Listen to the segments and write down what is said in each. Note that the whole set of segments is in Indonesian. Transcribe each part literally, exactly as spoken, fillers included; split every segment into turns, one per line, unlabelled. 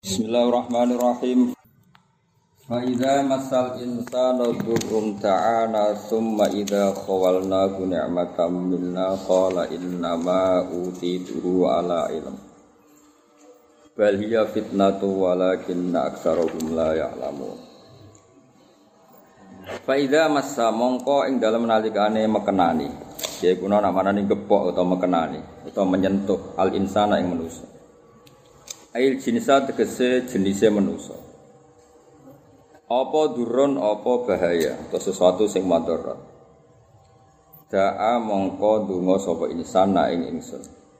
Bismillahirrahmanirrahim. Fa idza massal insana dhurrun ta'ana thumma idza khawalnahu ni'matan minna qala innama utituhu ala ilm. Bal hiya fitnatu walakinna aktsarahum la ya'lamun. Fa idza massa mongko ing dalem nalikane mekenani, yaiku ana manane gepok utawa mekenani utawa menyentuh al insana ing manusa. Ail jinsa tegese jenise manusa. Apa durun apa bahaya atau sesuatu sing madharat. Da'a mongko donga sapa insan na ing ingsun.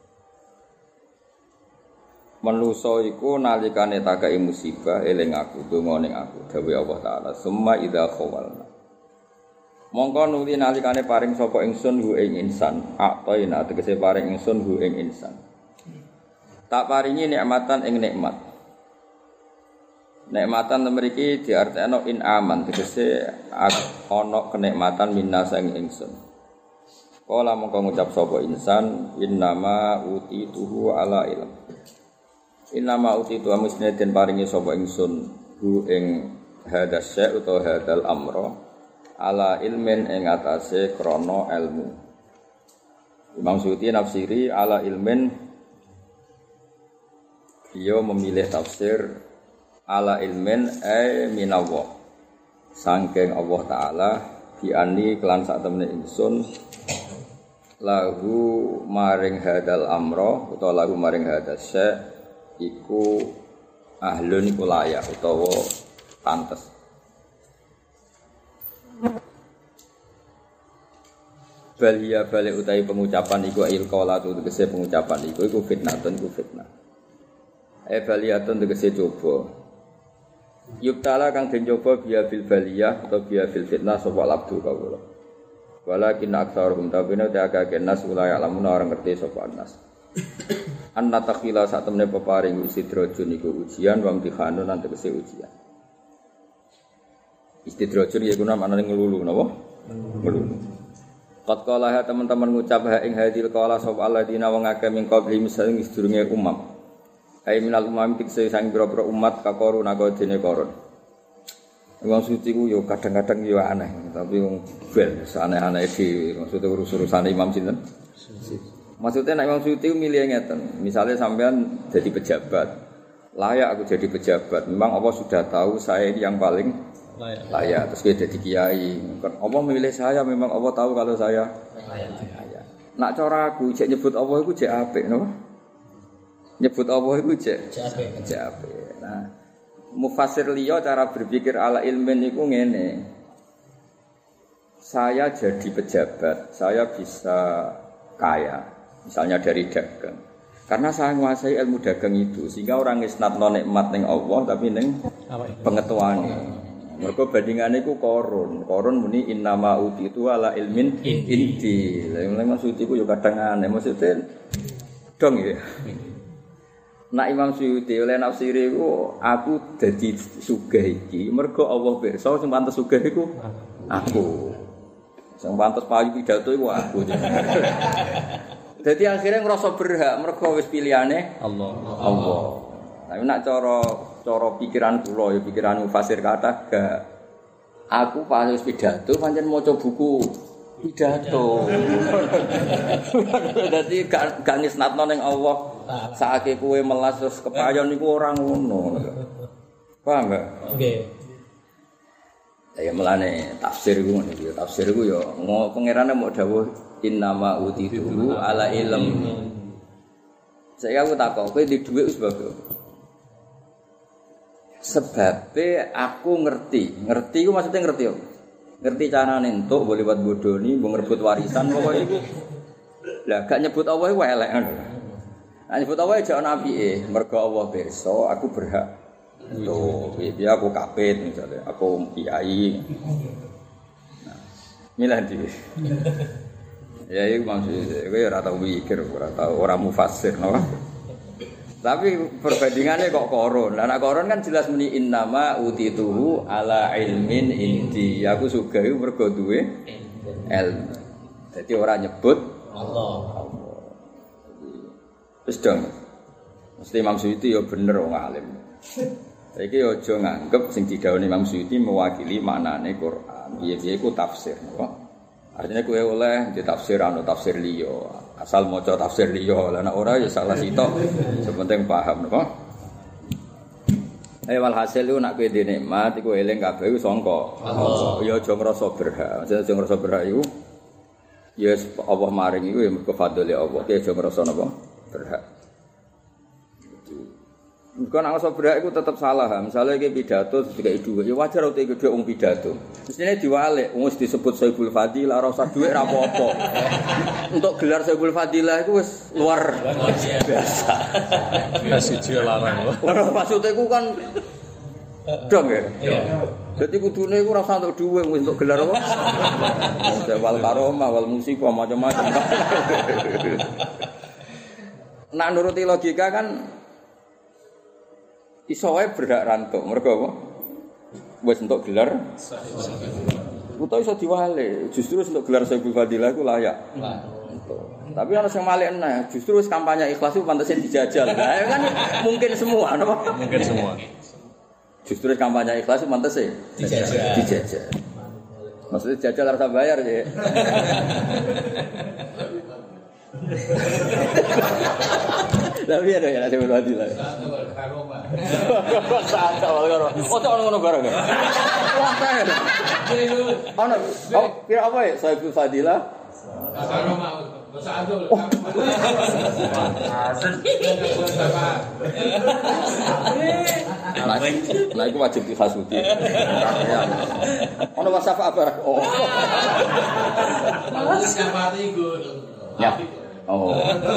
Manusa iku nalikane takai musibah eling aku, donga ning aku, dawuh Allah taala, summa idza khawalna. Mongko nuli nalikane paring sapa ingsun hu ing insan, aqtaina tegese paring ingsun hu ing insan. Tak paringi nikmatan ing nikmat. Nikmatan mriki diartekno in aman, tegese ana kenikmatan minasa ing ingsun. Kala mongko ngucap sapa insan innama utituhu ala ilm. Innama utitu amusne den paringi sapa ingsun hu ing hadas syai' utawa hadal amra ala ilmin ing atase krana ilmu. Imam Suyuti nafsiri ala ilmin. Dia memilih tafsir ala ilmin ay minallah sangking Allah Ta'ala diani kelan sak temene ingsun lahu maring hadal amro utawa lahu maring hadal syai' iku ahlun iku layak utawa pantes. Balia balik utawi pengucapan iku ilqala tu tegese pengucapan iku iku fitnatun iku fitnah. Eh baliyatun tegese coba. Yubtala kang den coba biya bil baliyah atau biya bil fitnah sapa labdu kawula. Walakin aktsaruhum tabina ta'aka nas ulaya lamun ora ngerti sapa nas. Anna takhila sak temene peparing istidrajun iku ujian wa imtihanun lan tegese ujian. Istidrajun ya guna maknane ngelulu napa? Ngelulu. Qad qala teman-teman ngucap ha ing hadil qala sapa alladzina wong akeh min qabli misalnya sedurunge umam. Ai minal umam pikse sang pira-pira umat kakorun aku dene koron. Wong suci ku yo kadang-kadang yo aneh, tapi wong bel aneh-aneh iki maksud urus-urusan imam sinten? Maksudnya nek wong suci milih ngeten, misalnya sampean jadi pejabat. Layak aku jadi pejabat. Memang Allah sudah tahu saya ini yang paling layak. Layak. Terus dia jadi kiai. Allah memilih saya, memang Allah tahu kalau saya layak. Nak cara aku cek nyebut Allah iku cek apik, napa? Nyebut Allah itu cek cek apa? Nah, mufasir liya cara berpikir ala ilmin itu ngene. Saya jadi pejabat, saya bisa kaya, misalnya dari dagang. Karena saya menguasai ilmu dagang itu, sehingga orang isnatno nikmat ning Allah tapi ning pengetuane. Mergo bandingane iku korun. Korun muni innama utitu ala ilmin indi. Lah maksud iku yo kadang aneh, maksudnya dong ya. Nak Imam Suyuti oleh nafsiri ku aku dadi sugih iki mergo Allah pirsa sing pantes sugih iku aku. Sing pantes payu pidato iku aku. Dadi akhirnya ngrasa berhak mergo wis pilihane Allah. Allah. Tapi nak cara cara pikiran kula ya pikiran mufasir kata gak aku pas wis pidato pancen maca buku pidato. Dadi gak gak ngisnatno ning Allah. Saake kowe melas terus kepayon niku ora ngono. Paham enggak? Nggih. Ya melane tafsir iku ngono iki. Tafsir iku ya pangerane mau dawuh innama utitu ala ilm. Saya aku takok kowe di dhuwit wis bagus. Sebabe aku ngerti. Ngerti iku maksudnya ngerti yo. Ngerti carane entuk boleh buat bodoni, mbok ngerebut warisan pokoke iku. Lah gak nyebut Allah iku elek ngono. Nah, nyebut Allah aja ana apike, mergo Allah pirsa aku berhak. Tuh, piye aku kapit misalnya, aku kiai. Nah, milah dhewe. Ya iku maksud kowe ora tau mikir, ora tau ora mufasir, no. Tapi perbandingannya kok koron. Lah nek koron kan jelas muni innama utituhu ala ilmin indi. Aku sugih mergo duwe ilmu. Dadi ora nyebut Allah. Wis dong. Mesti Imam Suyuti ya bener wong alim. Saiki aja nganggep sing didhawuhi Imam Suyuti mewakili maknane Quran. Piye-piye iku tafsir, napa? Artinya kowe oleh di tafsir anu tafsir liya. Asal maca tafsir liya, lah nek ora ya salah sitok. Sepenting paham, napa? Eh walhasil lu nak kowe di nikmat iku eling kabeh iku sangka Allah. Ya aja ngrasa berhak. Aja ngrasa berhak iku ya Allah maring iku ya mergo fadhole Allah. Ki aja ngrasa napa? Berhak. Bukan ngrasa berhak iku tetep salah. Misalnya iki pidato dikai dhuwit, ya wajar utek iki dhuwit wong pidato. Mestine diwalik, wis disebut Saibul Fadilah ora usah dhuwit ra apa-apa. Untuk gelar Saibul Fadilah iku wis luar biasa.
Kasih larang lho.
Ora maksud iku kan dong ya. Iya. Dadi kudune iku ora usah untuk dhuwit wis untuk gelar apa? Wal karomah wal musibah macam-macam. Nak nuruti logika kan iso wae berhak rantuk, mergo apa? Wis entuk gelar. Utawa iso diwale, justru untuk gelar Saibul Fadilah iku layak. Lah. Tapi ana sing malik eneh, justru wis kampanye ikhlas iku pantese dijajal. Lah kan mungkin semua, napa?
Mungkin semua.
Justru kampanye ikhlas iku pantese dijajal. Dijajal. Maksudnya jajal harus bayar ya. Tapi ada ya Saibul Fadilah. Satu kalau oh tak ono barang. Wah saya. Ono oh kira apa ya Saibul Fadilah? Karoma Saadul. Nah itu wajib dihasuti. Ono wasafa apa? Oh. Siapa itu? Ya. Oh.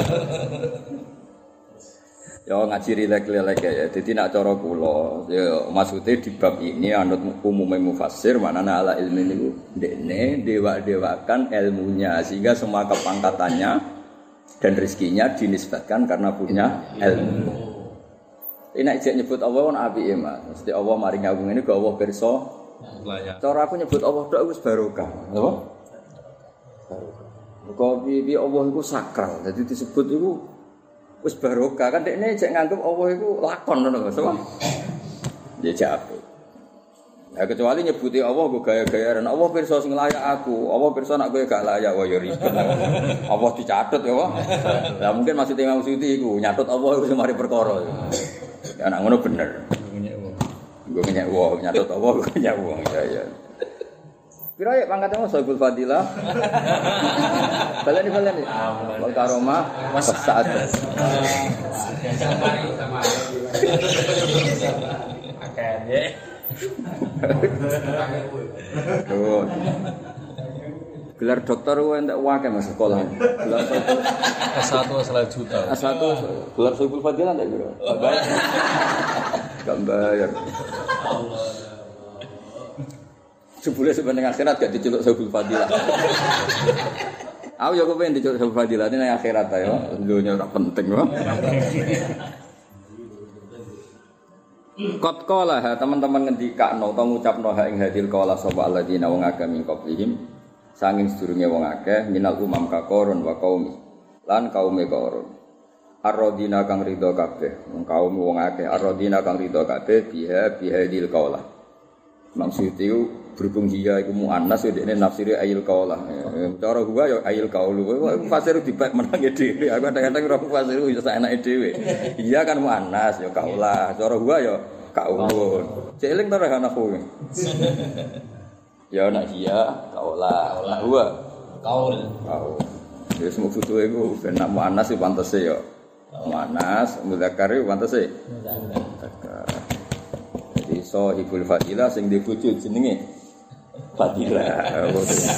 Ya ngaji rilek-rilek ya. Dadi nak cara kula ya maksude di bab ini anut umume mufassir maknane ala ilmi niku ndekne dewa-dewakan ilmunya sehingga semua kepangkatannya dan rezekinya dinisbatkan karena punya ilmu. Ini nek nyebut Allah kan apike Mas. Mesti Allah maring aku ngene kok Allah pirsa. Cara aku nyebut Allah tok wis barokah. Napa? Barokah. Kok piye Allah iku sakral. Dadi disebut iku wis barokah kan dekne jek nganggep Allah iku lakon ngono Mas. Ya jape. Ya kecuali nyebuti Allah go gaya-gayaran. Allah pirsa sing layak aku. Allah pirsa nek kowe gak layak wae ya ribet. Allah dicatut ya wae. Lah mungkin maksud Imam Suyuti iku nyatut Allah iku semari perkara. Ya nek ngono bener. Gue nyek wong, nyatut Allah gue nyek wong. Ya ya. Pira ya pangkatnya Saibul Fadilah. Baleni baleni. Wal karomah saat. Akane. Tuh. Gelar dokter ku entek wae Mas sekolah. Gelar
S satu salah juta.
S satu gelar Saibul Fadilah entek piro? Bayar. Gak bayar. Sebule sebenarnya akhirat gak diceluk Saibul Fadilah. Aku ya kepen diceluk Saibul Fadilah ini nang akhirat ayo. Dunya ora penting kok. Qad qala teman-teman ngendikakno utawa ngucapno ha ing hadil qala sapa alladzina wong akeh min qablihim sanging sedurunge wong akeh minal umam ka korun wa qaumi lan kaume korun. Ar-radina kang ridho kabeh, wong kaum wong akeh ar-radina kang ridho kabeh biha bihadil qala. Maksud itu berhubung dia iku muannas ya dekne nafsire ayil qaula. Cara gua ya ayil qaulu. Fasir dibak menange dhewe. Aku kadang-kadang ora fasir yo saenake dhewe. Iya kan muannas ya qaula. Cara gua ya qaulun. Cek eling to ana kowe. Ya nak iya qaula. Lah gua qaul. Qaul. Ya semua foto iku ben nak muannas ya pantese ya. Muannas, mudzakkar ya pantese. Mudzakkar. Sahibul Fadilah sing di bojo jenenge Fadilah.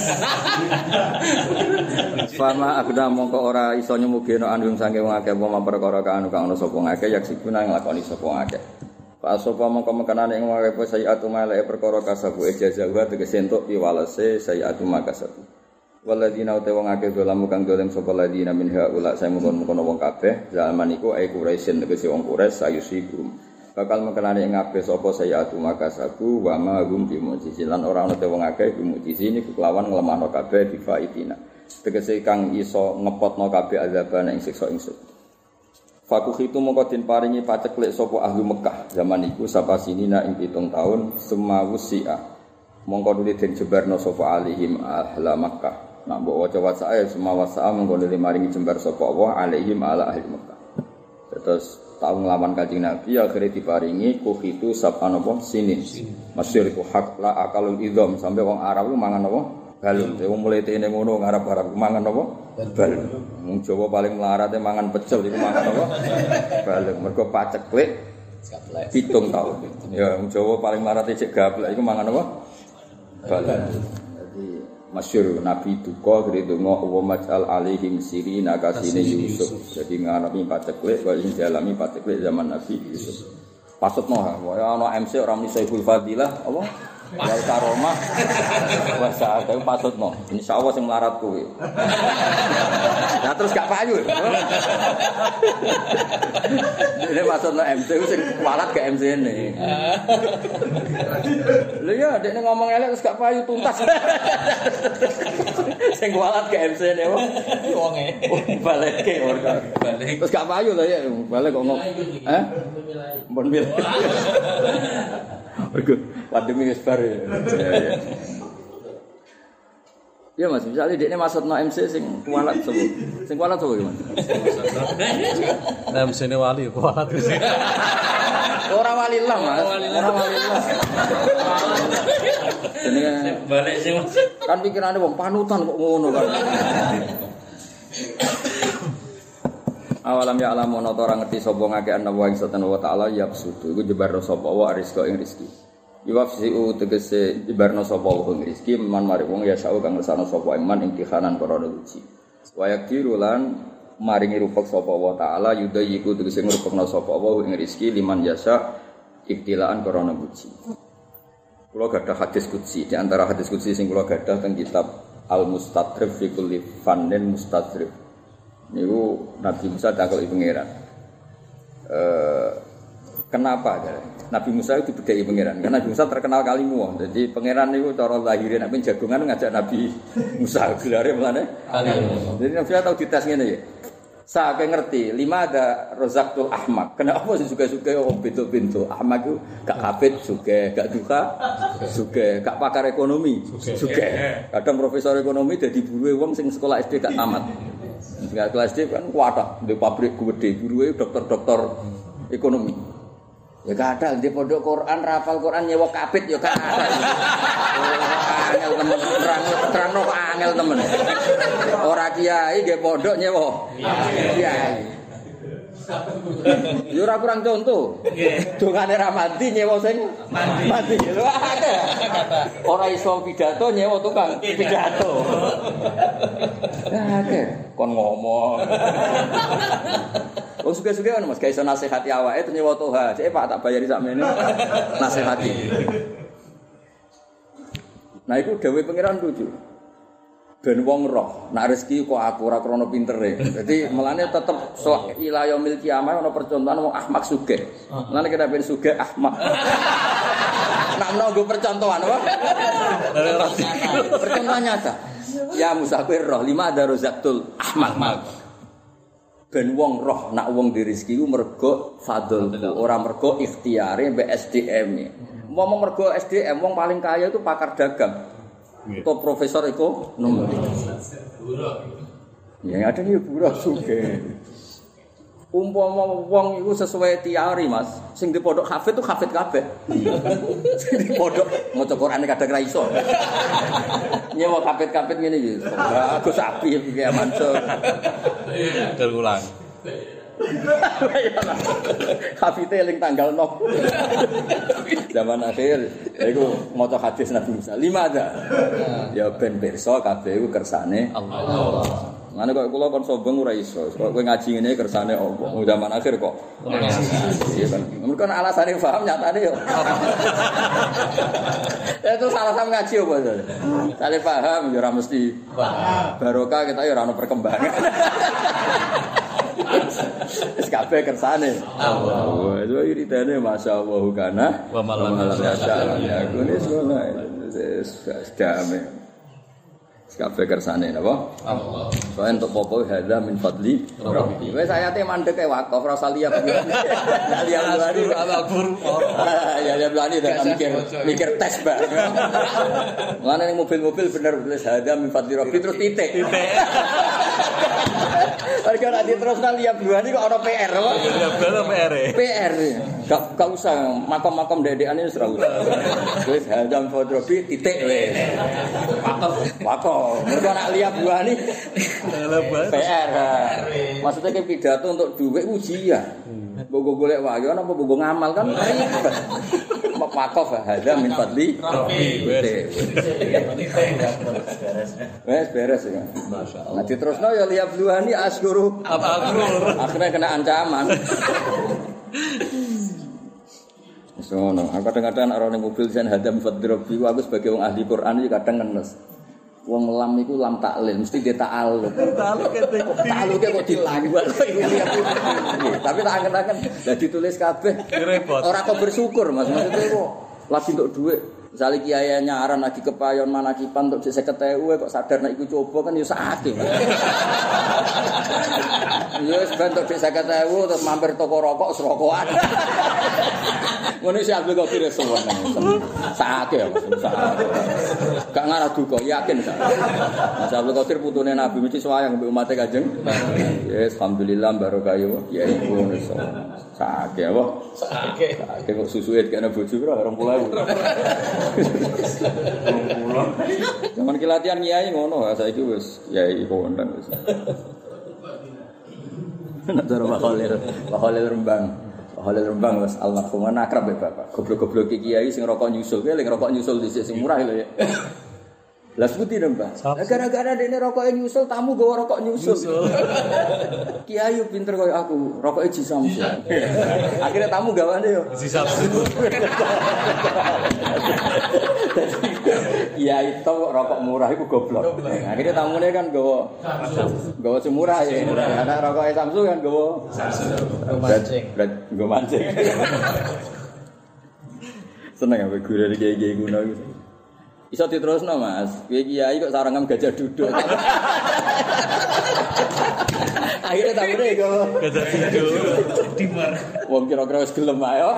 Fama akda mongko ora iso nyemugeno andum sange wong akeh apa perkara kang ana sapa ngakeh yak sikuna nglakoni sapa ngakeh. Fa sapa mongko mekanane ing wae sayiatu malake perkara kasabu ijazah tegese entuk piwalese sayiatu makasabu. Waladina uta wong akeh dolamu kang dolem sapa ladina min haula saya mungkon-mungkon wong kabeh zaman iku ai Quraisyin tegese wong Quraisy sayusibum. Bakal mekenani ing kabeh sapa sayatu makasabu wa ma hum bi mu'jizin lan ora ana te wong akeh bi mu'jizin iku kelawan nglemahno kabeh bi faitina tegese kang iso ngepotno kabeh azabane ing siksa ingsun Fakuh itu mongko den paringi paceklik sapa ahli Mekah zaman iku sapa sinina ing pitung taun semawusia. Mongko nuli den jebarno sapa alihim ahla Mekah. Nah mbok waca wacae semawasa mongko nuli maringi jembar sapa Allah alihim ala ahli Mekah. Terus taun nglawan Kanjeng Nabi akhire diparingi kuh itu sapa napa sinin. Masyhur iku hak la akalul idzam sampai wong Arab ku mangan apa? Balung. Wong mulai tene ngono ngarep-arep mangan apa? Balung. Wong Jawa paling mlarate mangan pecel iku mangan apa? Balung. Mergo paceklik pitung taun. Ya wong Jawa paling mlarate cek gaplek iku mangan apa? Balung. Jadi masyhur Nabi duka gredonga wa maj'al alaihim sirina kasine Yusuf. Jadi ngarep paceklik kok ing dialami paceklik zaman Nabi Yusuf. Pasutno kaya ana M C ora muni Saiful Fadilah apa? Wal karomah wasa ada pasutno. Insyaallah sing melarat kowe. Nah terus gak payu. Dene pasutno M C sing kualat ke M C ne. Lha ya dekne ngomong elek terus gak payu tuntas. Sing kualat ke M C ne wong wonge. Baleke ora. Balik. Terus gak payu lho ya balik kok ngomong. Hah? Mbon mil. Mergo pandemi wis bar ya. Ya, ya Mas, misalnya dekne maksudno M C sing kualat sapa? Sing kualat sapa Mas?
M C ne wali kualat.
Ora wali lah Mas, ora wali lah. Jenenge balik sing kan pikirane wong panutan kok ngono kan. Awalam ya alam ana ora ngerti sapa ngake ana wa ing satan wa taala yabsutu iku jebarno sapa wa rizqa ing rezeki. Iwafsiu tegese jebarno sapa wa ing rezeki man mari wong ya sa'u kang ngersano sapa iman ing dikhanan korona uji. Wa yakdiru lan maringi rupek sapa wa taala yudayiku tegese ngrupekno sapa wa ing rezeki liman yasa iktilaan korona uji. Kula gadah hadis qudsi di antara hadis qudsi sing kula gadah teng kitab Al-Mustadrif fi kulli fannin mustadrif. Niku Nabi Musa takoi pangeran. Eh kenapa ya? Nabi Musa itu dibedai pangeran. Karena Nabi Musa terkenal kalimu. Jadi pangeran niku cara lahirin nek jagongan ngajak Nabi Musa gelare mulane kalimu. Jadi Nabi tahu dites ngene ya. Saya ngerti, lima ada rozaktul ahmak. Kenapa sih suka-suka orang pintu-pintu? Ahmak itu gak kafir, suka, gak duka, suka, gak pakar ekonomi, suka. Kadang profesor ekonomi jadi buruh wong sing sekolah S D gak tamat. Sekolah kelas S D kan kuat, di pabrik gede, buruh dokter-dokter ekonomi. Ya kadang di pondok Quran, rapal Quran nyewa kapit ya kadang. Angel temen, terang terang no angel temen. Ora kiai nggih pondok nyewa. Kiai. Yo ora kurang contoh. Dongane ra mati nyewa sing mati. Lho akeh. Ora iso pidato nyewa tukang pidato. Akeh kon ngomong. Wong suka-suka kan Mas, gak iso nasihati awake terus nyewa toha. Cek Pak tak bayari sakmene. Nasihati. Nah iku dawuh pangeran lucu. Ben wong roh, nak rezeki kok aku ora krana pintere. Dadi melane tetep sok ila yaumil kiamah ana percontohan wong ahmak sugih. Melane kena ben sugih ahmak. Nak menunggu percontohan apa? Percontohan nyata. Ya musafir roh lima ada rozaktul ahmak. Ben wong roh nak wong di rezeki ku mergo fadlku, ora mergo ikhtiare mbek S D M-e. Wong mergo S D M wong paling kaya itu pakar dagang. Atau profesor ekonomi. Ya ada nih buruh sugih. Umpama wong iku sesuai teori Mas, sing di pondok hafid itu hafid kabeh. Sing di pondok maca Qur'ane kadang ra iso. Nyewa hafid-hafid ngene iki. Bagus api iki Mansur.
Terulang.
Hafid eling tanggal nol. Zaman akhir iku maca hadis Nabi Musa. Lima ada. Ya ben pirsa kabeh iku kersane Allah. Ngene kok kula kon sombong ora iso. Kok kowe ngaji ngene kersane apa? Zaman akhir kok. Iya kan. Mergo alasane paham nyatane yo. Itu salah sama ngaji apa to? Sale paham yo ora mesti barokah kita yo ora ono perkembangan. Wis kabeh kersane Allah. Itu iridane masyaallah kana
wa malam
ya aku wis ngono. Wis damai. kabeh kersane napa? Allah. Soale entuk popo hadza min fadli rabbi. Wis ayate mandek e wakaf rasa liya. Lah liya lari al-Qur. Ya ya blani dak mikir mikir tes, Mbak. Lan ning mobil-mobil bener tulis hadza min fadli rabbi terus titik. Titik. Mereka nanti terus liya buani kok ana P R apa? Ya bener P R. P R. Gak gak usah makom-makom dedekan wis ora usah. Wis hadza min fadli rabbi titik wis. Wakaf. Wakaf. Mereka nak lihat buah nih P R. Maksudnya kayak pidato untuk duit ujian. Bogo golek wahyu apa bogo ngamal kan ribet. Wakaf hadza min fadli rabbi. Wes beres ya. Masyaallah. Nah diterusno ya lihat buah nih asyuru. Asyur. Akhirnya kena ancaman. So, no. Aku kadang-kadang orang yang mobil sen hadza min fadli rabbi. Aku sebagai orang ahli Quran iki kadang ngenes. Wong lam iku lam taklil mesti dia ta'alluq. Ta'alluq kete. Ta'alluq kok dilanggar. Tapi tak angen-angen dadi tulis kabeh. Repot. Ora kok bersyukur Mas. Maksudnya kok lagi untuk duit. Misale kiai nyaran lagi kepayon manakipan untuk seket ribu kok sadar nek iku coba kan ya sakit. Ya wis ben untuk seket ribu terus mampir toko rokok serokokan. Ngono sih Abdul Qadir Rasulullah. Sakit ya Mas. Gak ngarah duka yakin sak. Mas Abdul Qadir putune Nabi mesti sayang mbek umat Kanjeng. Yes, alhamdulillah barokah yo. Ya iku ngono sakit apa? Sakit. Sakit kok susuke kena bojo pira dua puluh ribu. Zaman ki latihan kiai ngono, saiki wis kiai kondang wis. Nek cara Pak Khalil, Pak Khalil Rembang. Pak Khalil Rembang wis almarhum akrab ya Bapak. Goblok-goblok kiai sing rokok nyusul, kowe lek rokok nyusul dhisik sing murah lho ya. Lah sebuti dong, Mbak. Gara-gara dene rokoke nyusul, tamu gawa rokok nyusul. Kiai pinter koyo aku, rokoke Ji Samsu. Akhirnya tamu gawane yo Ji Samsu. Kiai itu rokok murah iku goblok. Akhirnya tamune kan gawa gawa semurah ya. Karena rokoke Samsu kan gawa mancing. Gawa mancing. Seneng apa guru kiai-kiai kuno iki. Iso diterusno Mas. Kiai kok sarangan gajah duduk. Akhirnya tamune kok gajah duduk. Dimar. Wong kira-kira wis gelem ae.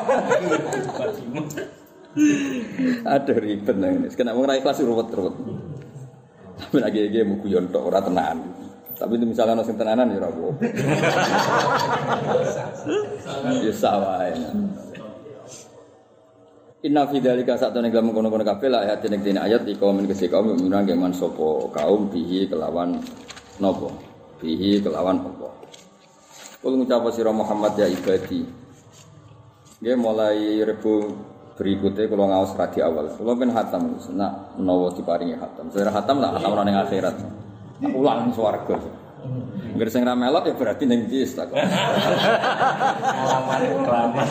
Aduh ribet nang ini. Kena wong ra ikhlas ruwet-ruwet. Tapi lagi-lagi mau guyon tok ora tenan. Tapi itu misalnya ono sing tenanan ya ora apa. Ya sawae. Inna fi dzalika satune dalam kono-kono kabeh la ayat ning dene ayat iku men kese kaum mukmin nang man sapa kaum bihi kelawan napa bihi kelawan apa kul ngucap sira Muhammad ya ibadi nggih mulai rebu berikutnya kula ngaos radi awal kula ben khatam nak menawa diparingi khatam saya khatam lah khatam ning akhirat ulang swarga ngger sing ra melok ya berarti ning jis tak alaman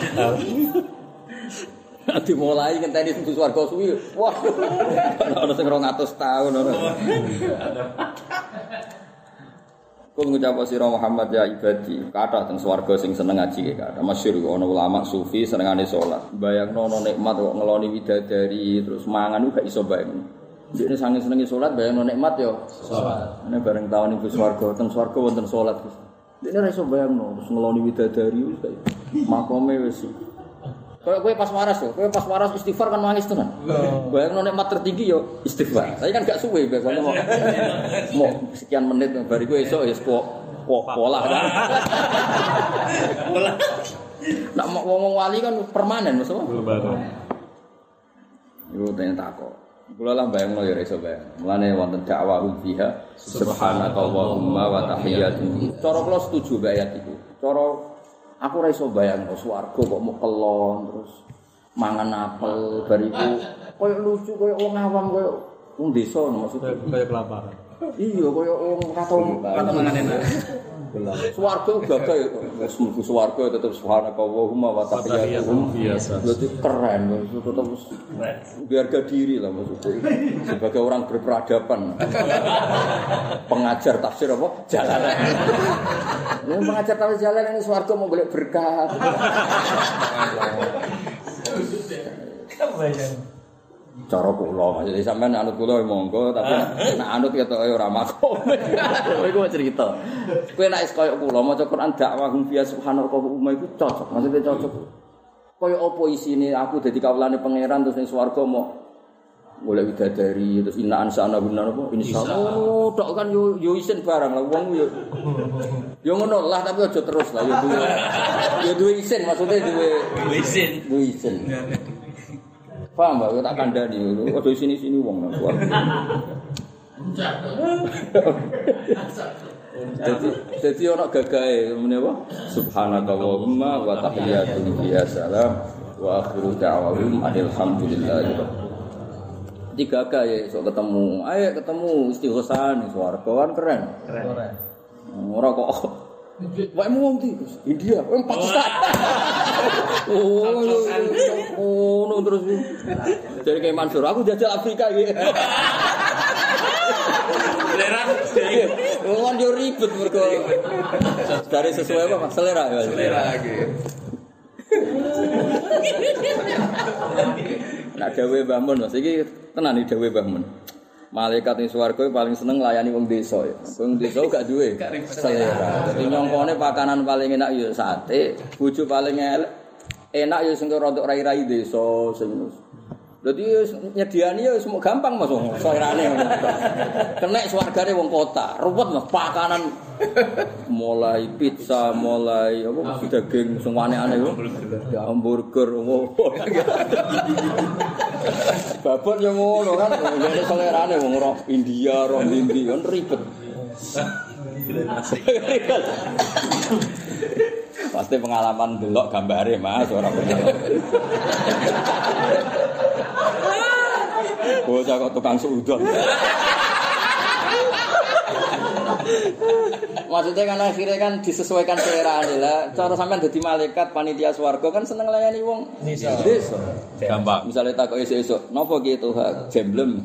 Nanti mulai ngenteni sing swarga suwi. Wah. Ana sing rong atus tahun ngono. Kul ngucap sira Muhammad ya ibadi, kathah teng swarga sing seneng ngaji ke kathah. Masyhur ana ulama sufi senengane salat. Bayangno ana nikmat kok ngeloni widadari terus mangan gak iso bayang. Dekne sange senenge salat bayangno nikmat yo salat. Nek bareng taun ing swarga teng swarga wonten salat. Dekne ora iso bayangno terus ngeloni widadari wis kaya makome wis Kalau kowe pas waras yo, kowe pas waras istighfar kan nangis tenan. Bayangno nikmat tertinggi yo istighfar. Tapi kan gak suwe biasanya mau mau sekian menit bariku esuk ya kok kok pola kan. Pola. Nak ngomong wali kan permanen maksudnya. Permanen. Yo tanya takok. Kula lah bayangno ya iso bayang. Mulane wonten dakwah fiha subhanakallahumma wa tahiyyatu. Cara kula setuju mbek ayat iku. Cara aku ora iso bayangno swarga kok mau kelon terus mangan apel bariku koyo lucu koyo wong awam koyo wong desa maksudnya koyo kelaparan. Iya koyo wong katon mangan enak. Swarga gagah ya wis mlebu swarga tetep subhanakallahumma wa tahiyyatuhum biasa. Berarti keren tetep harga diri lah maksudnya. Sebagai orang berperadaban. Pengajar tafsir apa? Jalalan. Ini pengajar tafsir jalalan ini swarga mau golek berkah. cara kula maksudnya sampean anut kula monggo tapi nek anut ketoke ora makom. Iku cerita. Kowe nek is koyo kula maca Quran dakwah hum biya subhanallah umma iku cocok. Maksudnya cocok. Koyo apa isine aku dadi kawulane pangeran terus ning swarga mau golek widadari terus inna ansana guna apa insyaallah oh tok kan yo yo isin barang lah wong yo yo ngono lah tapi aja terus lah yo duwe yo duwe isin maksudnya duwe isin duwe isin paham mbak tak kandhani aja sini-sini wong nang kuwi jadi jadi ana gagahe menapa subhanakallahumma wa tahiyyatu biyasalam wa akhiru da'wahum alhamdulillahi tiga kaya sok ketemu, ayo ketemu istighosan ning swarga kan keren. Keren. Ora kok. Wae wong iki India, wong Pakistan. Oh, oh, oh, terus. Jadi kayak Mansur, aku jajal Afrika iki. Selera. Wong yo ribet mergo. Dari sesuai apa selera ya. Selera iki. Nak dawuhe Mbah Mun, Mas iki tenan iki dawuhe Mbah Mun. Malaikat ning swarga paling seneng nglayani wong desa ya. Wong desa gak duwe selera. Dadi nyongkone pakanan paling enak ya sate, bojo paling enak ya sing rodok rai-rai desa sing. Dadi nyediani ya semua gampang Mas selerane. Kenek swargane wong kota, ruwet Mas pakanan mulai pizza, mulai apa daging sing aneh-aneh yo. Hamburger ngono. Babon yo ngono kan, ngene selerane wong ora India, ora ndi kan ribet. Pasti pengalaman delok gambare Mas, ora pengalaman. Bocah kok tukang sudon. Maksudnya kan akhirnya kan disesuaikan selera lah. Cara sampean dadi malaikat panitia swarga kan seneng layani wong desa.
Gampang.
Misale takok esuk-esuk, napa ki Tuhan jemblem.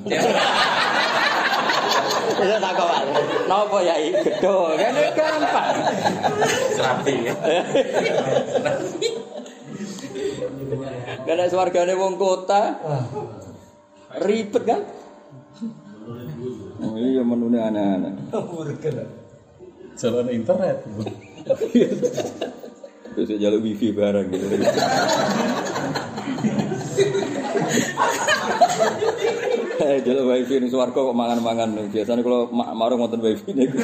Wis takok wae. Napa ya iki gedho? Kan gampang. Rapi. Karena swargane wong kota. Ribet kan? Oh iya menune aneh-aneh.
Jalan internet.
Terus jalur wifi barang gitu. Eh jalur wifi ning swarga kok mangan-mangan. Biasane kalau marung wonten wifi niku.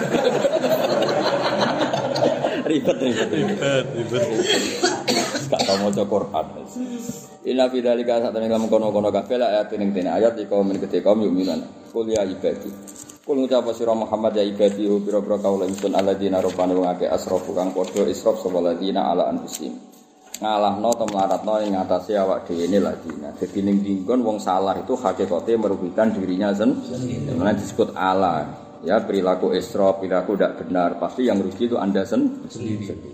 Ribet ribet ribet ribet. Gak tau maca Quran. Inna fi dzalika satane lam kono-kono kabeh ayat ning dene ayat iku men gede kaum yuminan. Qul ya ibadi. Qul ngucap sira Muhammad ya ibadi pira-pira kaula ingsun alladzina rubana wong akeh asrafu kang padha israf sapa ladina ala anfusim. Ngalahno to mlaratno ing atase awak dhewe ne ladina. Dadi ning dinggon wong salah itu hakikate merugikan dirinya sendiri. Namanya disebut ala. Ya perilaku israf, perilaku tidak benar, pasti yang rugi itu Anda sendiri.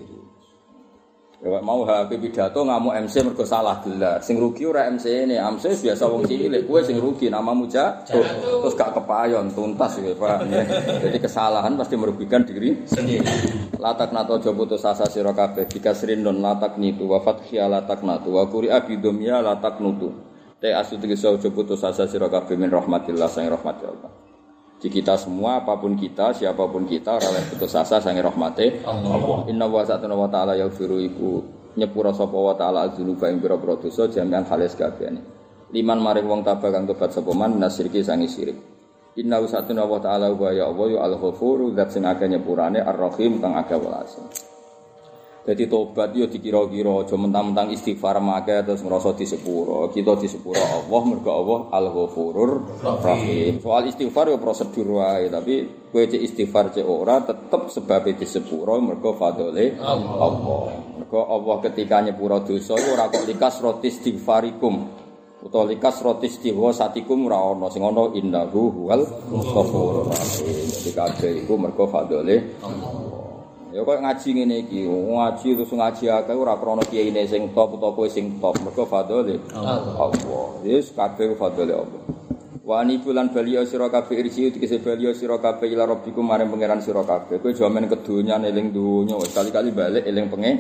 Ya mau H P pidato ngamuk M C mergo salah gelar. Sing rugi ora M C ne, M C biasa wong cilik, kowe sing rugi namamu jatuh. Terus gak kepayon tuntas ya, Pak. Jadi kesalahan pasti merugikan diri sendiri. Latak nato aja putus asa sira kabeh, bikasrin non latak nitu wa fathia latak natu wa quri'a bidomya latak nutu. Te asu tegese aja putus asa sira kabeh min rahmatillah sang rahmat Allah. Di kita semua, apapun kita, siapapun kita, ora oleh putus asa sange rahmate Allah. Inna wa ta'ala wa ta'ala yaghfiru iku nyepura sapa wa ta'ala azunuba ing pira-pira dosa jami'an halis kabehane. Liman maring wong tabah kang tobat sapa man nasirki sange syirik. Inna wa ta'ala wa ya Allah ya al-ghafuru zat sing akeh nyepurane ar-rahim kang akeh welase. Jadi tobat yo dikira-kira aja mentang-mentang istighfar make terus ngrasa disepuro. Kita disepuro Allah mergo Allah Al-Ghafurur Rahim. Soal istighfar yo prosedur wae, tapi kowe cek istighfar cek ora tetep sebab disepuro mergo fadhole Allah. Mergo Allah ketika nyepuro dosa iku ora kok likas roti istighfarikum. Utawa likas roti istighosatikum ora ana sing ana innahu huwal ghafurur rahim. Jadi kabeh iku mergo fadhole Allah. Ya kok ngaji ngene iki, ngaji terus ngaji akeh ora krana kiyaine sing top utawa kowe sing top, mergo fadhole Allah. Wis kabeh fadhole Allah. Wa ni bulan baliya sira kabeh irji dikese baliya sira kabeh ila rabbikum maring pangeran sira kabeh. Kowe jaman kedonya eling donya wis kali-kali balik eling pengen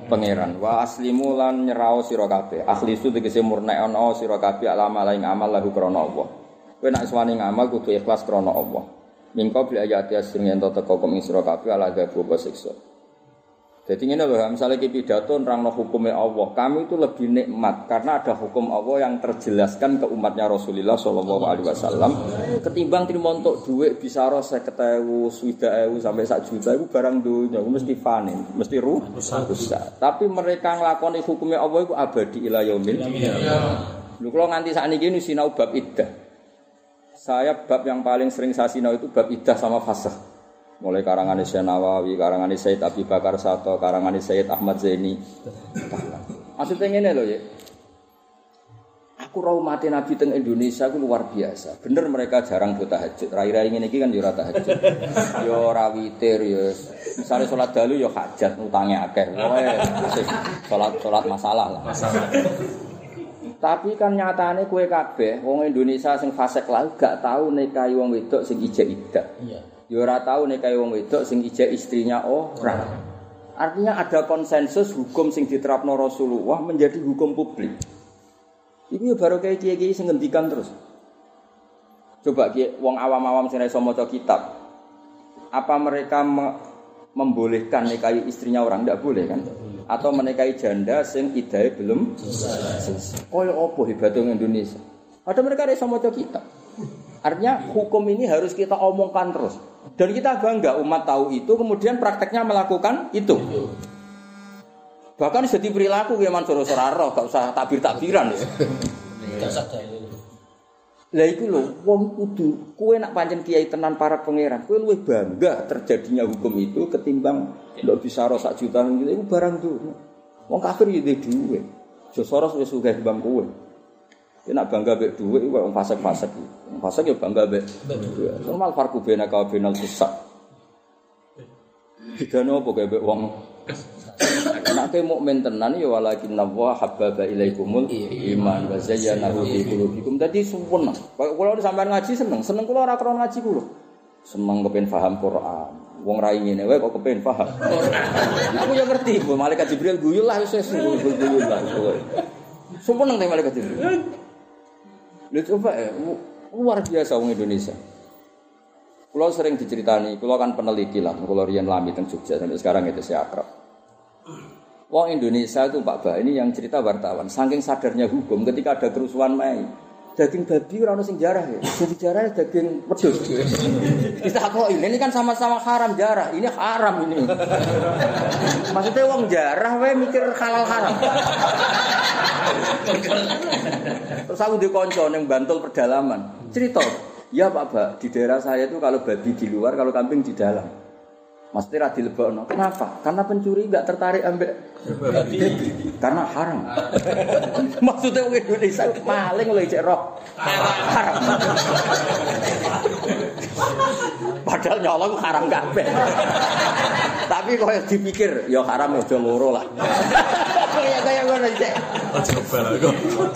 pangeran. Wa aslimu lan nyerao sira kabeh. Akhlisu tegese murnekno sira kabeh alama laing amal lahu krana Allah. Kowe nek suwani ngamal kudu ikhlas krana Allah. Mingko bil ayati asring ento teko kum sira kabeh ala gawe siksa. Jadi ini loh, misalnya kita pidato nerangno hukumnya Allah, kami itu lebih nikmat karena ada hukum Allah yang terjelaskan ke umatnya Rasulullah Shallallahu Alaihi Wasallam. Ketimbang terima untuk duit bisa rasa ketemu sudah ewu sampai sak juta itu barang dunia, mesti panen, mesti ruh, rusak. Tapi mereka ngelakoni hukumnya Allah itu abadi ila yaumil. Lu kalau nganti saat ini sinau bab iddah, saya bab yang paling sering saya sinau itu bab iddah sama fasakh. Mulai karangan Syekh Nawawi, karangan Syekh Abi Bakar Sato, karangan Syekh Ahmad Zaini. Maksudnya ngene lho ya. Aku ra umate Nabi teng Indonesia ku luar biasa. Bener mereka jarang do tahajud. Rai-rai ngene iki kan yo ora tahajud. Yo ora witir yo. Misale salat dalu yo hajat utange akeh. Pokoke salat-salat masalah lah. Masalah. Tapi kan nyatane kowe kabeh wong Indonesia sing fasik lah gak tau nikahi wong wedok sing ijek iddah. Iya. Ya ora tau nikahi wong wedok sing ijek istrinya ora. Artinya ada konsensus hukum sing diterapno Rasulullah menjadi hukum publik. Iku ya baru kayak kiai-kiai sing ngendikan terus. Coba kiai wong awam-awam sing iso maca kitab. Apa mereka me- membolehkan nikahi istrinya orang? Enggak boleh kan? Atau menikahi janda sing idahe belum selesai. Koyo opo hebate Indonesia. Ada mereka iso maca kitab. Artinya hukum ini harus kita omongkan terus. Dan kita bangga umat tahu itu, kemudian prakteknya melakukan itu. Bahkan jadi perilaku ya Mansur Soraro, gak usah takbir-takbiran. Lah iku lho, wong kudu kowe nak pancen kiai tenan para pangeran, kowe luwih bangga terjadinya hukum itu ketimbang ndak bisa ro sak juta gitu iku barang tuh. Wong kafir yo duwe dhuwit. Jo Soros wis sugih timbang kowe. Kowe nak bangga mek dhuwit iku wong fasik-fasik. Wong fasik yo bangga mek dhuwit. Normal farku bena ka benal susah. Dikane opo kowe mek wong nek mukmin tenan ya walakin Allah habbaba ilaikumul iman wa zayyanahu fi qulubikum. Dadi sumpun. Kula sampean ngaji seneng, seneng kula ora krana ngaji kula. Seneng kepen paham Quran. Wong ra ngene wae kok kepen paham. Aku ya ngerti, malaikat Jibril guyu lah wis guyu lah. Sumpun nang malaikat Jibril. Lha coba eh, luar biasa wong Indonesia. Kula sering diceritani, kula kan peneliti lah, kula riyen lami teng Jogja sampai sekarang itu saya akrab. Wong Indonesia itu Pak Bah ini yang cerita wartawan, saking sadarnya hukum ketika ada kerusuhan Mei, daging babi ora ono sing jarah ya. Jadi jarah daging wedhus. Ditakoki, ini kan sama-sama haram jarah, ini haram ini. Maksudnya wong jarah wae mikir halal haram. Terus aku di kanca ning Bantul pedalaman, cerita, "Ya Pak Bah, di daerah saya itu kalau babi di luar, kalau kambing di dalam." Mesti ra dilebokno. Kenapa? Karena pencuri enggak tertarik ambek babi. Karena haram. Maksudnya wong Indonesia maling lho cek roh. Haram. Padahal nyolong haram kabeh. Tapi koyo dipikir ya haram aja loro lah. Kayak kaya ngono cek. Coba lho.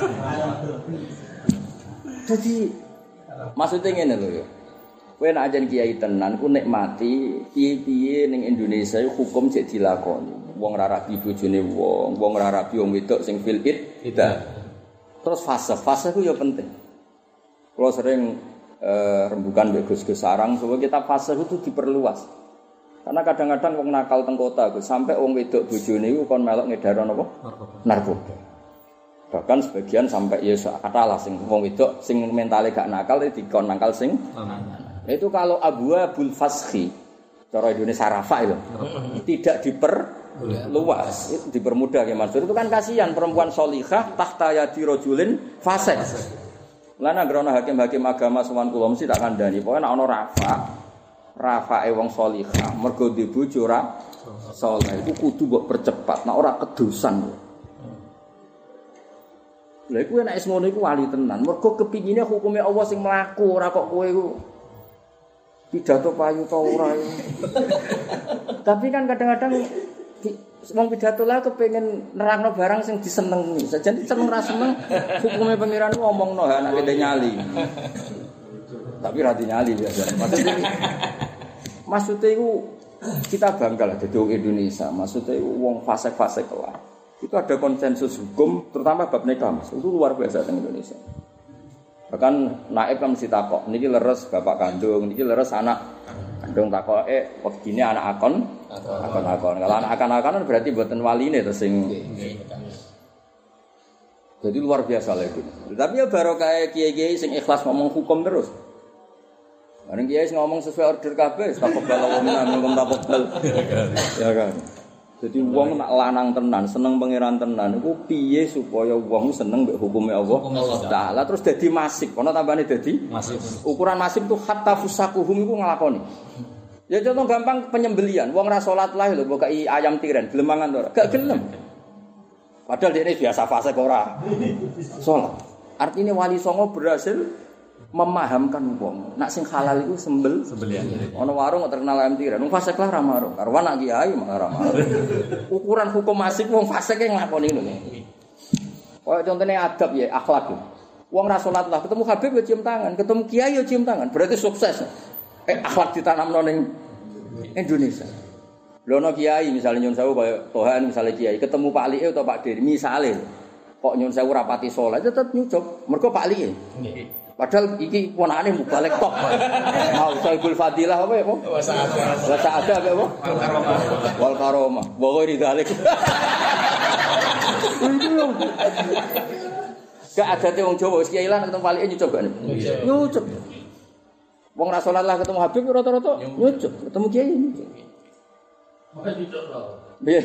Jadi maksudnya ngene lho ya. Kowe nek ajen kiai tenan ku nikmati piye-piye ning Indonesia hukum cek dilakoni. Wong ora rabi bojone wong, wong ora rabi wong wedok sing fil id. Terus fase-fase ku ya penting. Kalau sering eh, rembukan mbek Gus-gus sarang supaya kita fase itu diperluas. Karena kadang-kadang wong nakal teng kota sampai wong wedok bojone iku kon melok ngedaro napa? Narkoba. Bahkan sebagian sampai ya katalah sing wong wedok sing mentale gak nakal dikon nakal sing itu kalau Abu Abul Fashi cara Indonesia Rafa itu tidak diperluas, itu dipermudah ya Mansur. Itu kan kasihan perempuan solihah tahta yadi rajulin fasik. Lan anggere ana hakim-hakim agama sowan kula mesti tak kandhani. Pokoke nek ana Rafa, Rafae wong solihah mergo di bojo ora saleh iku kudu mbok percepat. Nek ora kedosan. Lha iku nek wis ngono iku wali tenan. Mergo kepingine hukume Allah sing mlaku ora kok kowe iku pidato payu ta ora. Tapi kan kadang-kadang wong pidato lah kepengin nerangno barang sing disenengi. Sajane seneng ra seneng hukume pangeran ku omongno anak kene nyali. Tapi ra dinyali biasa. Maksudnya maksudnya iku kita bangga lah jadi orang Indonesia. Maksudnya wong fase-fase kelah. Itu ada konsensus hukum, terutama bab nikah, Mas. Itu luar biasa di Indonesia. Bahkan naib kan mesti takok, niki leres bapak kandung, niki leres anak kandung takok, eh begini anak akon, akon akon. Kalau anak akon akon berarti buatan wali nih terus sing. Jadi luar biasa lah itu. Tapi ya baru kayak kiai-kiai sing ikhlas ngomong hukum terus. Bareng kiai ngomong sesuai order kabeh, takok bala wong nang ngomong takok bal. Ya kan. Jadi wong nak lanang tenan, seneng pangeran tenan iku piye supaya wong seneng mbek hukume Allah Taala terus dadi masif. Ana tambane dadi masif. Ukuran masif itu hatta fusakuhum iku nglakoni. Ya contoh gampang penyembelian. Wong ra salat lah lho mbok kei ayam tiren, gelem mangan ora? Gak gelem. Padahal dia biasa fase ora salat. Artinya wali songo berhasil memahamkan wong. Nak sing halal iku sembel sembelian. Ana warung kok terkenal ayam tiren. Wong fasik lah ra marung. Karo anak kiai malah ra marung. Ukuran hukum masik wong fasik e nglakoni ngono. Kaya contone adab ya, akhlak. Wong ra salat lah ketemu Habib ya cium tangan, ketemu kiai ya cium tangan. Berarti sukses. Eh akhlak ditanamno ning Indonesia. Lho ana kiai misalnya nyun sewu kaya Tohan misalnya kiai ketemu Pak Li'e atau Pak Dir misale kok nyun sewu rapati salat tetep nyucuk. Mergo Pak Li'e. Nggih. Padahal iki ponakane mubalek tok. Mau Saibul Fadilah apa ya, Pak? Wa sa'ada. Wa sa'ada apa, Pak? Wal karomah. Wal karomah. Wa ghairi dzalik. Gak adate wong Jawa wis kiai lan ketemu palike nyucuk gak. Nyucuk. Wong ra salat lah ketemu Habib rata-rata nyucuk, ketemu kiai nyucuk. Maka nyucuk lho. Piye?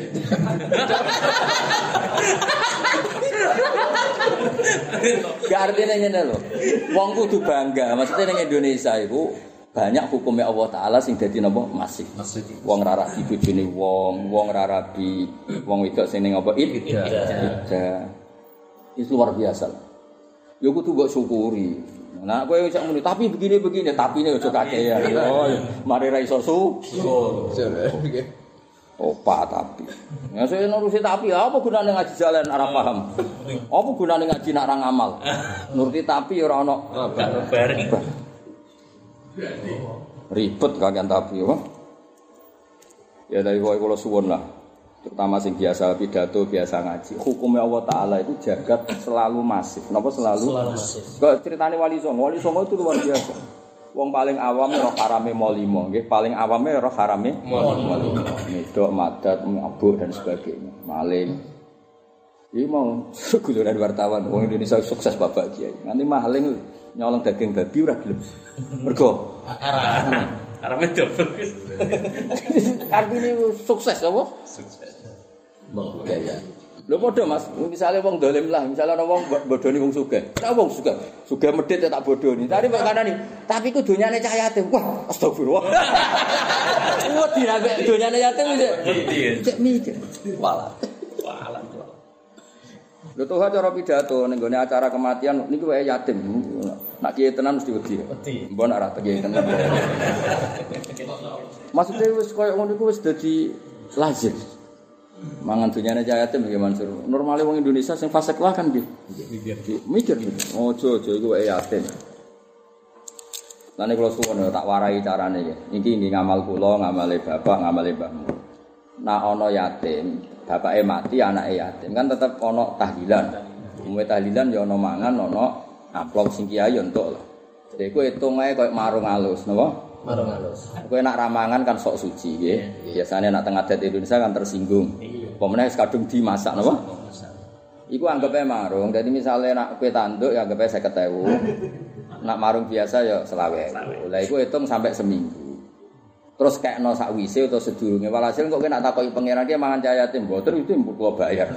Gak artinya ngene lho. Wong kudu bangga. Maksudnya ning Indonesia iku banyak hukumnya Allah Taala sing dadi napa masih. Wong ra rabi bojone wong, wong ra rabi wong wedok sing ning apa iddah. Itu luar biasa. Ya kudu mbok syukuri. Nah, kowe iso muni tapi begini-begini, tapine aja kakean. Oh, mari ra iso syukur. Opa tapi. Ya saya nurusi tapi apa gunane ngaji jalan ora paham. Apa gunane ngaji nak ra ngamal. Nuruti tapi ora ana bareng. Ribet kagian tapi apa? Ya dari kowe kula suwun lah. Terutama sing biasa pidato, biasa ngaji. Hukumnya Allah Taala itu jagat selalu masif. Napa selalu? Selalu masif. Kok ceritane Wali Songo, Wali Songo itu luar biasa. Wong paling awam roh harame molimo, nggih paling awame roh harame molimo. Medok, madat, mabuk dan sebagainya. Maling. Iki mau guluran wartawan wong Indonesia sukses bapak kiai. Nanti maling nyolong daging babi ora gelem. Mergo haram. Harame double. Artine sukses apa? Sukses. Mbok ya ya. Lho padha Mas, misale wong dolim lah, misale ana wong bodoni wong sugih. Nek wong sugih, sugih medhit tak bodoni. Tapi kok kanani, tapi ku donyane cah yatim. Wah, astagfirullah. Wah, dirabek donyane yatim wis. Cek mikir. Walah. Walah. Lho toh cara pidato ning gone acara kematian niku wae yatim. Nak kiye tenan mesti wedi. Wedi. Mbon ora kiye tenan. Maksudnya wis koyo ngono iku wis dadi lazim. Mangan dunyane cah yatim nggih Mansur. Normale wong Indonesia sing fasik lah kan nggih. Mikir. Mikir. Ojo ojo iku wae yatim. Lan kula suwun tak warai carane nggih. Iki nggih ngamal kula, ngamale bapak, ngamale mbahmu. Nah ana yatim, bapake mati, anake yatim kan tetep ana tahlilan. Umume tahlilan ya ana mangan, ana amplop sing kiai entuk lho. Dadi kowe hitung ae koyo marung alus, napa? Marung alus. Kowe nak ramangan kan sok suci nggih. Biasane nak teng adat Indonesia kan tersinggung. Apa meneh kadung dimasak napa? Iku anggape marung. Dadi misale nak kowe tanduk ya anggape seket ewu. Nak marung biasa ya selawe. Lah iku hitung sampai seminggu. Terus kekno sakwise utawa sedurunge walhasil kok kowe nak takoki pangeran ki mangan cah yatim mboten itu mbok bayar.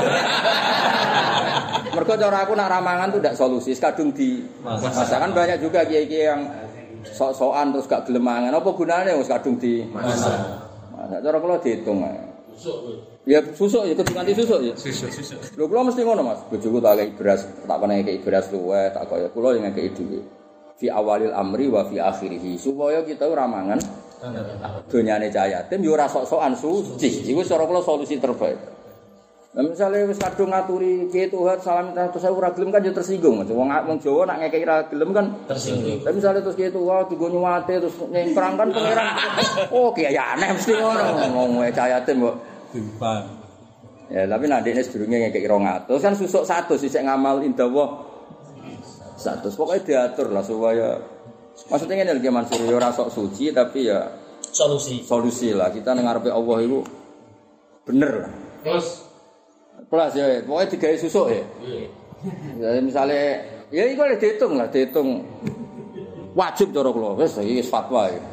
Mergo cara aku nak ramangan tuh ndak solusi, kadung di masakan banyak juga kiai-kiai yang sok-sokan terus gak gelem mangan. Apa gunane wis kadung di masak. Masak cara kula diitung ae. Susuk. Ya susuk ya kudu nganti susuk ya. Susuk, susuk. Lho kula mesti ngono Mas. Bojoku tak kei beras, tak kene kei beras luweh, tak kaya kula yang ngekei dhuwit. Fi awalil amri wa fi akhirih. Supaya kita ora mangan donyane cah yatim yo ora sok-sokan suci. Iku cara kula solusi terbaik. Lah misale wis kadung ngaturi piye Tuhan salam terus ora gelem kan yo tersinggung. Wong wong Jawa nak ngekeki ra gelem kan tersinggung. Tapi misale terus piye Tuhan digo nyuwate terus nyengkrang kan pangeran. Oh kiai aneh mesti ngono. Ngomong cah yatim kok timpang. Ya tapi nek dekne sedurunge ngekeki rong atus kan susuk seratus sik ngamal indawah seratus. Pokoke diatur lah supaya maksudnya ngene lho Mansur yo ora sok suci tapi ya solusi. Solusi lah kita nang ngarepe Allah iku bener lah. Terus plus ya, pokoknya digawe susuk ya. Iya. Misalnya, ya itu boleh dihitung lah, dihitung wajib cara kula. Wis iki fatwa ya.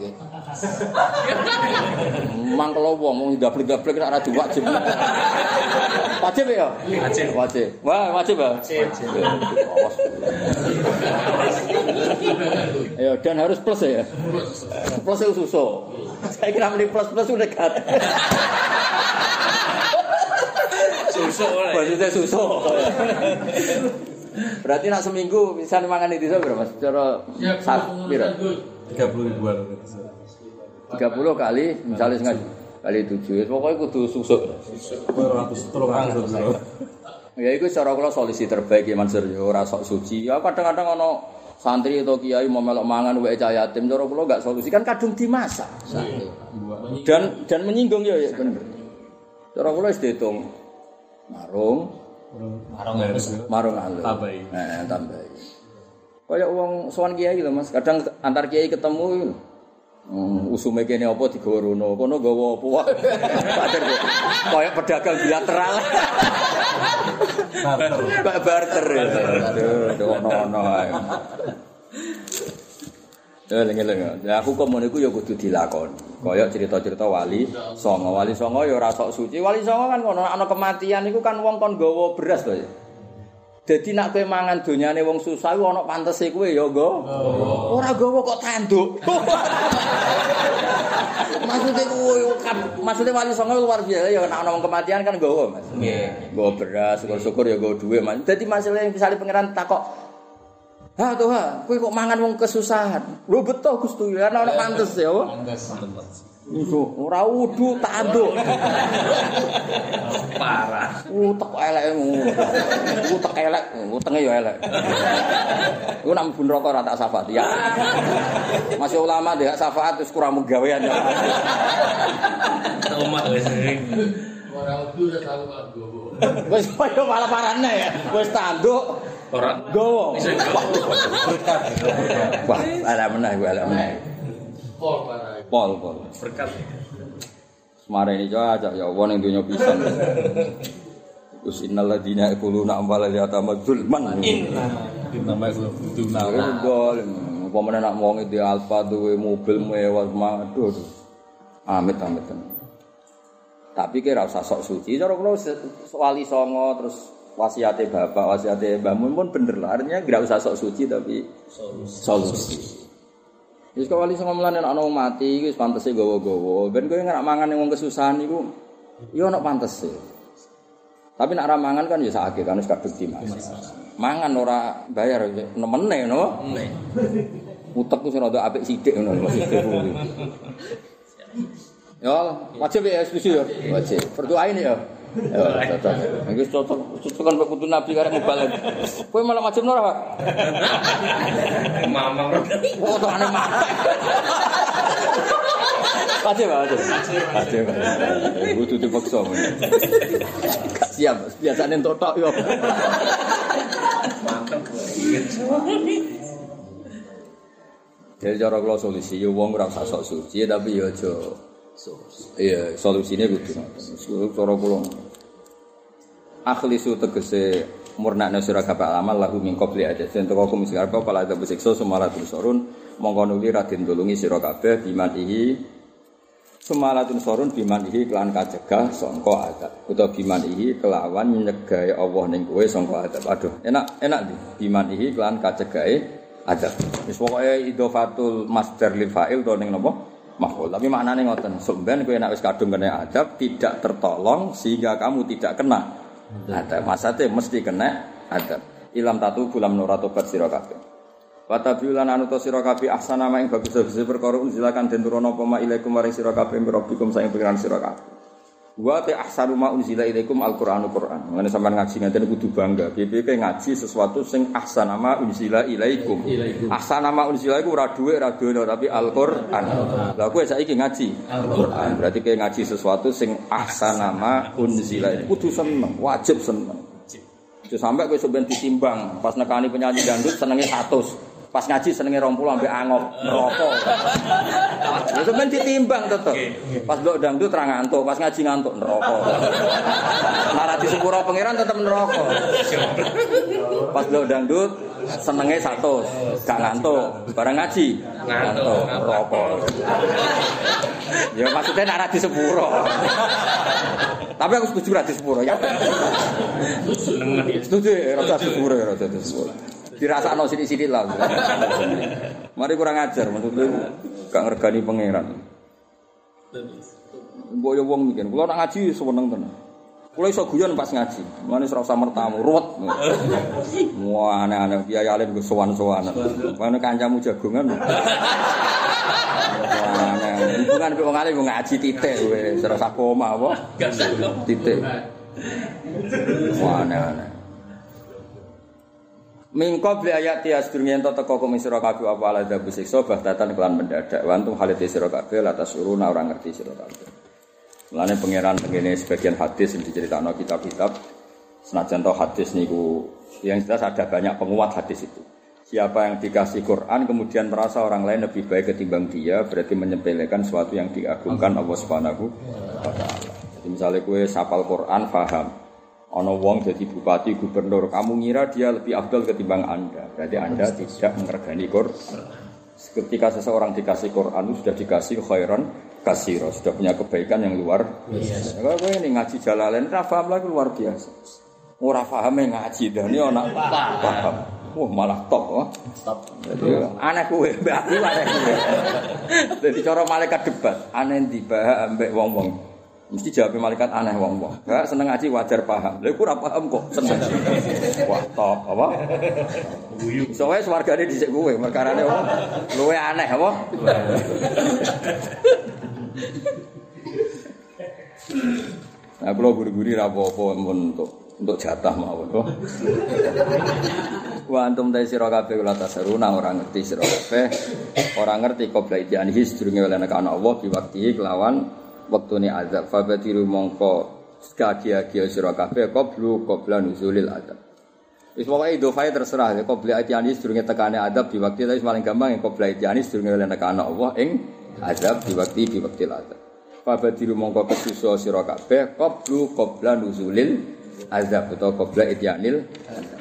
Mang kalau wong mau gablek-gablek nek ora diwajib. Wajib ya? Wajib. Wajib. Wah, wajib ya? Wajib. Ayo dan harus plus ya. Plus itu susuk. Saya kira meni plus-plus udah dekat. Susuk ora. Maksudnya susuk. Berarti nak seminggu bisa mangan itu berapa Mas? Cara sak piro?
tiga puluh ribuan.
tiga puluh kali misalnya sengaja kali tujuh. Pokoknya kudu susuk.
dua ratus.
Ya iku cara kula solusi terbaik ya Mansur ya ora sok suci. Ya kadang-kadang ana santri atau kiai mau melok mangan wae cah yatim cara kula enggak solusi kan kadung dimasak. Dan dan menyinggung ya ya bener. Cara kula wis diitung marung marung halus marung halus tambahi nah tambahi kaya wong sowan kiai lho Mas kadang antar kiai ketemu hmm, usume kene apa digawa rono kono gawa apa wae kaya pedagang bilateral barter barter aduh ono-ono ae ya lengen-lengen ya hukum niku ya kudu dilakoni kaya cerita-cerita wali songo wali songo ya ora sok suci wali songo kan kono ana kematian iku kan wong kon nggawa beras to ya dadi nek kowe mangan donyane wong susah iku ana pantese kowe ya nggo ora nggawa kok tanduk maksudnya kowe kan maksudnya wali songo luar biasa ya nek ana wong kematian kan nggawa Mas nggih nggawa beras syukur-syukur ya nggawa dhuwit Mas dadi masalah misale pangeran takok ha tuh ha, kowe kok mangan wong kesusahan. Lho betul Gusti, ana ana pantes ya. Pantes. Iku ora wudu tanduk. Parah. Utek elekmu. Utek elek, utenge ya elek. Iku nak mlebu neraka ora tak syafaat ya. Masih ulama dek syafaat wis kurang menggawean ya. Umat wis sering. Ora wudu ora tau nggowo. Wis koyo malah parane ya. Wis tanduk orang gowo. Wah, ala meneh gue ala meneh. Pol parah. Pol pol. Berkat. Semare ini aja ya Allah ning donya pisan. Us innal ladina yaquluna amwala yatama dzulman. Inna inna yaquluna dzulman. Apa meneh nak wong iki alfa duwe mobil mewah maduh. Amit amit. Tapi kira usah sok suci. Cara kula wali songo terus wasiate bapak, wasiate mbah mun pun bener lah. Artinya enggak usah sok suci tapi solusi. Solusi. Wis kok wali songo mlane ana wong mati iki wis pantese gawa-gawa. Ben kowe nek mangan ning wong kesusahan iku ya ana pantese. Tapi nek ora mangan kan ya sakake kan wis kadung dimas. Mangan ora bayar nemene no. Utekku sing rada apik sithik ngono maksudku. Ya, wajib ya setuju ya. Wajib. Berdoa ini ya. Ya, cocok. Iki cocok cocokan Pak Kudu Nabi karek mubalik. Kowe malah wajib ora, Pak? Mamang. Oh, tokane mamang. Wajib, wajib. Wajib. Kudu dipaksa. Siap, biasane entuk tok yo. Mantep. Jadi cara kula solusi yo wong ora usah sok suci tapi yo aja iya, solusinya kudu. Cara kula akhlisu tegese murnakna sira kabeh amal lahu min qabli ajajan teko kum sing arep pala ada besiksa semalatun sorun mongko nuli radin tulungi sira kabeh bimanihi semalatun sorun bimanihi kelan kacegah sangka adab utawa bimanihi kelawan nyegahe Allah ning kowe sangka adab. Aduh, enak enak di bimanihi kelan kacegahe adab. Wis pokoke idhofatul masdar lil fa'il to ning napa? Mahfuz. Tapi maknane ngoten, sampeyan kowe nek wis kadung kena adab tidak tertolong sehingga kamu tidak kena adab. Maksudnya mesti kena adab. Ilam tatu bulam nura tobat sira kabeh. Wa tabiulan anu to sira kabeh ahsana ma ing bagus-bagus perkara unzilakan den turono apa ma ilaikum maring sira kabeh rabbikum saing pengiran sira kabeh. Wa ta ahsanu ma unzila ilaikum al-Qur'anu Qur'an. Ngene sampean ngaji ngaten kudu bangga. Piye ke ngaji sesuatu sing ahsana ma unzila ilaikum. Ahsana ma unzila iku ora dhuwit ora dono tapi Al-Qur'an. Lah kowe saiki ngaji Al-Qur'an. Berarti ke ngaji sesuatu sing ahsana ma unzila. Kudu seneng, wajib seneng. Aja sampe kowe sampean ditimbang pas nekani penyanyi dangdut senenge seratus. Pas ngaji senenge dua puluh ambek angop neraka. Ya sampean ditimbang tetep. Pas ndok dangdut ra ngantuk, pas ngaji ngantuk neraka. Lara di sepuro pangeran tetep neraka. Pas ndok dangdut senenge seratus, gak ngantuk. Bareng ngaji ngantuk neraka. Ya maksudnya nek ra di sepuro. Tapi aku setuju ra di sepuro ya. Seneng ya. Setuju ra di sepuro ya ra di sepuro. Dirasakno sithik-sithik lah. Mari kurang ajar maksudnya gak ngergani pangeran. Mbok yo wong mikir, kula nak ngaji seneng tenan. Kula iso guyon pas ngaji. Mane ora usah mertamu, ruwet. Wah aneh-aneh kiai alim go sowan-sowanan. Mane kancamu jagongan. Aneh. Bukan wong alim ngaji titik kowe, ora usah koma apa? Titik. Wah aneh-aneh. Mingko beli ayat tias dunia ento teko kum sira kabeh apa ala dabu siksa bahtatan kelan mendadak wantung halite sira kabeh latas uruna orang ngerti sira kabeh. Mulane pangeran tengene sebagian hadis yang diceritakno kitab-kitab senajan to hadis niku yang jelas ada banyak penguat hadis itu. Siapa yang dikasih Quran kemudian merasa orang lain lebih baik ketimbang dia berarti menyepelekan sesuatu yang diagungkan Allah Subhanahu wa taala. Jadi misalnya kowe sapal Quran paham ana wong jadi bupati, gubernur, kamu ngira dia lebih afdal ketimbang Anda. Berarti Anda tidak menghargai Quran. Ketika seseorang dikasih Quran sudah dikasih khairan katsira, sudah punya kebaikan yang luar biasa. Kalau kowe ini ngaji Jalalain ra paham lagi luar biasa. Ora pahame ngaji dene ana paham. Wah malah top oh. Top. Jadi aneh kowe, mbak aku aneh kowe. Dadi cara malaikat debat, aneh dibahas ambek wong-wong. Mesti jawab malaikat aneh wong-wong. Enggak seneng ngaji wajar paham. Lha iku ora paham kok seneng. Wah, top apa? Guyu. Soale swargane dhisik kowe, perkarane apa? Luwe aneh apa? Nah, kula guri-guri ra apa-apa untuk untuk jatah mawon. Wa antum ta sira kabeh kula tasaruna ora ngerti sira kabeh. Ora ngerti qabla idianihi sedurunge oleh nek ana Allah biwakti kelawan waktune azab fabatiru mongko skadia-dia sira kabeh qablu qabla nuzulil azab. Wis pokoke idofai terserah ya qabla atiani sedurunge tekane azab di waktu tapi paling gampang yang qabla atiani sedurunge oleh nekane Allah ing azab di waktu di waktu azab. Fabatiru mongko kesusu sira kabeh qablu qabla nuzulil azab utawa qabla atianil azab.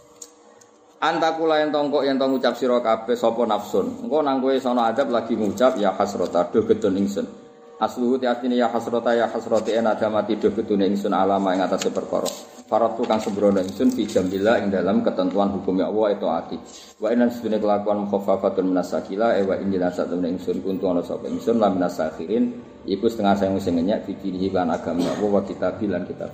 Antakula yen tongkok yen tong ngucap sira kabeh sapa nafsun. Engko nang kowe sono azab lagi ngucap ya hasrata duh gedon ingsun. Asluhu tiatine ya hasrata ya hasrati en ada mati do betune ingsun alama ing atase perkara. Faratu kang sembrono ingsun fi jambillah ing dalam ketentuan hukum ya Allah itu ati. Wa inan sedune kelakuan mukhaffafatun minasakila e wa injil satune ingsun kuntu ana sapa ingsun lan minasakhirin iku setengah sayang sing ngenyek fikih lan agama Allah wa kitab lan kitab.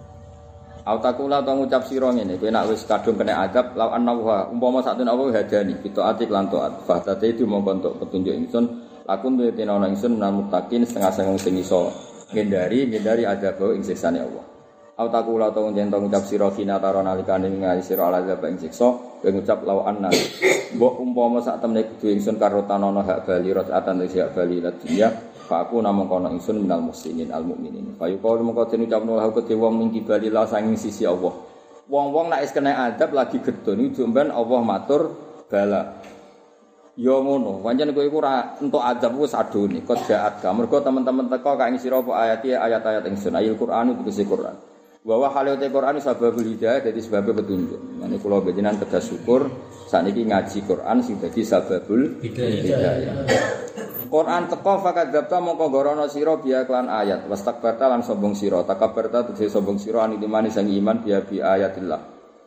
Autakula ta ngucap sira ngene kowe nek wis kadung kena adab law annahu umpama satune Allah hadani bitaati lan taat fa tate itu mongko entuk petunjuk ingsun lakun tu tena ana ingsun menal muttaqin setengah sang sing iso ngendari ngendari adab ing siksane Allah. Autakula ta njento ngucap sira kina taro nalikane ngali sira azab ing siksa kowe ngucap law anna mbok umpama sak temne kudu ingsun karo tanono hak bali rakaatan te hak bali ladia fa aku namung kono ingsun minal muslimin al mukminin. Fa yuqalu mongko den ucapno lahu kedhe wong minggi bali la sanging sisi Allah. Wong-wong nek wis kena adab lagi gedon iki jomben Allah matur bala. Ya ngono, pancen kowe iku ora entuk adab wis adone, kok jaat ka. Mergo teman-teman teko kak ing sira apa ayat ayat-ayat ingsun, ayat Qur'an itu tegese Qur'an. Wa wa halate Qur'an sababul hidayah dadi sebab petunjuk. Mane kula panjenengan kedah syukur sakniki ngaji Qur'an sing dadi sababul hidayah. Quran teko fakadzabta mongko gorono sira biya klan ayat wastakbarta lan sombong sira takabbarta tegese sombong sira animani sang iman biya bi ayatillah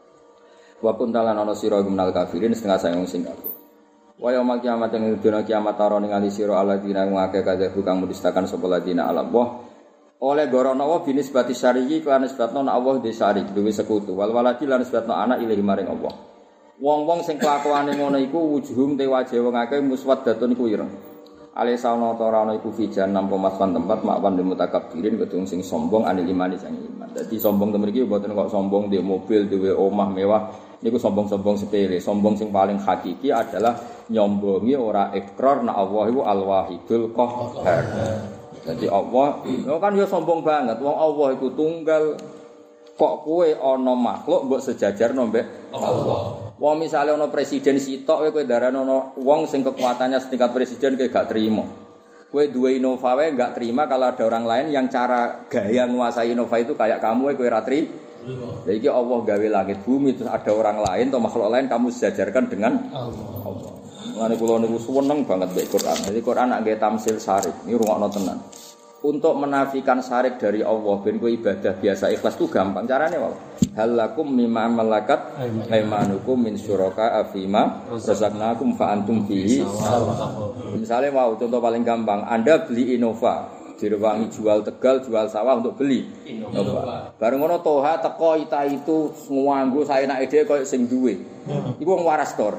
wa kuntalan ana sira gumenal kafirin setengah sayang sing kafir wa yaumul kiamat ing dina kiamat taro ningali sira alladzina ngake kadhebu kang mudistakan sapa ladina Allah oleh gorono wa binisbati syari'i klan nisbatno Allah de syarik duwe sekutu wal waladi lan nisbatno anak ilahi maring Allah wong-wong sing kelakuane ngono iku wujuhum te wajhe wong akeh muswaddatun iku ireng Alisana ta ora ana iku fijan nampa maswan tempat makwan mutakabbirin kedung sing sombong anil imani sang iman. Dadi sombong temen iki mboten kok sombong duwe mobil, duwe omah mewah. Niku sombong-sombong sepele. Sombong sing paling hakiki adalah nyombongi ora ikrar nek Allah iku Al-Wahidul Qahhar. Dadi Allah kan ya sombong banget. Wong Allah iku tunggal kok kowe ana makhluk mbok sejajarno mbek Allah. Wong misale ana presiden sitok kowe darane ana wong sing kekuatannya setingkat presiden kowe gak terima. Kowe duwe Innova wae gak terima kalau ada orang lain yang cara gaya menguasai Innova itu kayak kamu kowe ora terima. Lha iki Allah gawe langit bumi terus ada orang lain atau makhluk lain kamu sejajarkan dengan Allah. Allah. Mulane kula niku seneng banget mbek Quran. Jadi Quran nak gawe tamsil syarif. Ini rungokno tenan. Untuk menafikan syarik dari Allah ben kowe ibadah biasa ikhlas itu gampang carane wae. Halakum mimma malakat aymanukum min syuraka afima razaqnakum fa antum fihi. Misale mau contoh paling gampang, Anda beli Innova, direwangi jual Tegal, jual sawah untuk beli Innova. Bareng ngono toha teko ita itu nganggo saenake dhewe koyo sing duwe. Iku wong waras tor.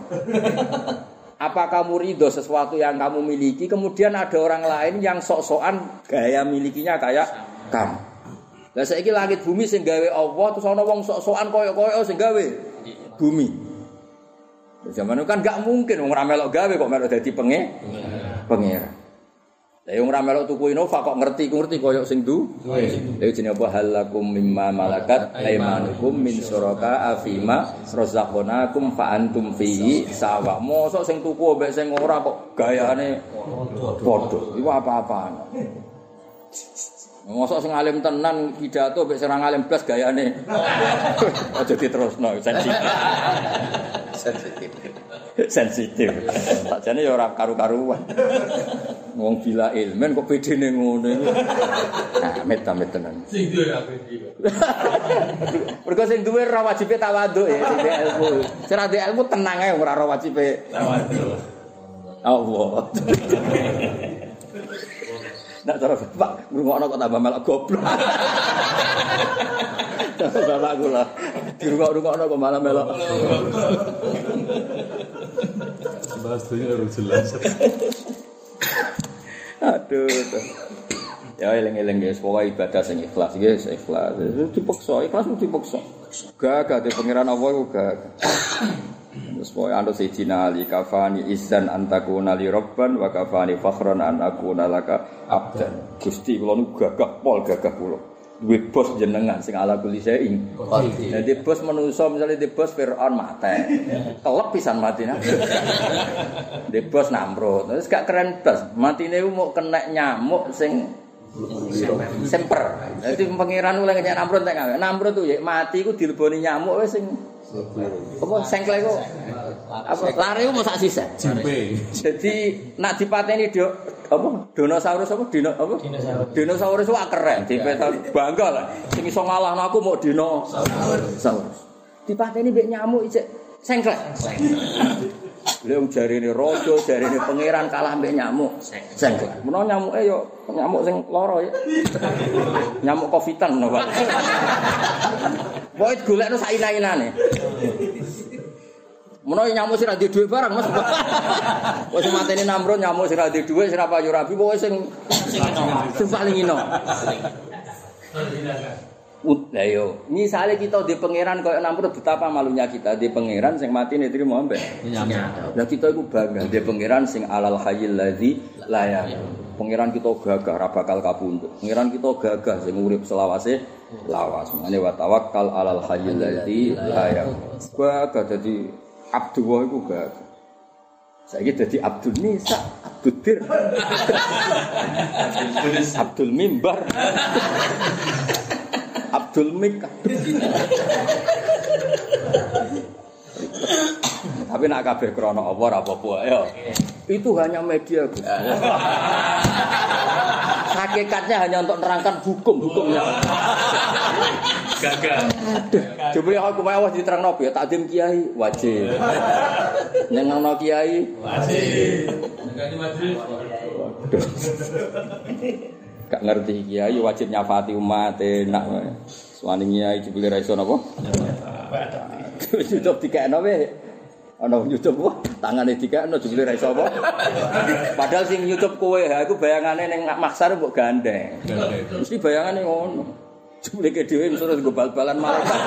Apa kamu ridho sesuatu yang kamu miliki, kemudian ada orang lain yang sok-sokan gaya milikinya kayak kamu. Lah saiki langit bumi sing gawe Allah terus ana wong sok-sokan koyo-koyo sing gawe bumi. Zaman itu kan gak mungkin wong ora melok gawe kok melok dadi penge pangeran. Lah wong ora melok tuku Innova kok ngerti ku ngerti koyo sing du. Lha jenenge apa halakum mimma malakat aymanukum min syuraka afima razaqnakum fa antum fihi sawa. Mosok sing tuku mbek sing ora kok gayane padha. Iku apa-apaan. Mosok sing alim tenan pidato mbek sing ora alim blas gayane. Aja diterusno sensitif. Sensitif. Sensitif. Sakjane ya ora karu-karuan. Wong bila ilmen kok bedene ngono iku. Ah, met-met tenan. Sing duwe apa iki? Mergo sing duwe ora wajibe tawaduk ya, sing duwe ilmu. Sing ora duwe ilmu tenang ae ora ora wajibe tawaduk. Allah. Nak cara Pak ngrungokno kok tambah melok goblok. Bapak kula dirungok-rungokno kok malah melok. Bahas dunia harus jelas. Aduh. Ya eling-eling guys, pokoke ibadah sing ikhlas guys, ikhlas. Dipaksa, ikhlas mesti dipaksa. Gagah de pangeran Allah iku gagah. Terus pokoke ando sejina ali kafani izan antakuna li rabban wa kafani fakhran an akuna laka abdan. Gusti kula niku gagah pol gagah kula. Duwe bos jenengan sing ala kulli saing. Dadi bos manusa misale di bos Firaun mate. Kelep pisan matine. Di bos Namrud. Terus gak keren bos. Matine mau kena nyamuk sing semper. Dadi pangeran oleh kena Namrud nek gawe. Namrud tuh ya mati iku dileboni nyamuk wis sing apa sengklek kok. Apa lare ku sak sisa. Jadi nak dipateni do apa dinosaurus apa dino apa dinosaurus wak keren dipetan bangga lah sing iso ngalahno aku mau dinosaurus dipateni mbek nyamuk isik sengklek lha jarine raja jarine pangeran kalah mbek nyamuk sengklek menawa nyamuke yo nyamuk sing lara ya nyamuk covidan no Pak pokoke golekno sak ina-inane menawa nyamuk sing ra duwe dhuwit barang Mas. Wis mateni Namrud nyamuk sing ra duwe dhuwit sing ra payu rabi pokoke sing sing paling ino. Lah yo, misale kita di pangeran koyo Namrud betapa malunya kita di pangeran sing matine trimo ambek. Lah kita iku bangga di pangeran sing alal hayyil ladzi la yamut. Pangeran kita gagah ra bakal kapundhut. Pangeran kita gagah sing urip selawase lawas. Mane wa tawakkal alal hayyil ladzi la yamut. Gagah dadi Abdullah iku gak. Saiki dadi Abdul Nisa, Abdul Dir. Abdul Mimbar. Abdul Mik. Tapi nak kabeh krana apa ora apa-apa ya. Itu hanya media, Gus. Hakikatnya hanya untuk menerangkan hukum-hukumnya. Gagal. Coba aku mau diterangno ya takdim kiai wajib. Nyenengno kiai wajib. Ganti majelis. Gak ngerti kiai wajib nyafati umat enak. Suwane kiai jebule ra iso napa? Cukup dikekno wae. Ana nyucup wah tangane dikekno jebule ra iso apa. Padahal sing nyucup kowe ha iku bayangane ning maksar mbok gandeng. Mesti bayangane ngono. Jebule ke dhewe terus nggo bal-balan malaikat.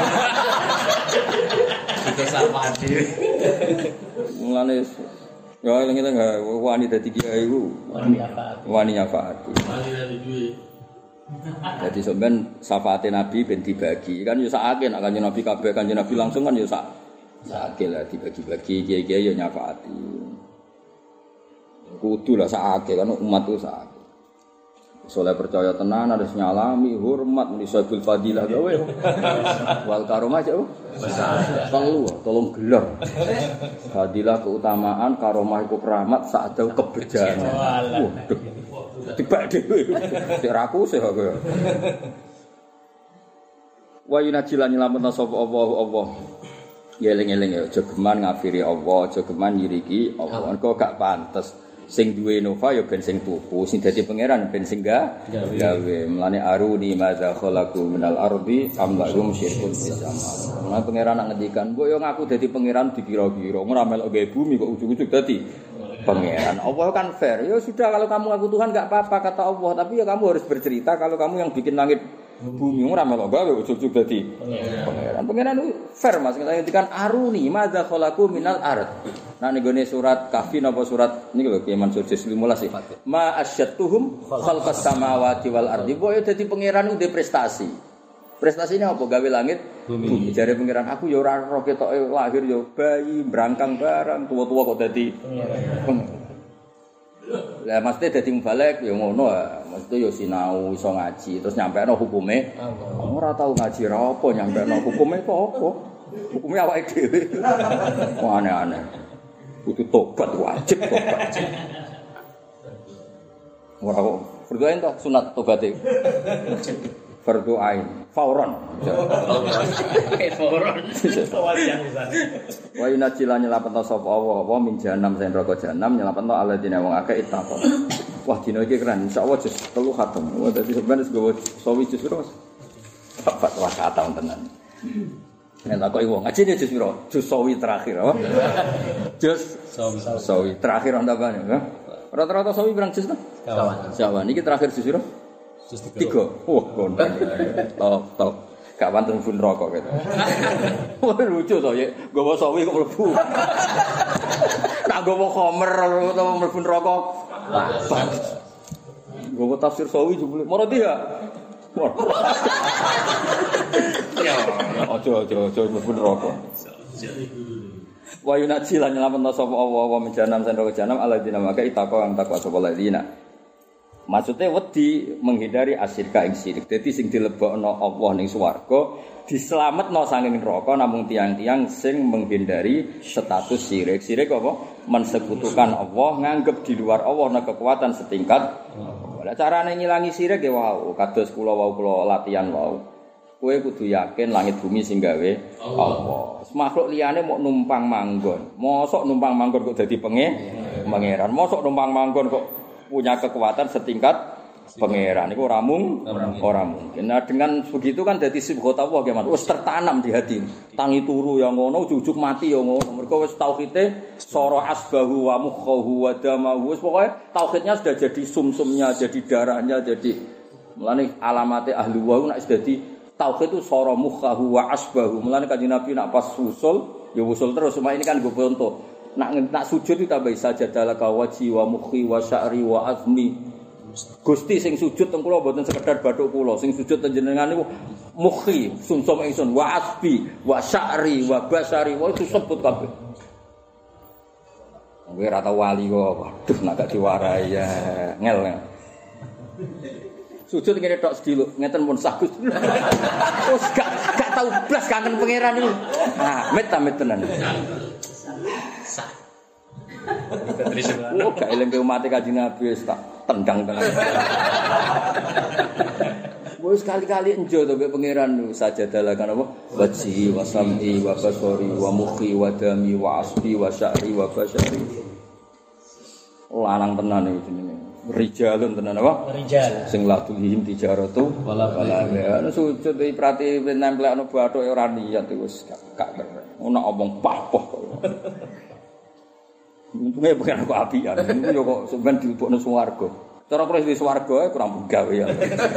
Itu sama dhewe.
Mulane ya ngene enggak wani dadi kiai iku. Wani nyafaati. Wani nyafaati.
Wani dadi duwe.
Jadi sampean syafaate Nabi ben dibagi. Kan yo sakake nek Kanjeng Nabi kabeh Kanjeng Nabi langsung kan yo sak sakake lah dibagi-bagi kiai-kiai yo nyafaati. Kudu lah sakake kan umat ku sakake. Soleh percaya tenan harus nyalami hormat menisabul fadilah gawe. Wal karomah cek. Telu tolong gelar. Fadilah keutamaan, karomah iku keramat, sa'dau kebejanan. Waduh. Tibak dhewe. Cek raku sih aku ya. Wa yunajilan nyelametna sapa Allah Allah. Ya eling-eling ya aja geman ngafiri Allah, aja geman nyiriki Allah. Engko gak pantes. Sing duwe nova ya ben sing tuku, sing dadi pangeran ben sing gawe. Mulane aruni madza khalaqu minal ardi am lahum syirkun fis sama. Mulane pangeran nak ngendikan, "Mbok yo ngaku dadi pangeran dikira-kira, ora melok gawe bumi kok ujug-ujug dadi pangeran." Allah kan fair. Ya sudah kalau kamu ngaku Tuhan enggak apa-apa kata Allah, tapi ya kamu harus bercerita kalau kamu yang bikin langit bumi ora melok gawe ujug-ujug dadi pangeran. Pangeran itu fair Mas, ngendikan aruni madza khalaqu minal ard. Nah ning surat Kahfi napa surat niki lho Kiai Mansur juz lima belas sih. Ma asyatuhum khalqas samawati wal ardi. Boyo dadi pangeran ku prestasi. Prestasinya apa? Gawe langit bumi. Jare pangeran aku ya ora roh ketoke lahir ya bayi, brangkang barang, tua-tua kok dadi pangeran. Lah mesti dadi mubalek ya ngono ah. Mesti ya sinau iso ngaji terus nyampekno hukume. Ora tau ngaji ra apa nyampekno hukume kok apa? Hukume awake dhewe. Aneh-aneh. Kudu tobat wajib tobat. Ora kok berdoain toh sunat tobaté. Berdoain fauron.
Fauron.
Wa inajilan nyelapetna sapa Allah apa min jahanam sen neraka jahanam nyelapetna alladzina wong akeh ittaqo. Wah dina iki keren insyaallah jus telu khatam. Wah dadi sampeyan wis gowo sawi jus piro Mas? Papat wa khatam tenan. Nek tak kok wong ngaji jus piro? Jus sawi terakhir apa? Jus sawi sawi terakhir ndapane ya. Rata-rata sawi pirang jus to? Sawan. Sawan iki terakhir jus piro? Jus tiga. Wah, kondang. Top, top. Gak wonten pun rokok gitu. Wah, lucu to ya. Gowo sawi kok mlebu. Tak gowo khomer utawa mlebu rokok. Gowo tafsir sawi jebule. Moro dia. Ya, ojo ojo ojo mlebu rokok. Wa yunaji lan nyelametna sapa Allah wa menjanam sandra janam alladzina maka itaqwa ang takwa sapa alladzina. Maksudnya wedi menghindari asyirka ing syirik. Dadi sing dilebokno Allah ning swarga diselametno saking neraka namung tiang-tiang sing menghindari status syirik. Syirik apa? Mensekutukan Allah, nganggep di luar Allah ana kekuatan setingkat. Lah carane ngilangi syirik ya wau, kados kula wau kula latihan wau. Kowe kudu yakin langit bumi sing gawe Allah. Makhluk liyane mok numpang manggon. Mosok numpang manggon kok dadi pangeran. Mosok numpang manggon kok punya kekuatan setingkat pangeran. Itu ora mung ora mungkin. Nah dengan begitu kan dadi sibghata Allah ya Mas. Wis tertanam di hati. Tangi turu yang ngono, ujug mati yang ngono. Mergo wis tauhide sara asbahu wa mukhahu wa damahu. Wis pokoke tauhidnya sudah jadi sumsumnya, jadi darahnya, jadi mulane alamate ahli wa nek dadi tauhid itu sara mukhahu wa asbahu. Mulane Kanjeng Nabi nak pas usul, ya usul terus. Cuma ini kan gue contoh. Nak nak sujud itu tambah sajadalaka wajhi wa mukhi wa sya'ri wa azmi. Gusti sing sujud teng kula mboten sekedar bathuk kula, sing sujud teng jenengan niku mukhi, sumsum ingsun wa asbi wa sya'ri wa basari wa itu sebut kabeh. Kowe ora tau wali kok. Waduh nak gak diwarai ya ngel. Sujud ngene tok sediluk, ngeten pun sah Gusti. Terus gak gak tau blas kangen pangeran niku. Ah, met ta met tenan. Oh, gak eling ke umat Kanjeng Nabi wis tak tendang tenan. Wis kali-kali enjo to mbek pangeran niku sajadalah kan apa? Wajhi wa sam'i wa basari wa mukhi wa dami wa asbi wa sya'ri wa basari. Lanang tenan iki jenenge. Rijalun tenan apa? Rijal. Sing la tulhim tijaratu wala wala. Ana sujud iki prati nemplekno bathuk ora niat wis gak gak. Ono omong pah-poh kok. Untungnya pengen aku apian. Niku yo kok sampean dilebokno swarga. Cara kula wis swarga kurang gawe ya.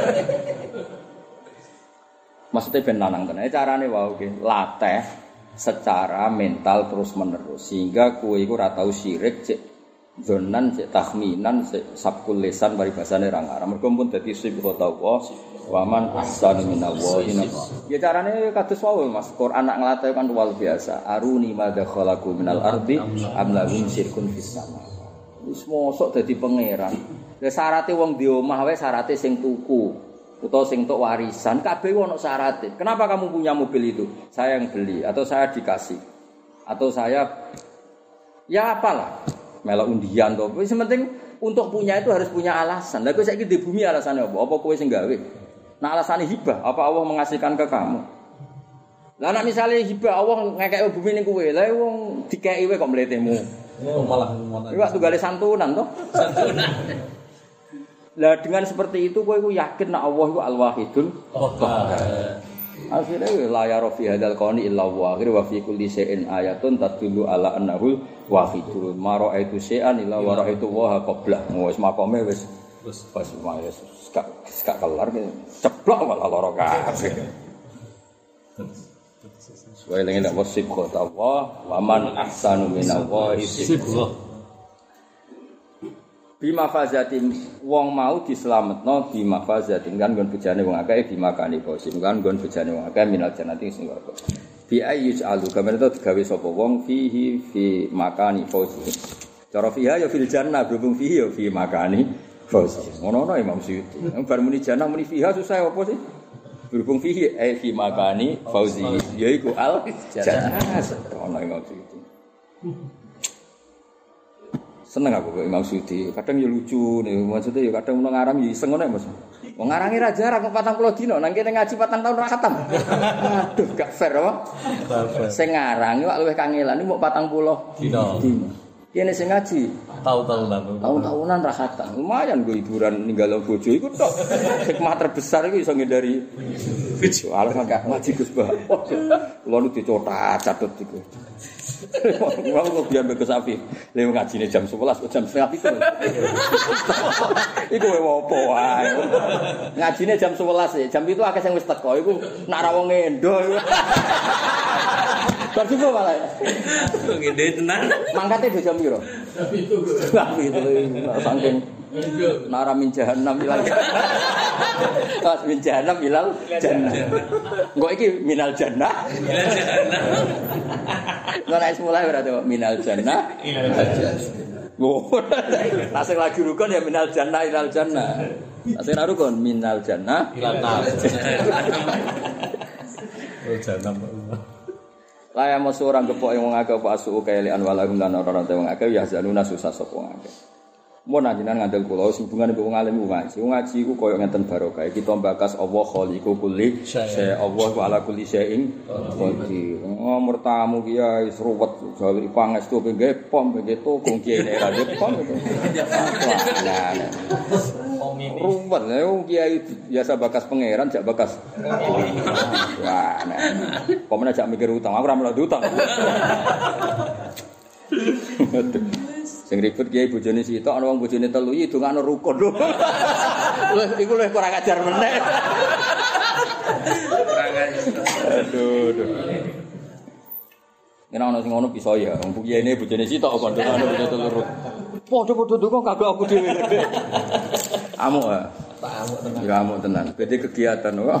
Maksudnya ben lanang tenan. Carane wae iki latih secara mental terus menerus sehingga kowe iku ora tau syirik cek zonan cek tahminan cek sabkul lisan paribasane ra ngarang. Mergo pun dadi sibuk tawa waman ahsanu minallahi. Ya carane kados wae Mas. Quran nak nglatih kan luar biasa. Aruni madza khalaqu minal ardi am lahum syirkun fis sama. Wis mosok dadi pangeran. Lah syaraté wong di omah wae syaraté sing tuku. Atau sing tok warisan, kabeh ono syaratnya. Kenapa kamu punya mobil itu? Saya yang beli, atau saya dikasih, atau saya, ya apalah, melok undian toh. Yang penting untuk punya itu harus punya alasan. Lah kowe saiki di bumi alasannya apa? Apa kowe sing gawe? Nah alasannya hibah, apa Allah mengasihkan ke kamu? Lah nek misale hibah Allah ngekeki bumi ning kowe, lah wong dikeki kowe kok mletemu.
Oh malah ngono.
Iku tunggale santunan toh. Santunan. Lah dengan seperti itu kowe iku yakin nek Allah iku Al-Wahidul Qahhar. Akhire la ya rafi hadzal qani illa wa akhir wa fi kulli shay'in ayatun tadullu ala annahu wahidul. Ma ra'aitu syai'an illa wa ra'aitu wa qabla. Wis makome wis wis pas wis gak gak kelar ceplok malah lara kabeh. Suwe lengen nek wasib kota Allah wa man ahsanu minallahi sibgha. Bima fazatin wong mau dislametno bima fazatin kan nggon bejane wong akeh dimakani bosim kan nggon bejane wong akeh minal jannati sing warga bi ayyus alu kamane to digawe sapa wong fihi fi makani fauzi cara fiha ya fil jannah berhubung fihi ya fi makani fauzi ngono-ngono Imam Suyuti bar muni jannah muni fiha susah apa sih berhubung fihi ai fi makani fauzi yaiku al jannah ono Imam Suyuti. Seneng aku kok Imam Suyuti. Kadang ya lucu nih, maksudnya ya kadang ono ngarang ya iseng ngono Mas. Wong ngarange ra jarak patang puluh dina, nang kene ngaji patang tahun ra khatam. Aduh, gak fair apa? Sing ngarang kok luwih kangelan iki mok patang puluh dina. Kene sing ngaji
tahun-tahunan.
Tahun-tahunan ra khatam. Lumayan go hiburan ninggalo bojo iku tok. Hikmah terbesar iku iso ngindari bojo. Alah gak ngaji Gus Bah. Kulo nu dicotat catet iku. Wong kok biar mbek sapi. Lha ngajine jam sebelas jam setengah pitu. Iku opo wae. Ngajine jam sebelas ya. Jam itu akeh sing wis teko iku nak ra wong endo. Berarti kok malah.
Ngene tenan.
Mangkate do jam piro? Jam itu. Jam itu saking nara min jahannam ilal jannah. Min jahannam ilal jannah. Engko iki minal jannah. Minal jannah. Nek wis mulai berarti minal jannah ilal jannah. Oh, asing lagi rukun ya minal jannah ilal jannah. Asing rukun minal jannah ilal nar.
Oh jannah.
Laya masu orang gepok yang ngake apa asu kailian walahum lan ora-ora te wong akeh ya zanuna susah sapa wong akeh. Mun anjenengan ngandel kula hubungane mbek wong alim ngaji. Wong ngaji iku koyo ngenten barokah. Kita mbakas Allah khaliqu kulli syai. Allah wa ala kulli syai'in qadir. Nomor tamu kiai seruwet gawe pangestu pengge pom pengge toko kiai nek ra pom. Nah. Ruwet lha wong kiai biasa bakas pangeran jak bakas. Wah, nah. Pomene jak mikir utang, aku ora melu utang. Sing ribet kiai bojone sitok ana wong bojone telu iki dongakno rukun lho. Iku lho kurang ajar meneh. Kurang ajar. Aduh, aduh. Yen ana sing ngono bisa ya, wong kiyaine bojone sitok kok dongakno bojone telu. Padha-padha ndonga kagak aku dhewe. Amuk ah. Amuk tenan. Ya amuk tenan. Bede kegiatan kok.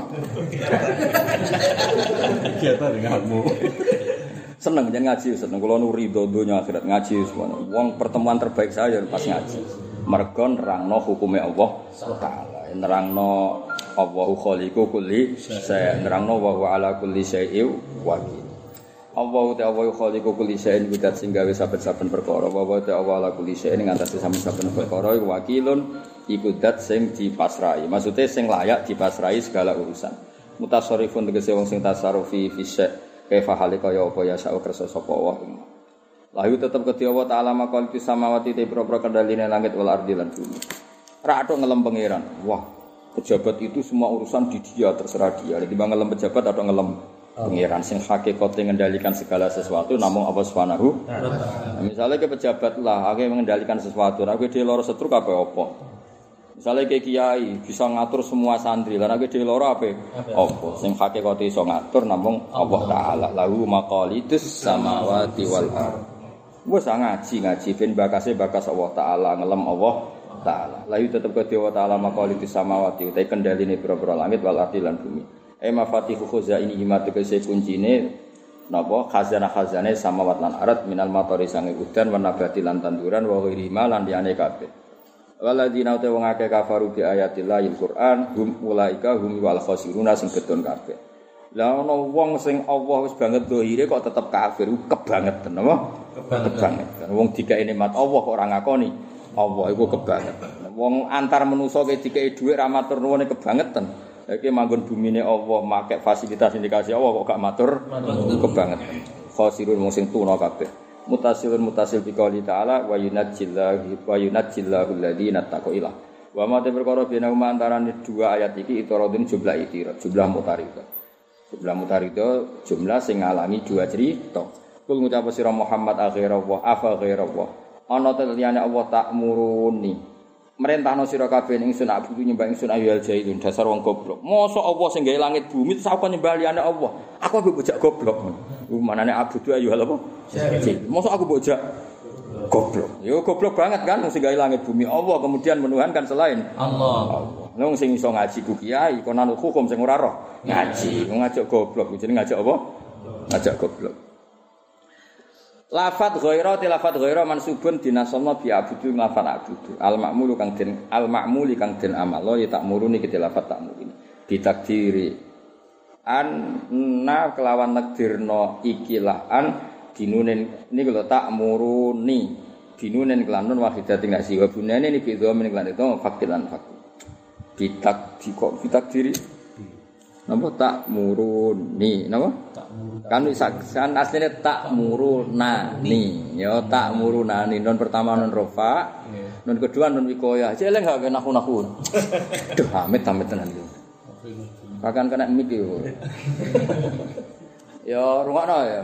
Kegiatan denganmu.
Seneng jan ngaji, seneng kula nu ridho donya akhirat ngaji semua. Wong pertemuan terbaik saya pas ngaji. Mergo nerangno hukume Allah Taala. Nerangno Allahu khaliqu kulli syai', nerangno wa huwa ala kulli syai'in wakil. Allahu ta'ala khaliqu kulli syai'in bidat sing gawe saben-saben perkara. Wa huwa ta'ala ala kulli syai'in ngatasi saben-saben perkara iku wakilun iku dat sing dipasrahi. Maksude sing layak dipasrahi segala urusan. Mutasarrifun tegese wong sing tasarrufi fi syai' kaifa halika ya apa ya sak kersa sapa wa lahu tetep kedhi Allah taala makal fis samawati te propro kendaline langit wal ardi lan bumi ra atok ngelem pangeran wah pejabat itu semua urusan di dia terserah dia jadi bang ngelem pejabat atau ngelem Pengiran sing hakikate ngendalikan segala sesuatu namung Allah Subhanahu. Nah, misalnya ke pejabat lah, ake mengendalikan sesuatu, aku dhewe lara setruk apa apa. Misalnya ke kiai bisa ngatur semua santri, lan aku dhewe lara apa? Apa? Sing hakikate iso ngatur namung Allah Taala. Lahu maqalidus samawati wal ardh. Wes ngaji ngaji ben bakase bakas Allah Taala, ngelem Allah Taala. Lahu tetep ke Allah Taala maqalidus samawati, utai kendaline pira-pira langit wal ardh lan bumi. Eh mafatihu khuzaini himatu kese kuncine napa khazanah-khazane samawat lan arat minal matori sange udan wan nabati lan tanduran wa ghairi ma lan liyane kabeh. Waladina ta wong akeh kafaru bi ayatillahil Qur'an hum ulaika hum wal khasiruna sing gedon kabeh. Lah ana wong sing Allah wis banget dohire kok tetep kafir, kebangetan apa? Kebangetan. Wong dikae nikmat Allah kok ora ngakoni Allah iku kebangetan. Wong antar manusa ke dikae dhuwit ra matur nuwun kebangetan. Iki manggon bumine Allah, make fasilitas indikasi Allah kok gak matur kebangetan. Khosirun wong sing tuna kabeh. Mutasilun mutasil bi qouli ta'ala wa yunajjillahu wa yunajjillahu alladziina taqwa. Wa ma perkara bena antarané dua ayat iki itaradun jumlah itirat, jumlah mutaridah. Jumlah mutaridah jumlah sing ngalami dua cerita. Kul ngucap sira Muhammad akhira wa afa ghaira wa. Ana teliyane Allah tak muruni. Merentahno sira kabeh ning ingsun abudu nyembah ingsun ayyul jahilun dasar wong goblok. Mosok Allah sing gawe langit bumi terus aku nyembah liyane Allah. Aku ambek bocah goblok. Ku manane abudu ayyul apa? Jahil. Mosok aku bocah goblok. Yo goblok banget kan sing gawe langit bumi Allah kemudian menuhankan selain Allah. Allah. Wong sing iso ngaji ku kiai konan hukum sing ora roh ngaji, ngajak goblok jenenge ngajak apa? Ngajak goblok. Lafat ghaira ti lafat ghaira mansubun dinasamna bi abudu lafat abudu al ma'mulu kang den al ma'muli kang den amalo ya tak muruni ki lafat tak muruni ditakdiri anna kelawan takdirno ikilah an dinunen niku lho tak muruni dinunen kelanun wahidatin nasi wa bunane ni bi dhamin kelan itu fakilan fakir ditak kok ditakdiri napa tak muruni napa kan kan asline tak murunani ya tak murunani non pertama non rofa non kedua non wikoya celeng gak nahu-nahu duh amit-amit tenan iki bahkan kena mik yo ya rungokno ya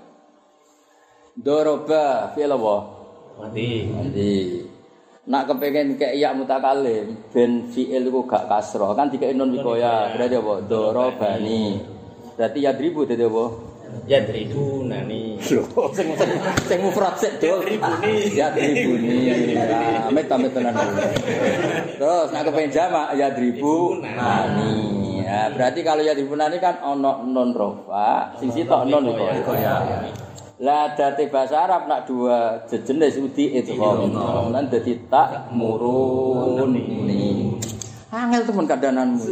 doroba fi'il apa mati mati nak kepengin kek ya mutakalim ben fi'il iku gak kasra kan dikek non wikoya berarti apa dorobani berarti yadribu dadi apa
yadribunani
lho sing sing mufrad sik dol yadribuni yadribuni amit amit tenan terus nak kepengin jamak yadribunani ya berarti kalau yadribunani kan ana non rofa sing sitok non wikoya. Lah dadi bahasa Arab nak dua jenis udi idgham. Lan dadi tak muruni. Angel temen kandananmu.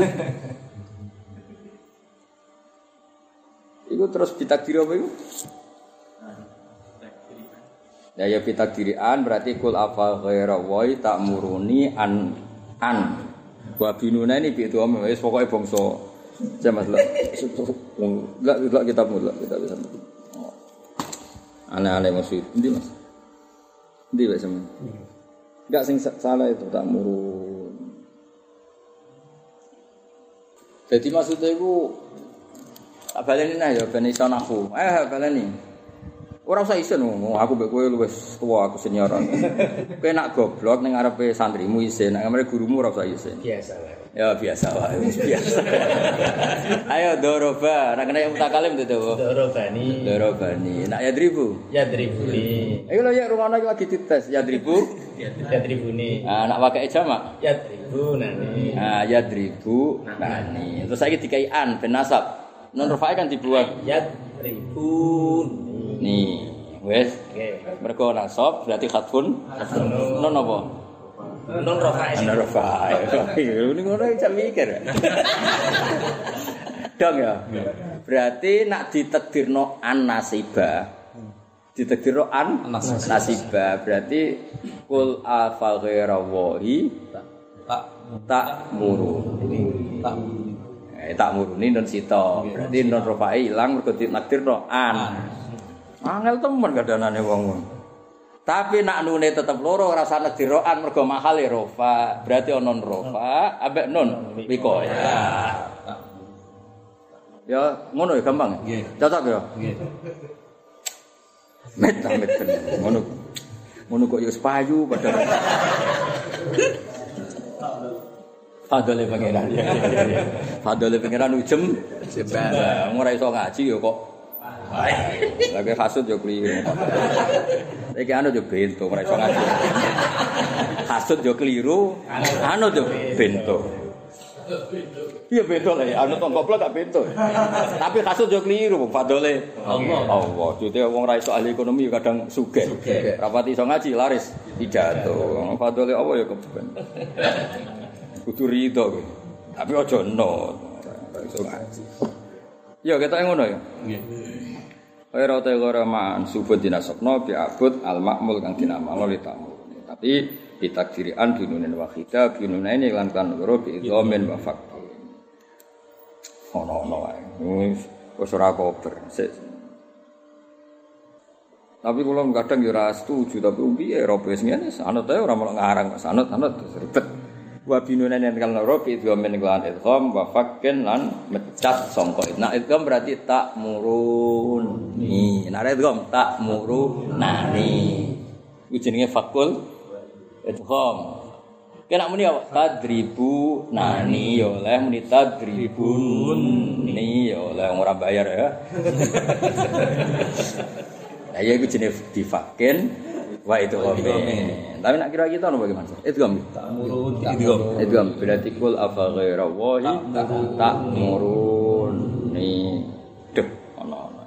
Iku terus ditakdiri apa iku? Ya ya ditakdirian berarti kul afa ghaira wa tak muruni an an. Wa binuna ini bi itu wis pokoke bangsa. Jamas lah. Lah lah kita mulai kita bisa. Aneh-aneh maksud, ndi Mas? Ndi wae sampean? Enggak sing salah itu tak murun. Jadi maksudnya iku tak baleni nah ya ben iso nahu. Eh baleni. Ora usah isin ngomong, aku mbek kowe luwes tuwa aku senior. Kowe nak goblok ning ngarepe santrimu isin, nek ngarepe gurumu ora usah isin. Biasa wae. Ya biasa wae, biasa. Ayo doroba, nek nek mutakalim to. Dorobani. Dorobani. Nak yadribu? Yadribuni. Iku lho ya rumono iki lagi dites, yadribu? Yadribuni. Ah, nak wakai jamak? Yadribunani. Ah, yadribunani. Terus saiki dikai an ben nasab. Non rafae kan dibuang yadribuni. Nih, wes. Oke. Mergo nasab berarti khatfun. Non apa? Non rafae. Non rafae. Ini ngono iki cak mikir. Dong ya. Berarti nak ditakdirno an nasiba. Ditakdirno an nasiba berarti kul afa ghaira wahi tak tak muruni. Tak eh tak muruni non sito. Berarti non rafae ilang mergo ditakdirno an. Angel temen kadanane wong. Tapi nak nune tetep loro ora usah nedirokan mergo mahale rofa. Berarti ana rofa ambek nun wikoya. Ya ngono ya gampang.
Nggih.
Cocok ya.
Nggih.
Met met ngono. Ngono kok ya payu padahal. Fadole pangeran. Fadole pangeran ujem jembah. Ora iso ngaji ya kok. Lagi hasud yo keliru. Iki anu yo bento ora iso ngaji. Hasud yo keliru, anu yo bento. Iya bento lah ya, anu tong goblok gak bento. Tapi hasud yo keliru, fadole Allah. Allah, jute wong ora iso ahli ekonomi kadang sugih. Rapati iso ngaji laris pidato. Fadole Allah yo keben. Kudu rido kowe. Tapi aja no. Iso ngaji. Ya kita ngono ya. Nggih. Ora te ora man subut dinasabna bi abud al makmul kang dinamalno li tamu. Tapi ditakdirian binunin wahida binunaini lan kan loro bi idzamin wa faqih. Ono-ono wae. Wis ora kober. Tapi kula kadang ya ora setuju tapi piye ora wis ngene sanut ae ora melok ngarang sanut-sanut ribet. Wa binunaini kan loro bi idzamin lan idgham wa faqin lan mecat sangka. Nah idgham berarti tak murun. Ni, nek idgham tak murun nani. Iku jenenge fakul idgham. Kena muni apa? Tadribu nani ya oleh muni tadribun ni ya oleh ora bayar ya. Lah ya iku jenenge difakin wa itu komen. Tapi nak kira kita ono bagaimana? Idgham.
Ta'murun
Idgham. Idgham berarti kul afa ghaira wahi ta'murun ni deh ono-ono.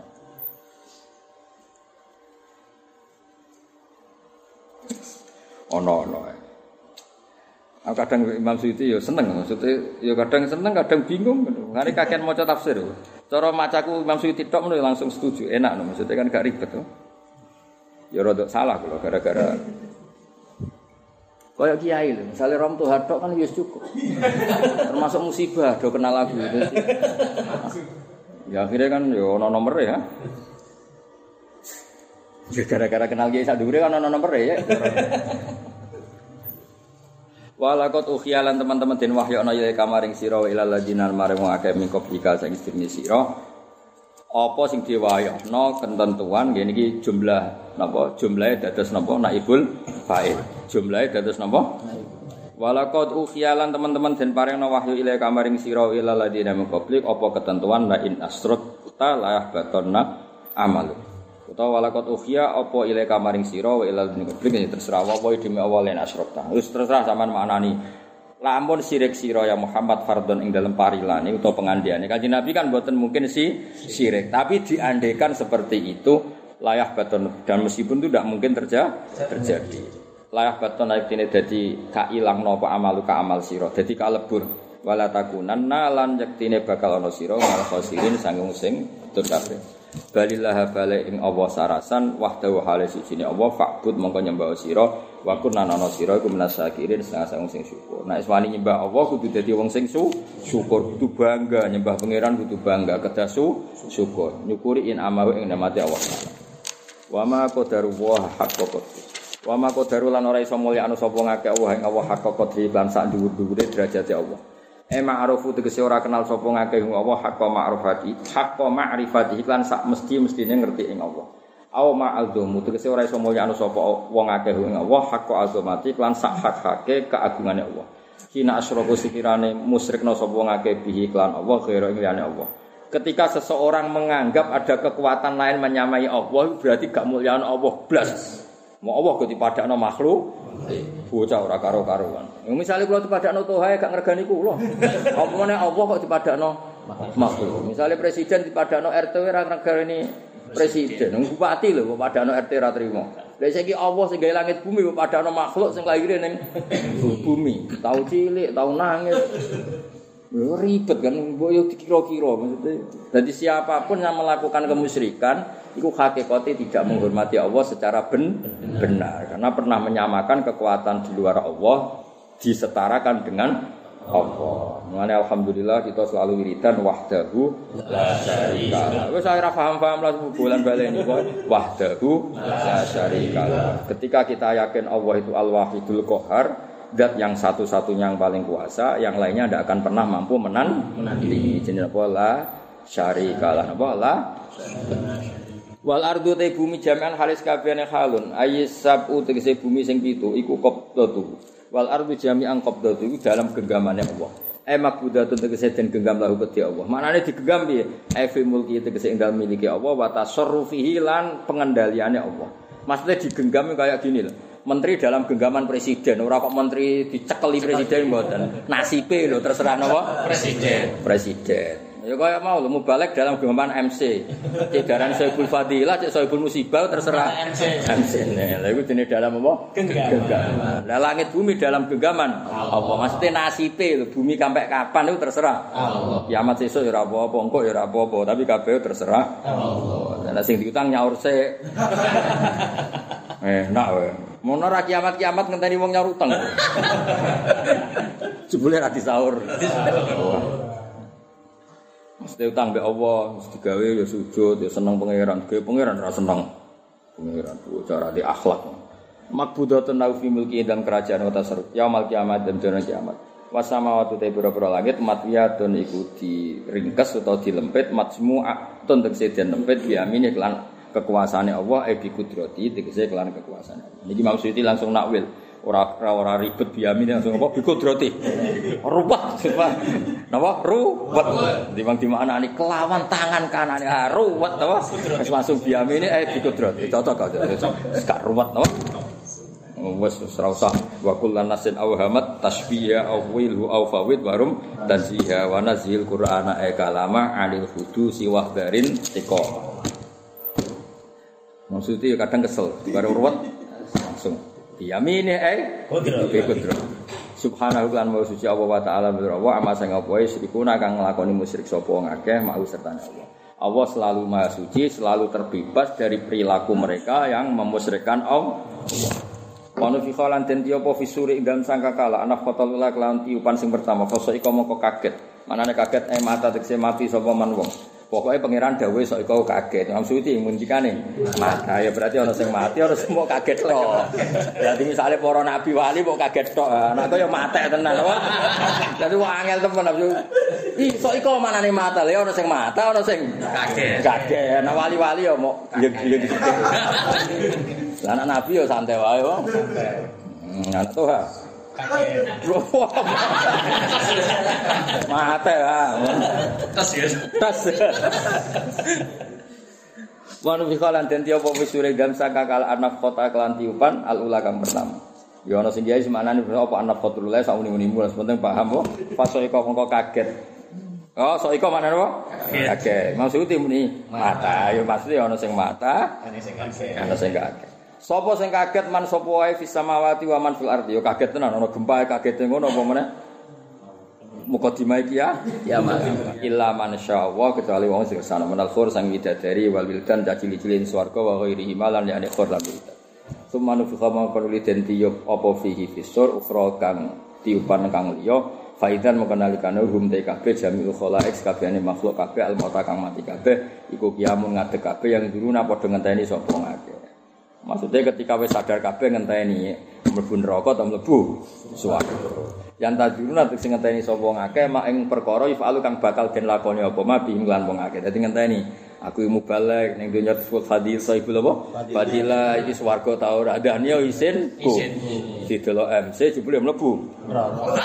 Ono-ono. Aku kadang Imam Suyuti ya seneng, maksudnya ya kadang seneng, kadang bingung. Ngene kakek maca tafsir. Cara macaku Imam Suyuti tok ngono langsung setuju, enak no, maksudnya kan gak ribet to. Ya rada salah kula gara-gara kaya kiai lho, misale rom tuh hatok kan wis cukup. Termasuk musibah do kenal lagu itu. Ya akhirnya kan ya ono nomor ya. Ya gara-gara kenal kiai sak dhuwure kan ono nomor ya. Walakot ukhiyalan teman-teman den wahyana ya kamaring sira wa ilal ladina maring wong akeh mingko bika sing istine sira. Apa sing diwahyana ketentuan ngene iki jumlah napa jumlahe dados napa naibul fa'il. Jumlahe dados napa? Walakot ukhiyalan teman-teman den paringna wahyu ilal kamaring sira wa ilal ladina mingko blik apa ketentuan la in asrata la yahbatonna amal. Utawa walakot ukhya apa ile kamaring sira wa ilal publik terserah apa demi awal lan asrota. Wis terserah sampean maknani. Lamun sirik sira ya Muhammad fardhon ing dalem parilane utawa pengandiane. Kanjeng Nabi kan mboten mungkin si sirik, tapi diandekan seperti itu layah baton dan meskipun itu tidak mungkin terja, terjadi. Layah baton artine dadi kailangno apa amalu ka amal sira, dadi kalebur wala takunanna lan yektine bakal ana sira malah khosirin sanggung sing tur kabeh. Balillah balik ing Allah sarasan wahdahu hale sijine Allah fa'bud mongko nyembah sira wa kunna ana sira iku menasakirin sang sing syukur. Nek wani nyembah Allah kudu dadi wong sing syukur, kudu bangga nyembah pangeran kudu bangga kedasu syukur. Nyukuri in amawe ing nikmate Allah. Wa ma qadaru wa haqqo qadri. Wa ma qadaru lan ora iso mulyakno sapa ngake Allah ing Allah haqqo qadri lan sak dhuwur-dhuwure derajate Allah. E ma'rufu tegese ora kenal sapa ngakeh Allah hakka ma'rifati hakka ma'rifati lan sak mesti-mestine ngerti ing Allah. Au ma'aldumu tegese ora iso mulyakno sapa wong akeh ing Allah hakka azamati lan sak hak-hake keagungane Allah. Kina asyraku sikirane musyrikna sapa wong akeh bihi lan Allah kira ing liyane Allah. Ketika seseorang menganggap ada kekuatan lain menyamai Allah berarti gak mulyakno Allah blas. Mau Allah kok dipadakno makhluk bocah ora karo-karuan. Misale kula dipadakno Tuhan gak ngregani kula. Apa meneh Allah kok dipadakno makhluk. Misale presiden dipadakno R T ora ngregani presiden. Bupati lho kok padakno R T ora trimo. Lah saiki Allah sing gawe langit bumi kok padakno makhluk sing lahir ning bumi. Tau cilik, tau nangis. Ribet kan, mbok yo dikira-kira maksudnya. Jadi siapapun yang melakukan kemusyrikan itu hakikatnya tidak menghormati Allah secara ben, benar karena pernah menyamakan kekuatan di luar Allah disetarakan dengan Allah. Mengenai alhamdulillah kita selalu wiridan wahdahu la syarika. Wis ora paham-paham lah bulan baleni kok wahdahu la syarika. Ketika kita yakin Allah itu al-wahidul qahar, zat yang satu-satunya yang paling kuasa, yang lainnya tidak akan pernah mampu menan menandingi. Jenenge apa la syarika lah. Apa la? Wal ardu te bumi jami'an halis kabehane halun ayis sabu tegese bumi sing pitu iku qabdatu wal ardu jami'an qabdatu iku dalam genggamane Allah e makbudatun tegese den genggam lahu kedhi Allah maknane digenggam piye e fi mulki tegese ing dalem miliki Allah wa tasarrufihi lan pengendaliane Allah maksudnya digenggam kayak gini loh menteri dalam genggaman presiden ora kok menteri dicekeli presiden mboten nasibe lho terserah napa presiden presiden ya kaya mau lho mubalek dalam genggaman M C. Cek daran Soebul Fadilah, cek Soebul Musibah terserah M C. M C. Lah iku dene dalam apa? Genggaman. Lah langit bumi dalam genggaman Allah. Maksudnya nasibe lho bumi sampai kapan itu terserah Allah. Kiamat sesuk ya ora apa-apa, engko ya ora apa-apa, tapi kabeh terserah Allah. Lah sing diutang nyaur sik. Eh, nak wae. Mono ra kiamat-kiamat ngenteni wong nyaur utang. Jebule ra disaur. Mesti utang mbek Allah, mesti digawe ya sujud, ya seneng pangeran, gawe pangeran ra seneng. Pangeran ku cara di akhlak. Makbudatun lahu fi mulki dalam kerajaan wa tasarruf. Yaumul kiamat dan dina kiamat. Wasamawatu te pira-pira langit matwiyatun iku diringkes utawa dilempit majmu'atun tegese den lempit biamine kelan kekuasaane Allah e bi kudrati tegese kelan kekuasaane. Niki maksud langsung nakwil. Ora ora ribet biamin langsung apa bikudrati. Ruwet. Napa? Ruwet. Dimang dimaknani kelawan tangan kanane. Ah ruwet apa? Wis langsung biamin eh bikudrati. Cocok aja. Gak ruwet napa? Wes ora usah wa kullan nasin awhamat tasbiha awilhu aw fawid warum tanziha wa nazil qur'ana ay kalama alil hudusi wahdarin tiqa. Maksudnya kadang kesel, baru ruwet langsung Biyamine eh kodrat. Subhanahu lan wa suci Allah wa taala wa amma sing apa wae sirikuna kang nglakoni musyrik sapa wong akeh mau sertane Allah. Allah selalu maha suci, selalu terbebas dari perilaku mereka yang memusyrikkan Allah. Wa fi qalan den apa fisuri ing dalem sangkakala anak kotal ula kelan tiupan sing pertama fasa iku mongko kaget. Manane kaget eh mata tekse mati sapa man wong. Pokoke pangeran dawuh sok iku kaget. Maksudé ngunjikane mata ya berarti ana sing mati ana sing mau kaget tok. Berarti misale para nabi wali kok kaget tok. Nek kaya mate tenan apa. Dadi wong angel temen nafsu. Ih sok iku manane mata lha ana sing mata ana sing kaget. Kaget. Nek wali-wali ya mau yeg-yeg. Lah anak nabi ya santai wae wong. Anak Tuhan. Mate ah. Tas ya. Tas. Wanu fikalan den tiapa wisure gam saka kala anak kota kelan tiupan al ula kang pertama. Ya ana sing kiai semanane apa anak kotul le sak uni-unimu penting paham kok. Pas iko mengko kaget. Oh, sok iko manane apa? Kaget. Maksudnya muni mata. Ya maksudnya ana sing mata, ana sing kaget. Ana sing kaget. Sapa sing kaget man sapa wae fis samawati wa man fil ardi yo kaget tenan ana gempa kaget ngono apa meneh mukadimah iki ya ya illa man syaallah kecuali wong sing sana menal khur sang widadari wal wildan cili-cilin swarga wa ghairi himalan yani khur lan wildan sumanu fi khamam perlu den tiyup apa fihi fisur ukhra kang tiupan kang liya faidan mengenalikane hum te kabeh jami'ul khalaiq kabehane makhluk kabeh al mauta kang mati kabeh iku kiamun ngadeg kabeh yang duruna padha ngenteni sapa ngake. Maksudnya ketika wis sadar kabeh ngenteni mlebu neraka atau mlebu swarga. Yang tajuruna sing ngenteni sapa ngakeh mak ing perkara ifalu kang bakal den lakoni apa ma bihim lan wong akeh. Dadi ngenteni aku mubalek ning dunya disebut fadil saibul apa? Fadilah iki swarga ta ora adane yo isin ku. Didelok M C jebule mlebu neraka.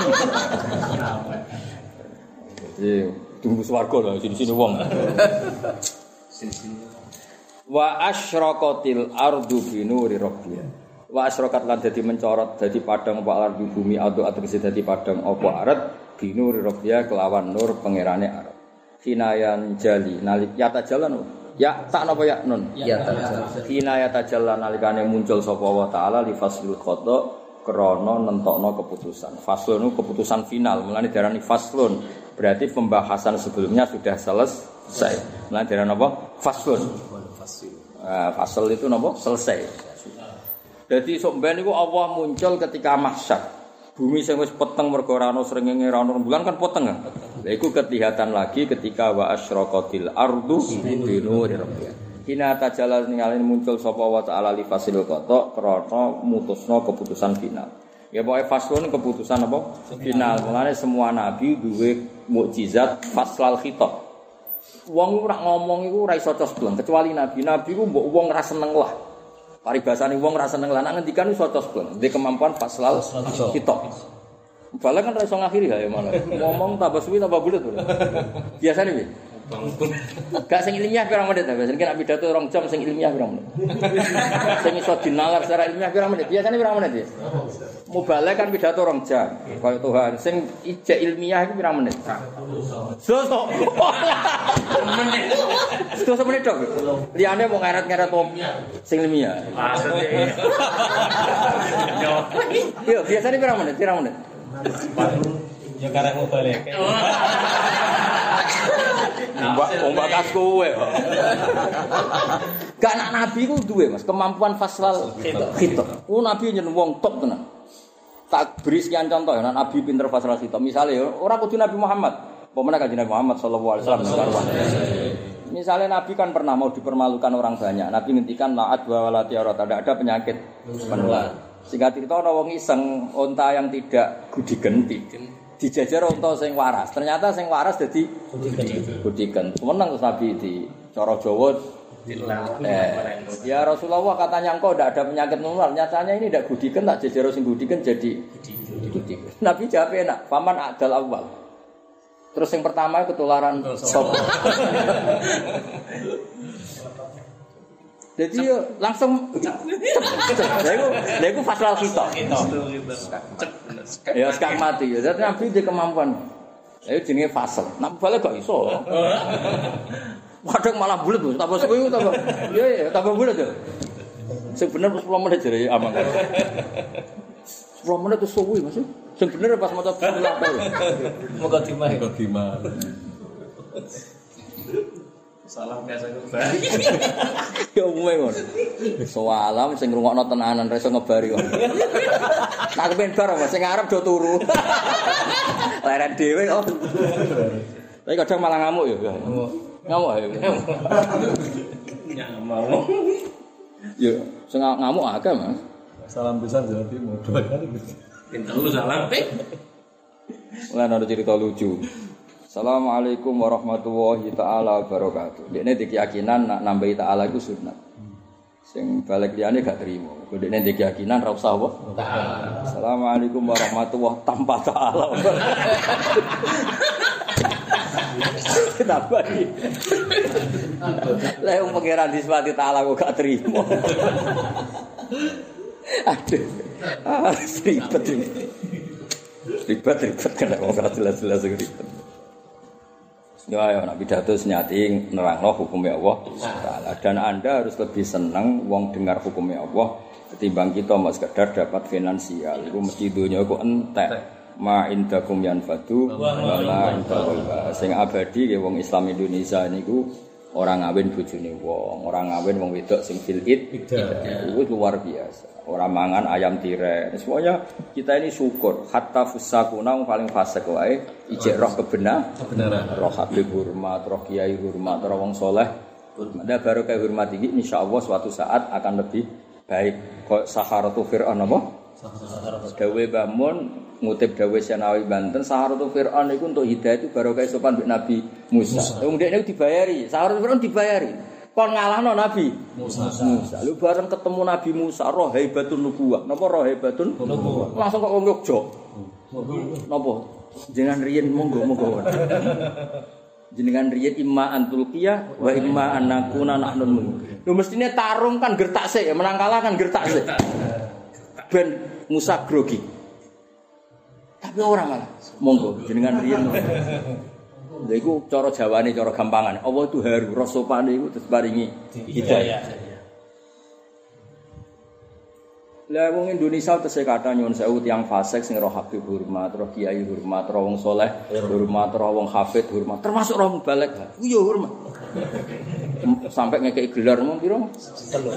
Jadi tunggu swarga lho sini-sini wong. Sini-sini wa asyraqatil ardu bi nuri rabbiha wa asyraqat lan dadi mencorot dadi padang apa ardu bumi adu atese dadi padang apa arat bi nuri rabbiha kelawan nur pangerane arat hinayan jali nalik ya tajalan ya tak napa ya nun ya tajalan hinaya tajalan nalikane muncul sapa wa taala li faslul qada krana nentokno keputusan faslun keputusan final mulane diarani faslun berarti pembahasan sebelumnya sudah selesai mulane diarani apa faslun. Uh, fasal itu napa selesai. Dadi sok ben niku Allah muncul ketika mahsyar. Bumi sing wis peteng mergo ora ana srengenge ora ana rembulan kan peteng. Lha iku kelihatan lagi ketika wa asyraqatil ardu bi nuri rabbiha. Hina tajalal ningali muncul sapa wa ta'ala li fasil qata krana mutusna keputusan final. Ya pokoke faslun keputusan apa? Final. Mulane semua nabi duwe mukjizat faslal khitab. Wong ora ngomong iku ora iso cosbleng kecuali nabi. Nabi ku mbok wong ora seneng lah. Paribasane wong ora seneng lah nek ngendikan iso cosbleng. Ndek kemampuan faslal kitab. Bala kan ora iso ngakhiri ya malah. Ngomong tambah suwi tambah bulet. Biasane piye? Gak sing ilmiah pirang menit ta? Biasane nek pidato rong jam sing ilmiah pirang menit. Sing iso dinalar secara ilmiah pirang menit? Biasane pirang menit ya? Mubalek kan pidato rong jam. Kaya Tuhan sing ijek ilmiah iku pirang menit? Sosok. Menit. Sosok menit tok. Liyane mau ngeret-ngeret wong sing ilmiah. Maksudnya. Yo, biasane pirang menit? Pirang menit?
Ya karek mubalek.
Mbak, mbak kas kowe. Gak anak nabi ku duwe Mas, kemampuan faslal khitab. Oh nabi nyen wong top tenan. Tak beri sekian contoh ya, nabi pinter faslal khitab. Misale ora kudu Nabi Muhammad, pemene kanjeng Nabi Muhammad sallallahu alaihi wasallam. Misalnya nabi kan pernah mau dipermalukan orang banyak. Nabi ngendikan la'at wa walatiyarat, tidak ada penyakit menular. Singkat cerita ana wong iseng unta yang tidak gudigen dijajar unta sing waras. Ternyata sing waras dadi gudigen. Menang terus Nabi di cara Jawa eh, ya Rasulullah katanya engkau tidak ada penyakit menular. Nyatanya ini tidak gudigen, tak jajar sing gudigen jadi gudigen. Nabi jawab enak, faman adal awal. Terus yang pertama ketularan sop. Jadi yo langsung lha iku lha iku faslal khitab. Ya sekak mati ya. Dadi Nabi di kemampuan. Ayo jenenge fasal. Nek balik gak iso. Padahal malah bulet tuh. Tambah suwe tambah. Iya ya, tambah bulet tuh. Sing bener sepuluh menit jare amang. sepuluh menit itu suwe Mas. Sing bener pas maca bismillah.
Moga dimah.
Moga dimah.
Salam biasa ngebari.
Ya umume ngono. Soalam sing ngrungokno tenanan ra iso ngebari kok. Tak kepen bar Mas sing arep do turu. Leren dhewe kok. Tapi kadang malah ngamuk ya. Ngamuk. Ngamuk ya.
Ngamuk.
Ya, sing ngamuk akeh Mas.
Salam besar Jawa Timur. Dua kali.
Pinter lu salam pe.
Lan ada cerita lucu. Assalamualaikum warahmatullahi taala wabarakatuh. Dekne dikeyakinan nak nambahi taala iku sunat. Sing balik liyane gak trimo. Dekne dikeyakinan ra usah apa? Taala. Assalamualaikum warahmatullahi tanpa taala. Kenapa iki? Lah wong pangeran diswati taala kok gak trimo. Aduh. Ah, ribet ini. Ribet-ribet kan wong ora jelas-jelas ribet. Ya ya Nabi pidato nyati nerangno hukumnya Allah Taala dan Anda harus lebih senang wong dengar hukumnya Allah ketimbang kita mau sekedar dapat finansial. Iku mesti donya iku entek. Ma indakum yanfadu wa ma indakum sing abadi ya wong Islam Indonesia niku orang ngawin bojone wong, orang ngawin wong wedok sing fil id. Itu luar biasa. Orang mangan ayam tirai. Semuanya kita ini syukur. Hatta fusakuna yang paling fasik wae ijek roh kebenar, kebenaran. Roh habib hormat, roh kiai hormat, roh wong soleh. Ada baru kayak hormat ini, insya Allah suatu saat akan lebih baik. Kok Saharatu Fir'aun apa? Dawe Bamun ngutip Dawe Senawi Banten. Saharatu Fir'aun itu untuk hidayah itu baru kayak sopan Nabi Musa. Kemudian itu dibayari. Saharatu Fir'aun dibayari. Kon ngalahno Nabi Musa. Musa. Lu bareng ketemu Nabi Musa, roh haibatun nubuwah. Napa roh haibatun nubuwah? Langsung kok wong Yogya. Napa? Jenengan riyen monggo-monggo. Jenengan riyen imma antulqiyah wa imma annakuna nahnul mulk. Lho mestine tarung kan gertak sik, menang kalah kan gertak sik. Ben Musa grogi. Tapi ora malah. Monggo jenengan riyen. Lha iku cara Jawane cara gampangan. Allah itu haru rasopane iku terus paringi hidayah. Lah wong Indonesia tesih kata nyuwun sewu tiyang fasik sing roh habib hormat, roh kiai hormat, roh wong saleh hormat, roh wong hafid hormat, termasuk roh mubalek. Ku yo hormat. Sampai ngekeki gelar mung pira? Telu.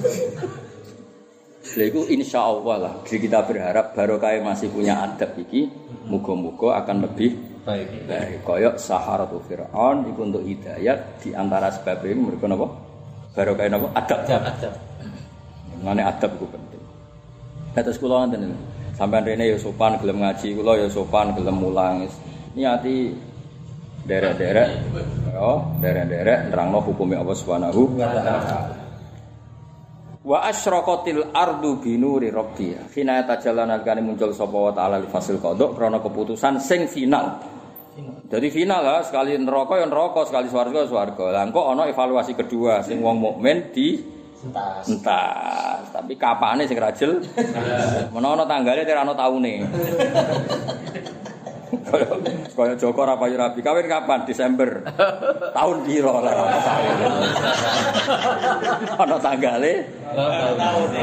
Lha iku insyaallah lah. Jadi kita berharap barokah masih punya adab iki, muga-muga akan lebih baik. Baik, koyok Saharatu Fir'aun itu untuk hidayat di antara sebab ini mereka napa? Barokah napa? Adab. Adab. Ngene adab ku penting. Kados kula ngoten. Sampeyan rene ya sopan gelem ngaji, kula ya sopan gelem mulang. Niati derek-derek bendera, derek-derek nerangno hukume Allah Subhanahu wa taala. Wa asyraqatil ardu binuri rabbiha. Hina tajallan alkane muncul sapa wa taala li fasil qada krana keputusan sing final. Jadi final lah, sekali neraka ya neraka, sekali swarga swarga. Lah engko ana evaluasi kedua sing wong mukmin di entas. Entas. Tapi kapane sing rajel. Menawa ana tanggale ora ana taune. Kaya Joko ora payu rabi. Kawin kapan? Desember. Tahun piro lah ana kawin. Ana tanggale taune.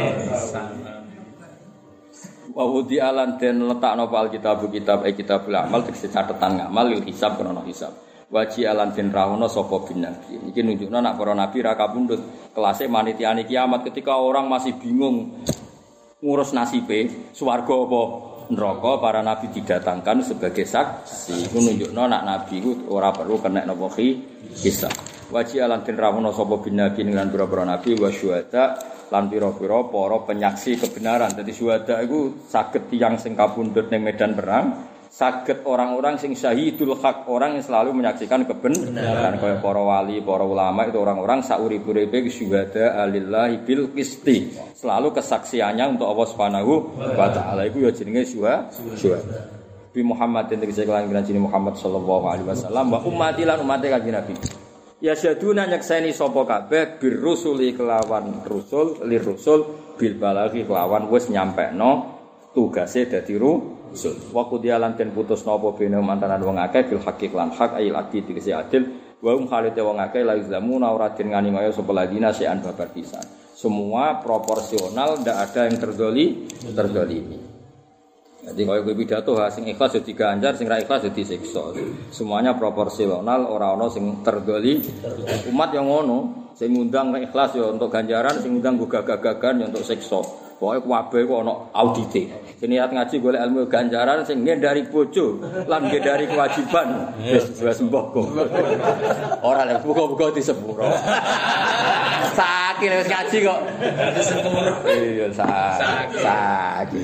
Wa wudi alan den letakno pal kitab kitab e kitabul amal tegese catetan ngamal lil hisab krono hisab. Waji alan den rawono sapa bin nabi. Iki nunjukno nek para nabi ra kapundhut kelase manitiane kiamat ketika orang masih bingung ngurus nasibe swarga apa neraka, para nabi didatangkan sebagai saksi. Iku nunjukno nek nabi ku ora perlu kena napa hisab. Waji alan den rawono sapa bin nabi lan para nabi wa syuhada lan pira-pira para penyaksi kebenaran. Dadi syuhada iku saged tiyang sing kapundhut ning medan perang, saged orang-orang sing syahidul haq, orang yang selalu menyaksikan kebenaran kaya para wali, para ulama itu orang-orang saurip-uripe syuhada alillahi bil qisti. Selalu kesaksiannya untuk Allah Subhanahu wa taala iku ya jenenge syuhada. Bi Muhammadin tegese lan jenenge Muhammad sallallahu alaihi wasallam wa ummati lan ummate kanjeng Nabi. Ya syaduna nyekseni sapa kabeh bir rusuli kelawan rusul lir rusul bil balaghi kelawan wis nyampekno tugase dadi rusul. Wa qudialan ten putusna apa bene mantanan wong akeh bil haqiq lan hak ayil adil tegese adil wa um khalite wong akeh la izlamuna ora den ngani kaya sapa ladina sean babar pisan. Semua proporsional, ndak ada yang terdoli terdolimi. Jadi kalau gue pidato sing ikhlas jadi ganjar, sing ra ikhlas jadi siksa. Semuanya proporsional, ora ono sing terdoli. Umat yang ngono, sing ngundang ikhlas ya untuk ganjaran, sing ngundang gagah-gagahan ya untuk siksa. Pokoke kabeh kok ono audite. Sing niat ngaji golek ilmu ganjaran, sing ngendari bojo lan ngendari kewajiban. Wis wis mbok. Ora lek buka-buka disepuro. Sakit wis ngaji kok. Iya sak. Sakit.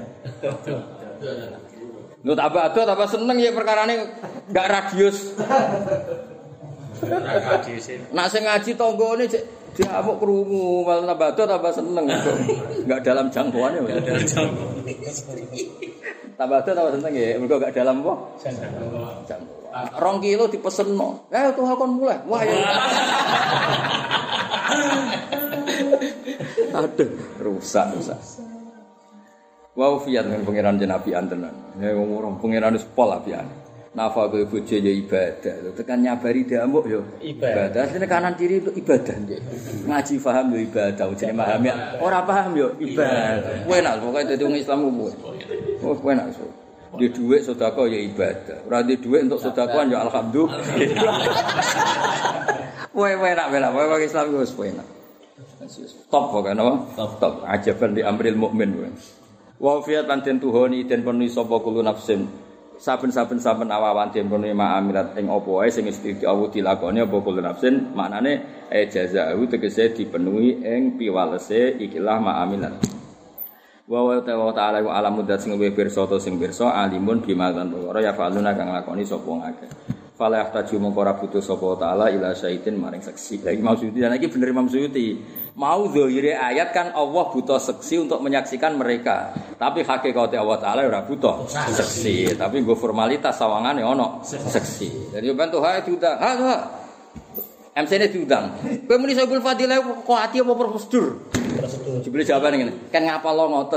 Lu tambah ado tambah seneng ya perkarane enggak radius. Nak sing ngaji tanggane diamuk krungu, malah tambah ado tambah seneng. Enggak dalam jangkauannya. Tambah ado tambah seneng ya, mergo enggak dalam apa? Jangkauan. Rong kilo dipesenno. Eh tuh kon mulai. Wah ya. Aduh, rusak rusak. Wa fiat dengan pangeran jenabian tenan. Ya wong ora pangeran wis pol apian. Nafa kowe bojo ya ibadah. Tekan nyabari damuk ya ibadah. Asline kanan kiri itu ibadah nggih. Ngaji paham ya ibadah, jenenge paham ya. Ora paham ya ibadah. Kowe nak pokoke dadi wong Islam kowe. Oh kowe nak so. Di dhuwit sedekah ya ibadah. Ora di dhuwit untuk sedekahan ya alhamdulillah. Kowe kowe nak bela, kowe wong Islam wis kowe nak. Top pokoke napa? Top top. Ajaban di amril mukmin kowe. Wa fiat lan den tuhoni den penuhi sapa kulo nafsin saben-saben saben awawan den penuhi ma'amilat ing apa wae sing mesti diawu dilakoni apa kulo nafsin maknane e jazaa'u tegese dipenuhi ing piwalese ikilah ma'amilat wa wa ta'ala wa alamu dat sing luwih pirsa to sing pirsa alimun bima lan ora ya faluna kang lakoni sapa ngake fala yahtaju mongko ora butuh sapa taala ila syaitin maring saksi. Lagi Imam Suyuti dan iki bener Imam Suyuti. Mau zahire ayat kan Allah butuh saksi untuk menyaksikan mereka. Tapi hakikate Allah taala ora butuh saksi, tapi nggo formalitas sawangane ono saksi. Jadi ben tuh hae diundang. Ha ha. M C-ne diundang. Kowe muni Saibul Fadilah kok ati apa prosedur? Prosedur. Jebule jawabane ngene. Kan ngapal ngoten.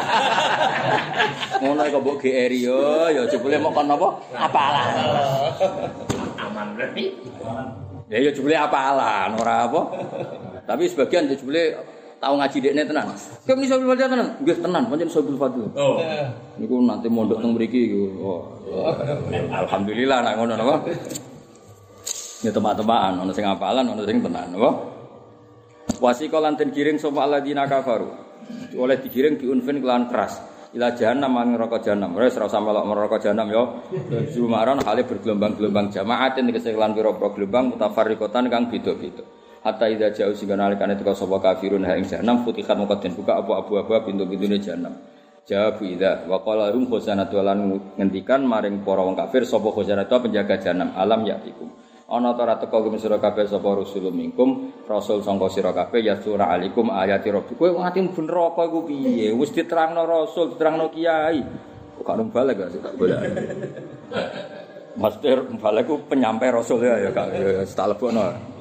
Ngono kok mbok G R yo, ya jebule mok kon napa? Apalan. Aman berarti. Ya ya jebule apalan, ora apa. Tapi sebagian jebule tau ngaji dekne tenan. Kowe muni Saibul Fadilah tenan? Nggih tenan, pancen Saibul Fadilah. Oh. Niku nanti mondok teng mriki iku. Oh. Alhamdulillah nek ngono napa. Ya teman-teman, ana sing apalan, ana sing tenan, apa? Wasiqa lan den giring sapa alladzina kafaru. Oleh digiring diunfin kelan keras. Ila jahannam mang neraka jahannam. Wis ora usah melok neraka jahannam ya. Jumaran hale bergelombang-gelombang jamaatin tegese kelan pira-pira gelombang mutafarriqatan kang beda-beda. Hatta idza ja'u sing nalikane teka sapa kafirun ha ing jahannam futihat mongko den buka apa abu-abu pintu-pintune jahannam. Jawab idza wa qala rum khazanatu lan ngendikan maring para wong kafir sapa khazanatu penjaga jahannam alam yatikum. ana ta ora teka kum sira kabeh sapa rasul minkum rasul sangka sira kabeh ya surah alaikum ayati rabbi kowe ngati mlebu neraka iku piye wis diterangno rasul diterangno kiai kok ora balik gak tak golek master balik ku penyampai rasul ya ya Kak ya tak lebokno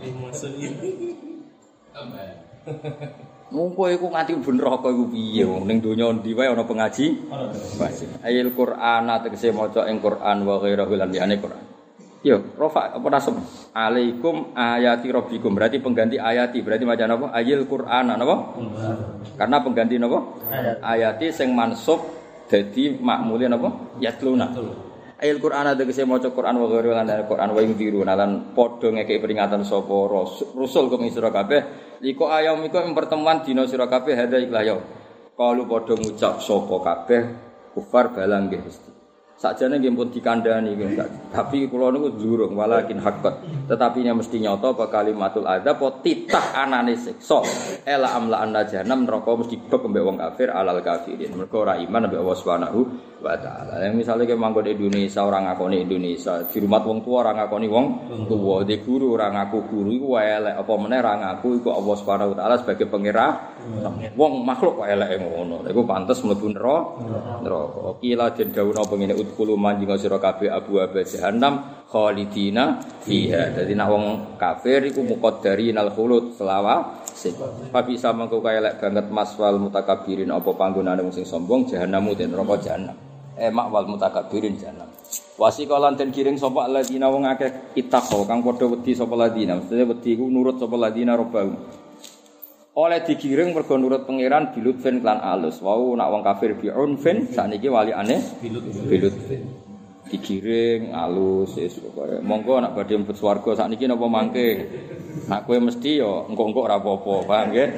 Mungko iku nganti mlebu neraka iku piye wong ning donya ndi wae ana pengaji ayil Qur'an tegese maca ing Qur'an wa ghairahu lan liyane Qur'an. Yo, rofa apa nasab? Alaikum ayati rabbikum. Berarti pengganti ayati. Berarti macam apa? Ayil Qur'an napa? Karena pengganti napa? Ayati sing mansub dadi makmule napa? Yatluna. Ayil Qur'an tegese maca Qur'an wa ghairu lan Qur'an wa yundiru lan padha ngekeki peringatan sapa rasul kang sira kabeh liko ayam iku ing pertemuan dina sira kabeh hadza ikhlah ya. Kalu padha ngucap sapa kabeh kufar balang nggih Gusti. Sakjane nggih pun dikandhani nggih, tapi kula niku durung walakin haqqat. Tetapi nya mesti nyata apa kalimatul adzab apa titah anane siksa. Ela amla anna jahannam neraka mesti bek mbek wong kafir alal kafirin. Mergo ora iman mbek Allah Subhanahu wa taala. Yang misale ke manggon Indonesia ora ngakoni Indonesia, di rumah wong tua ora ngakoni wong tuwa, di guru ora ngaku guru iku elek apa meneh ora ngaku iku Allah Subhanahu wa taala sebagai pangeran. Wong makhluk kok eleke ngono. Iku pantes mlebu neraka. Kila den dawuh apa ngene udkhulu manjing sira kabeh abu aba jahannam khalidina fiha. Dadi nek wong kafir iku muqaddarinal khulud selawase. Papi sama kok elek banget maswal mutakabbirin apa panggonane wong sing sombong jahannamu den neraka jahanam. Eh makwal mutakabbirin jahannam. Wasikalan den kiring sapa ladina wong akeh ittaqo kang padha wedi sapa ladina. Mesti wedi iku nurut sapa ladina robbahum. Oleh digiring mergo nurut pangeran bilutfen lan alus. Wau nak wong kafir bi'unfin sakniki walikane bilutfen. Digiring alus wis pokoke. Monggo nak badhe mlebu swarga sakniki napa mangke. Nak kowe mesti ya engko-engko ora apa-apa, paham nggih?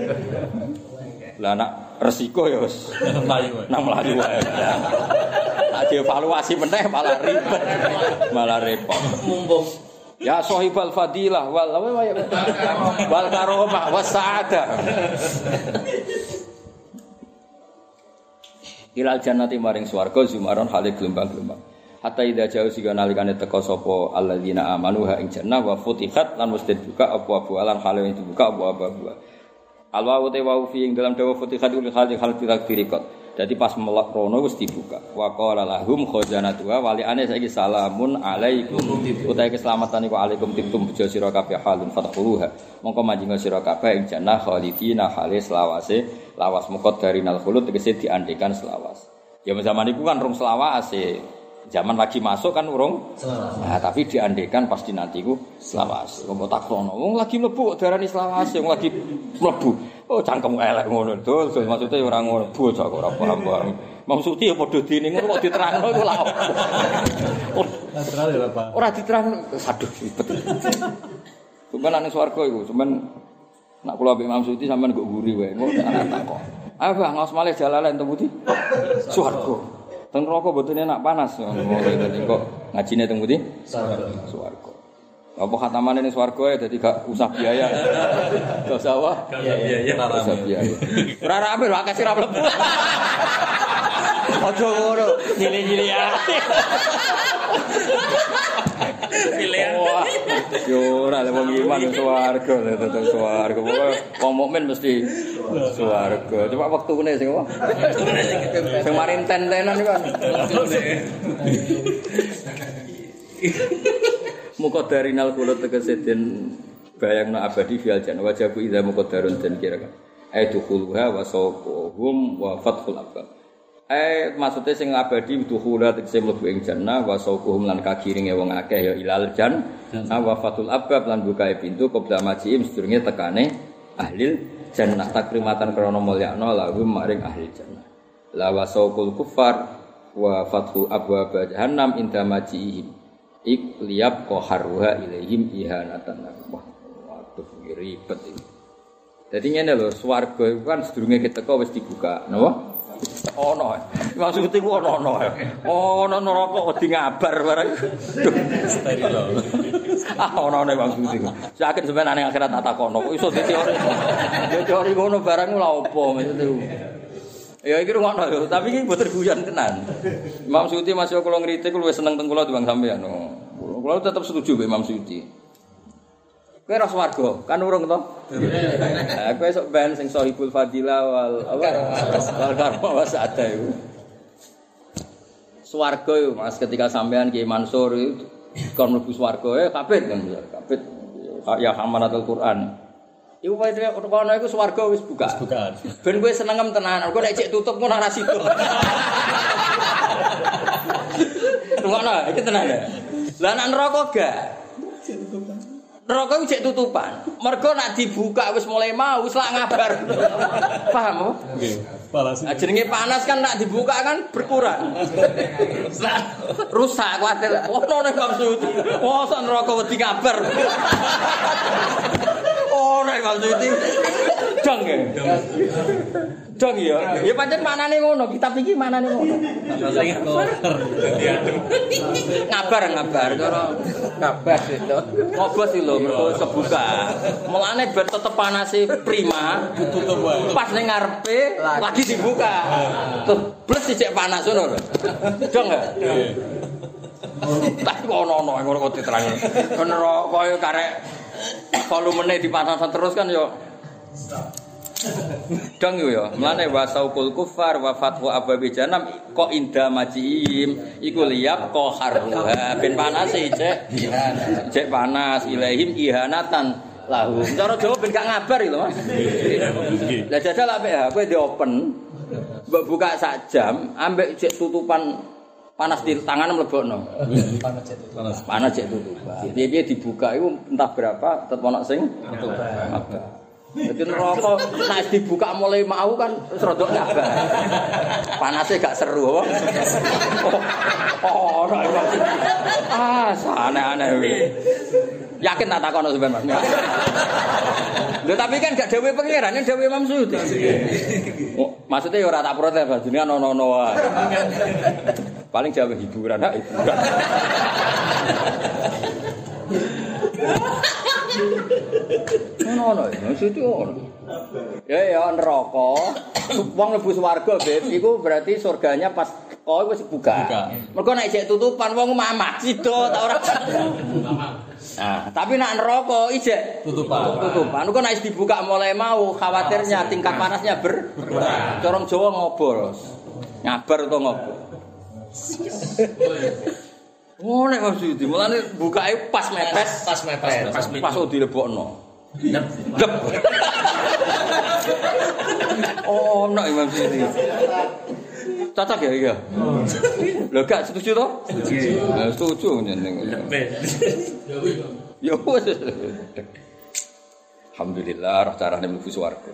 Lah nak resiko ya wis mlayu wae. Nang mlayu wae. Nak dievaluasi meneh malah ribet. Malah repot. Mumpung ya sahibal fadilah wal wal karomah was saadah. Ilal jannati maring swarga zumaron hale gelombang-gelombang. Hatta idza jauh sing nalikane teka sapa alladzina amanu ha ing jannah wa futihat lan mesti buka apa-apa alam hale ing dibuka apa-apa. Alwa te wa fi ing dalam dawa futihat ul hal hal dirikot. Jadi pas melak rono wis dibuka. Wa qala lahum khazanatuha waliane saiki salamun alaikum. Utahe keselamatan iku alaikum tibtum bejo sira kabeh halun fatahuluha. Mongko manjing sira kabeh ing jannah khalidina halis lawase lawas muqaddarinal khulud tegese diandekan selawas. Ya zaman iku kan rong selawase. Zaman lagi masuk kan urung selawase. Nah, tapi diandekan pasti nanti ku selawase. Wong takrono, wong lagi mlebu kok darani selawase, wong lagi mlebu. Oh cangkem elek ngono dul, maksudnya ora ngono bocah kok ora paham. Maksudnya ya padha dene ngono kok diterangno iku lha opo. Ora terang ya Pak. Ora diterangno, aduh ribet. Sampeyan nang swarga iku, sampeyan nak kula ambek Imam Suti sampeyan kok guri wae, ngono anak tak kok. Ayo Bang, ngaos malih jalalen teng pundi? Swarga. Teng neraka mboten enak panas ngono dadi kok ngajine teng pundi? Swarga. Apa khatamane ning swarga ya dadi gak usah biaya. Gak usah apa? Biaya, usah biaya. Ora rapi wae kasih ra mlebu. Aja ngono, nyili-nyili ya. Pilihan. Yo ora le wong iman ning swarga, tetep swarga. Pokoke wong mukmin mesti swarga. Coba wektune sing apa? Sing marin ten-tenan iku. Muqaddarinal khulud tegese den bayangna abadi fil jannah wajabu idza muqaddarun den kira-kira aidukuluha wa sawquhum wa fathul abwab. Eh maksude sing abadi dukhula tegese mlebu ing jannah wa sawquhum lan kagiringe wong akeh ya ilal jannah wa fathul abwab lan bukae pintu qabla majiim sedurunge tekane ahli jannah takrimatan krana mulyakna lahum maring ahli jannah. La wa sawqul kuffar wa fathu abwab jahannam inda majiihim ik liyab qaharuha ilaihim ihanatan. Wah, waduh ribet iki. Dadi ngene lho, swarga iku kan sedurunge keteka wis dibuka, napa? Ono. Maksud iku ono-ono. Ono neraka wedi ngabar bareng. Steril. Ah ono-ono maksud iku. Saken sampeyan ning akhirat tak takono, kok iso teori. Ya teori ngono barang lha opo maksud iku. Ya iki ngono lho, tapi iki mboten guyon tenan. Imam Suyuti masih kula ngritik luwih seneng teng kula timbang sampean. Kula tetep setuju mbek Imam Suyuti. Kowe ora swarga, kan urung to? Lah kowe sok ben sing Shahibul Fadilah wal apa? Wal karma wasada iku. Swarga iku Mas ketika sampean Ki Mansur itu kon mlebu swarga eh kabeh kan kabeh ya hamalatul Quran. Iku wae kono iku swarga wis buka. Wis buka. Ben kowe senengem tenan, kok nek cek tutup ngono ora situ. Ngono, iki tenan ya. Lah nek neraka gak. Neraka cek tutupan. Mergo nek dibuka wis mulai mau wis lak ngabar. Paham? Nggih. Panas. Nah, jenenge panas kan nek dibuka kan berkurang. Rusak kuwatir. Ono nek maksud. Oh, sak neraka wedi kabar. Oh, nek maksud iki. Dong ya. Dong ya. Ya pancen maknane ngono, kitab iki maknane ngono. Ngabar ngabar cara ngabar itu. Ngobos iki lho mergo kebuka. Mulane ben tetep panase prima, ditutup wae. Pas ning ngarepe lagi dibuka. Terus bles sik panas ngono lho. Dong ya. Tak ono-ono ngono kok diterangi. Neraka yo karek volumene dipanasan terus kan yo. Dong yo ya, mlane wasaukul kufar wa fatwa ababi janam kok inda majim iku liyab qaharruha ben panas cek cek panas ilaihim ihanatan lahu. Cara Jawa ben gak ngabar iki lho Mas. Lah jajal apik ha kowe di open mbok buka sak jam ambek cek tutupan panas di tangan mlebokno. Panas cek tutupan. Panas cek tutupan. Piye-piye dibuka iku entah berapa tetep ono sing tutupan. Jadi neraka nek dibuka mulai mau kan wis rada ngabar. Panasnya gak seru apa? Oh, ora iso. Ah, aneh-aneh kuwi. Yakin tak takono sampean, Mas. Lho tapi kan gak dawuh pangeran, nek dawuh Imam Suyuti. Oh, maksudnya ya ora tak protes, Mas. Jenengan ono-ono wae. Paling jawab hiburan, hak hiburan. Ono-ono, maksudnya ono. Ya ya neraka. Wong mlebu swarga, Beb, iku berarti surganya pas kowe wis buka. Mergo nek isih tutupan wong mamah sida ta ora. Nah, tapi nek neraka isih tutupan. Tutupan. Engko nek dibuka mulai mau khawatirnya tingkat panasnya berkurang. Corong Jawa ngobol. Ngabar utawa ngobol. Oh nek maksud iki mulane bukake pas mepes,
pas mepes,
pas pas dilebokno. Dep. Oh, nek maksud iki. Cocok ya iya. Lho gak setuju to? Setuju. Nah, setuju nyeneng. Ya wis. Alhamdulillah roh carane mlebu swarga.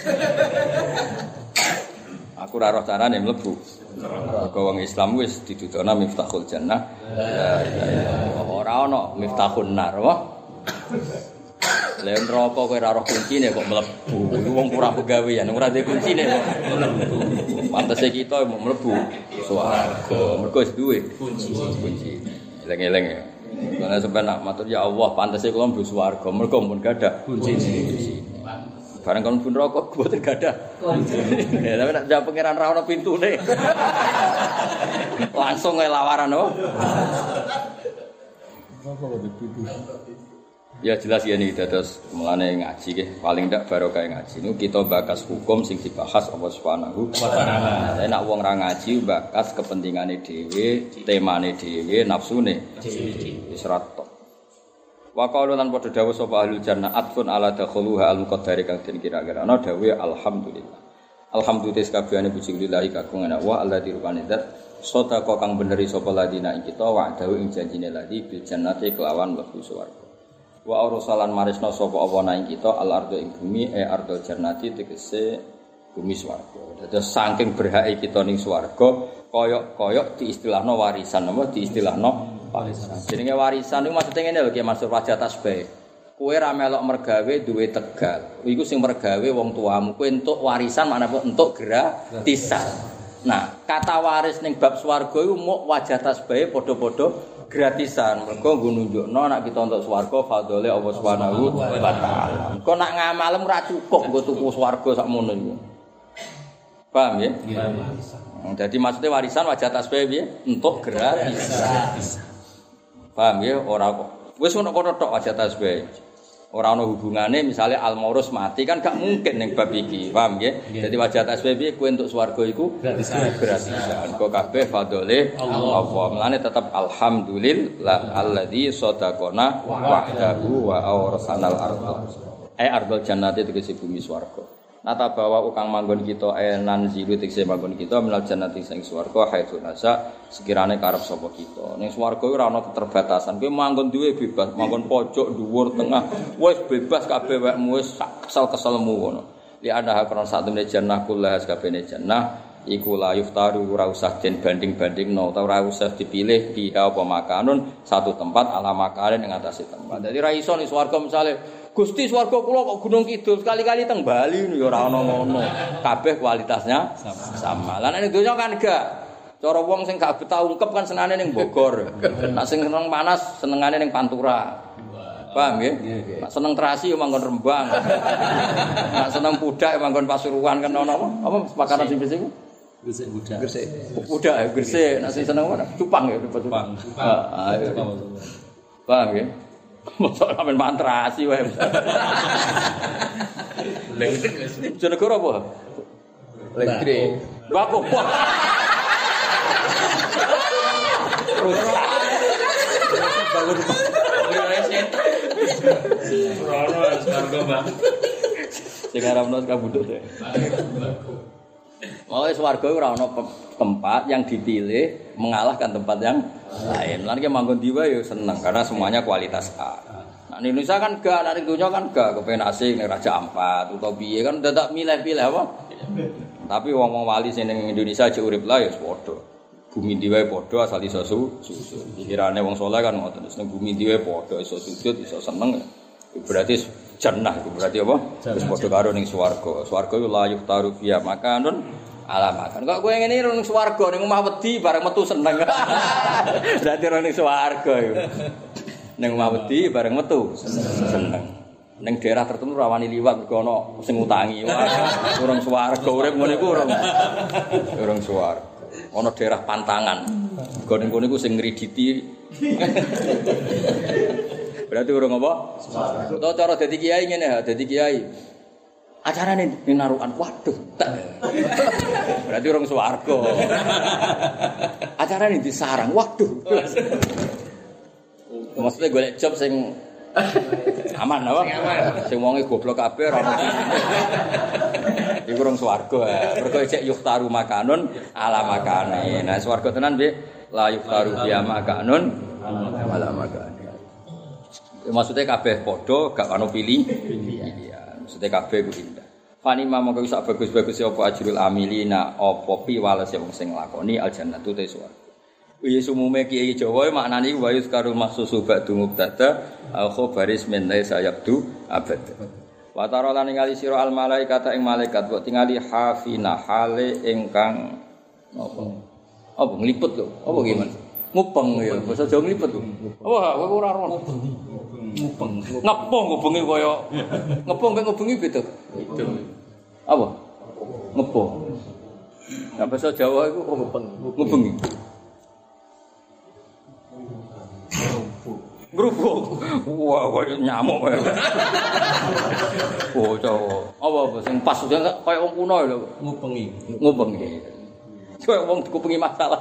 Aku ora roh carane mlebu. Mergo wong Islam wis didudona miftahul jannah. La ilaha illallah. Ora ana miftahun nar, wah. Lha neraka kowe ora roh kuncine kok mlebu. Iku wong ora pegawean, ora duwe kuncine kok mlebu. Pantese kita mau mlebu swarga. Mergo wis duwe kunci. Kunci. Eleng-eleng ya. Karena sebenarnya matur ya Allah pantese kula mlebu swarga. Mergo mun gadah kuncine. Barang kon pun rokok mboten gadah. Ya tapi nek jawab pangeran ra ono pintune. Langsung ae lawaran oh. Ya jelas ya nih terus mulane ngaji nggih paling ndak barokah ngaji niku kita bakas hukum sing dibahas Allah Subhanahu wa taala. Nek wong ra ngaji bakas kepentingane dhewe, temane dhewe, nafsune dhewe. Wis ra tok. Wa qalu lan padha dawuh sapa ahlul jannah atfun ala dakhuluha al muqaddari kang den kira-kira ana dawuh alhamdulillah. Alhamdulillah kabehane puji lillahi kagungan Allah alladzi rupane zat sedekah kang beneri sapa ladina ing kita wa dawuh ing janjine ladi bil jannati kelawan mlebu swarga. Wa arsalan marisna sapa apa nang kita al ardo ing bumi e ardul jannati tegese bumi swarga. Dados saking berhake kita ning swarga koyok-koyok diistilahno warisan apa diistilahno warisan. Jenenge warisan niku maksude ngene lho Ki Mansur wajah tasbih. Kowe ra melok mergawe duwe tegal. Iku sing mergawe wong tuamu. Kowe entuk warisan maknane entuk gratisan. Nah, kata waris ning bab swarga iku muk wajah tasbih padha-padha gratisan. Mergo nggo nunjukno nek kita entuk swarga fadhole Allah Subhanahu wa taala. Engko nek ngamalem ora cukup nggo tuku swarga sakmono iku. Paham ya? Iya. Jadi maksudnya warisan wajah tasbih piye? Entuk gratisan. Paham ya ora kok. Wis ngono kono tok wajah tasbih. Ora ana hubungane misalnya Al-Maurus mati kan gak mungkin ning bab iki, paham nggih? Yeah. Jadi wajah S B B kowe entuk swarga iku gratisan. Gratisan. Kok kabeh fadhole Allah. Mulane tetep alhamdulillah alladzi sadaqana wahdahu wa awrasanal ardh. Eh ardhul jannati tegese bumi swarga. Nata bawa ukang manggon kita enan zilu tegese manggon kita minal jannati sing swarga haitsu nasa sekirane karep sapa kita. Ning swarga ora ana keterbatasan. Kowe manggon duwe bebas, manggon pojok, dhuwur, tengah, wis bebas kabeh wekmu wis kesel-keselmu ngono. Li ana hakron sak temene jannah kullah kabehne jannah iku la yuftaru ora usah den banding-bandingno utawa ora usah dipilih biha apa makanun satu tempat ala makanan ing atase tempat. Dadi ra iso ning swarga misale Gusti swarga kula kok Gunung Kidul sekali-kali teng Bali ya ora ana ngono. Kabeh kualitasnya sama. sama. Lah nek donya kan gak. Cara wong sing gak betah ungkep kan senengane ning Bogor. Nek sing seneng panas senengane ning Pantura. Paham nggih? Nek seneng terasi ya manggon Rembang. Nek seneng pudak ya manggon Pasuruan kan ana apa? Apa makanan sing biasa iku?
Gresik budak.
Gresik. Budak Gresik. Nek sing seneng apa? Cupang ya, Cupang. Heeh. Paham nggih? Mosok sampean mantrasi wae. Lengkek wis. Jenegara apa?
Lengkek.
Bako.
Bangun. Ora setan. Ora swarga, Bang.
Sing aramno kabudut ya. Oh, swarga ora ana tempat yang dipilih mengalahkan tempat yang lain. Lan ki manggon diwa ya seneng karena semuanya kualitas A. Nah, di Indonesia kan gak, nah di dunia kan gak kepen asing ning Raja Ampat utawa piye kan dadak milih-pilih apa. Tapi wong-wong wali sing ning Indonesia aja urip lah ya padha. Bumi diwa padha asal iso sujud. Pikirane wong saleh kan ngoten. Ning bumi diwa padha iso sujud, iso seneng. Berarti jannah itu berarti apa? Wis padha karo ning swarga. Swarga yo la yuftaru fiya makanun ala makan. Kok kowe ngene ning swarga ning omah wedi bareng metu seneng. Berarti ora ning swarga yo. Ning omah wedi bareng metu seneng. Ning daerah tertentu rawani liwat mergo ana sing utangi. Urung swarga urip ngene iku urung. Urung swarga. Ana daerah pantangan. Mergo ning kono iku sing ngriditi. Berarti urung apa? Utawa cara dadi kiai ngene ha, dadi kiai. Acarane ning narukan. Waduh. Berarti urung swarga. Acarane di sarang. Waduh. Maksudnya golek job sing aman apa? Sing wonge goblok kabeh ora ono. Iku urung swarga. Mergo cek yuftaru makanun ala makane. Nah swarga tenan piye? La yuftaru biya makanun ala makane. Maksudnya kabeh padha gak ono pilih pilihan. Maksudnya kabeh ku indah. Fani mama kok iso bagus-bagus apa ajrul amilina apa piwales wong sing nglakoni aljannatu te swarga. Iya sumume kiai Jawa maknane wa yuzkarul mahsusu ba'du mubtada al khabaris min laisa yabdu abad. Wa tara lan ningali sira al malaikata ing malaikat kok tingali hafina hale ingkang apa? Apa nglipet lho? Apa gimana? Ngupeng ya, basa Jawa nglipet lho. Apa kowe ora ora ngupeng. Ngepong ngubengi kaya ngepong mek ngubengi beda. Beda. Apa? Ngepong. Nah bahasa Jawa iku ngupeng, ngubengi. Grubuk. Wah, kaya nyamuk kaya. Oh, Jawa. Apa apa sing pas kaya wong kuno lho,
ngubengi.
Ngubengi. Kaya wong dikupengi masalah.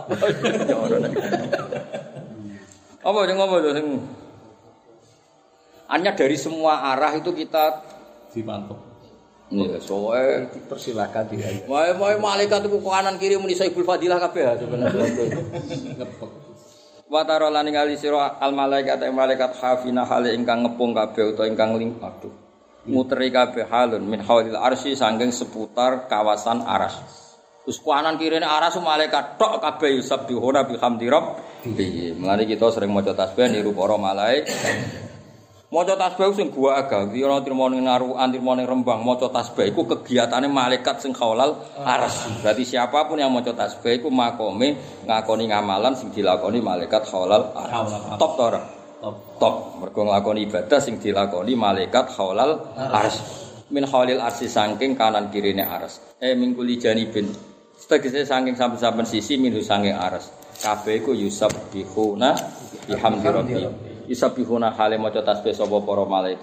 Apa sing ngomong lho sing hanya dari semua arah itu kita
dipantau.
Nih, soe
dipersilakan tidak.
Wae wae malaikat itu kanan kiri muni Saibul Fadilah kabeh sebenarnya.
Ngepek.
Wa tara lan ningali sira al malaikat malaikat hafina hale ingkang ngepung kabeh utawa ingkang ling aduh. Muteri kabeh halun min haulil arsy saking seputar kawasan aras. Terus kanan kirine aras malaikat tok kabeh yusabbihuna bihamdi rabbih. Mulane kita sering maca tasbih niru para malaikat. Maca tasbih sing gua agak, ora trimo ning narukan, trimo ning Rembang, maca tasbih iku kegiatane malaikat sing khaulal aras. Berarti siapapun yang maca tasbih iku makome ngakoni ngamalan sing dilakoni malaikat khaulal aras. Top to ora? Top. Top. Mergo nglakoni ibadah sing dilakoni malaikat khaulal aras. Min khaulil arsi saking kanan kirine aras. Eh mingkuli janibin. Setegese saking saben-saben sisi minhu saking aras. Kabeh iku yusabbihuna bihamdi rabbihim. Yusabbihuna hale maca tasbih sapa para malaikat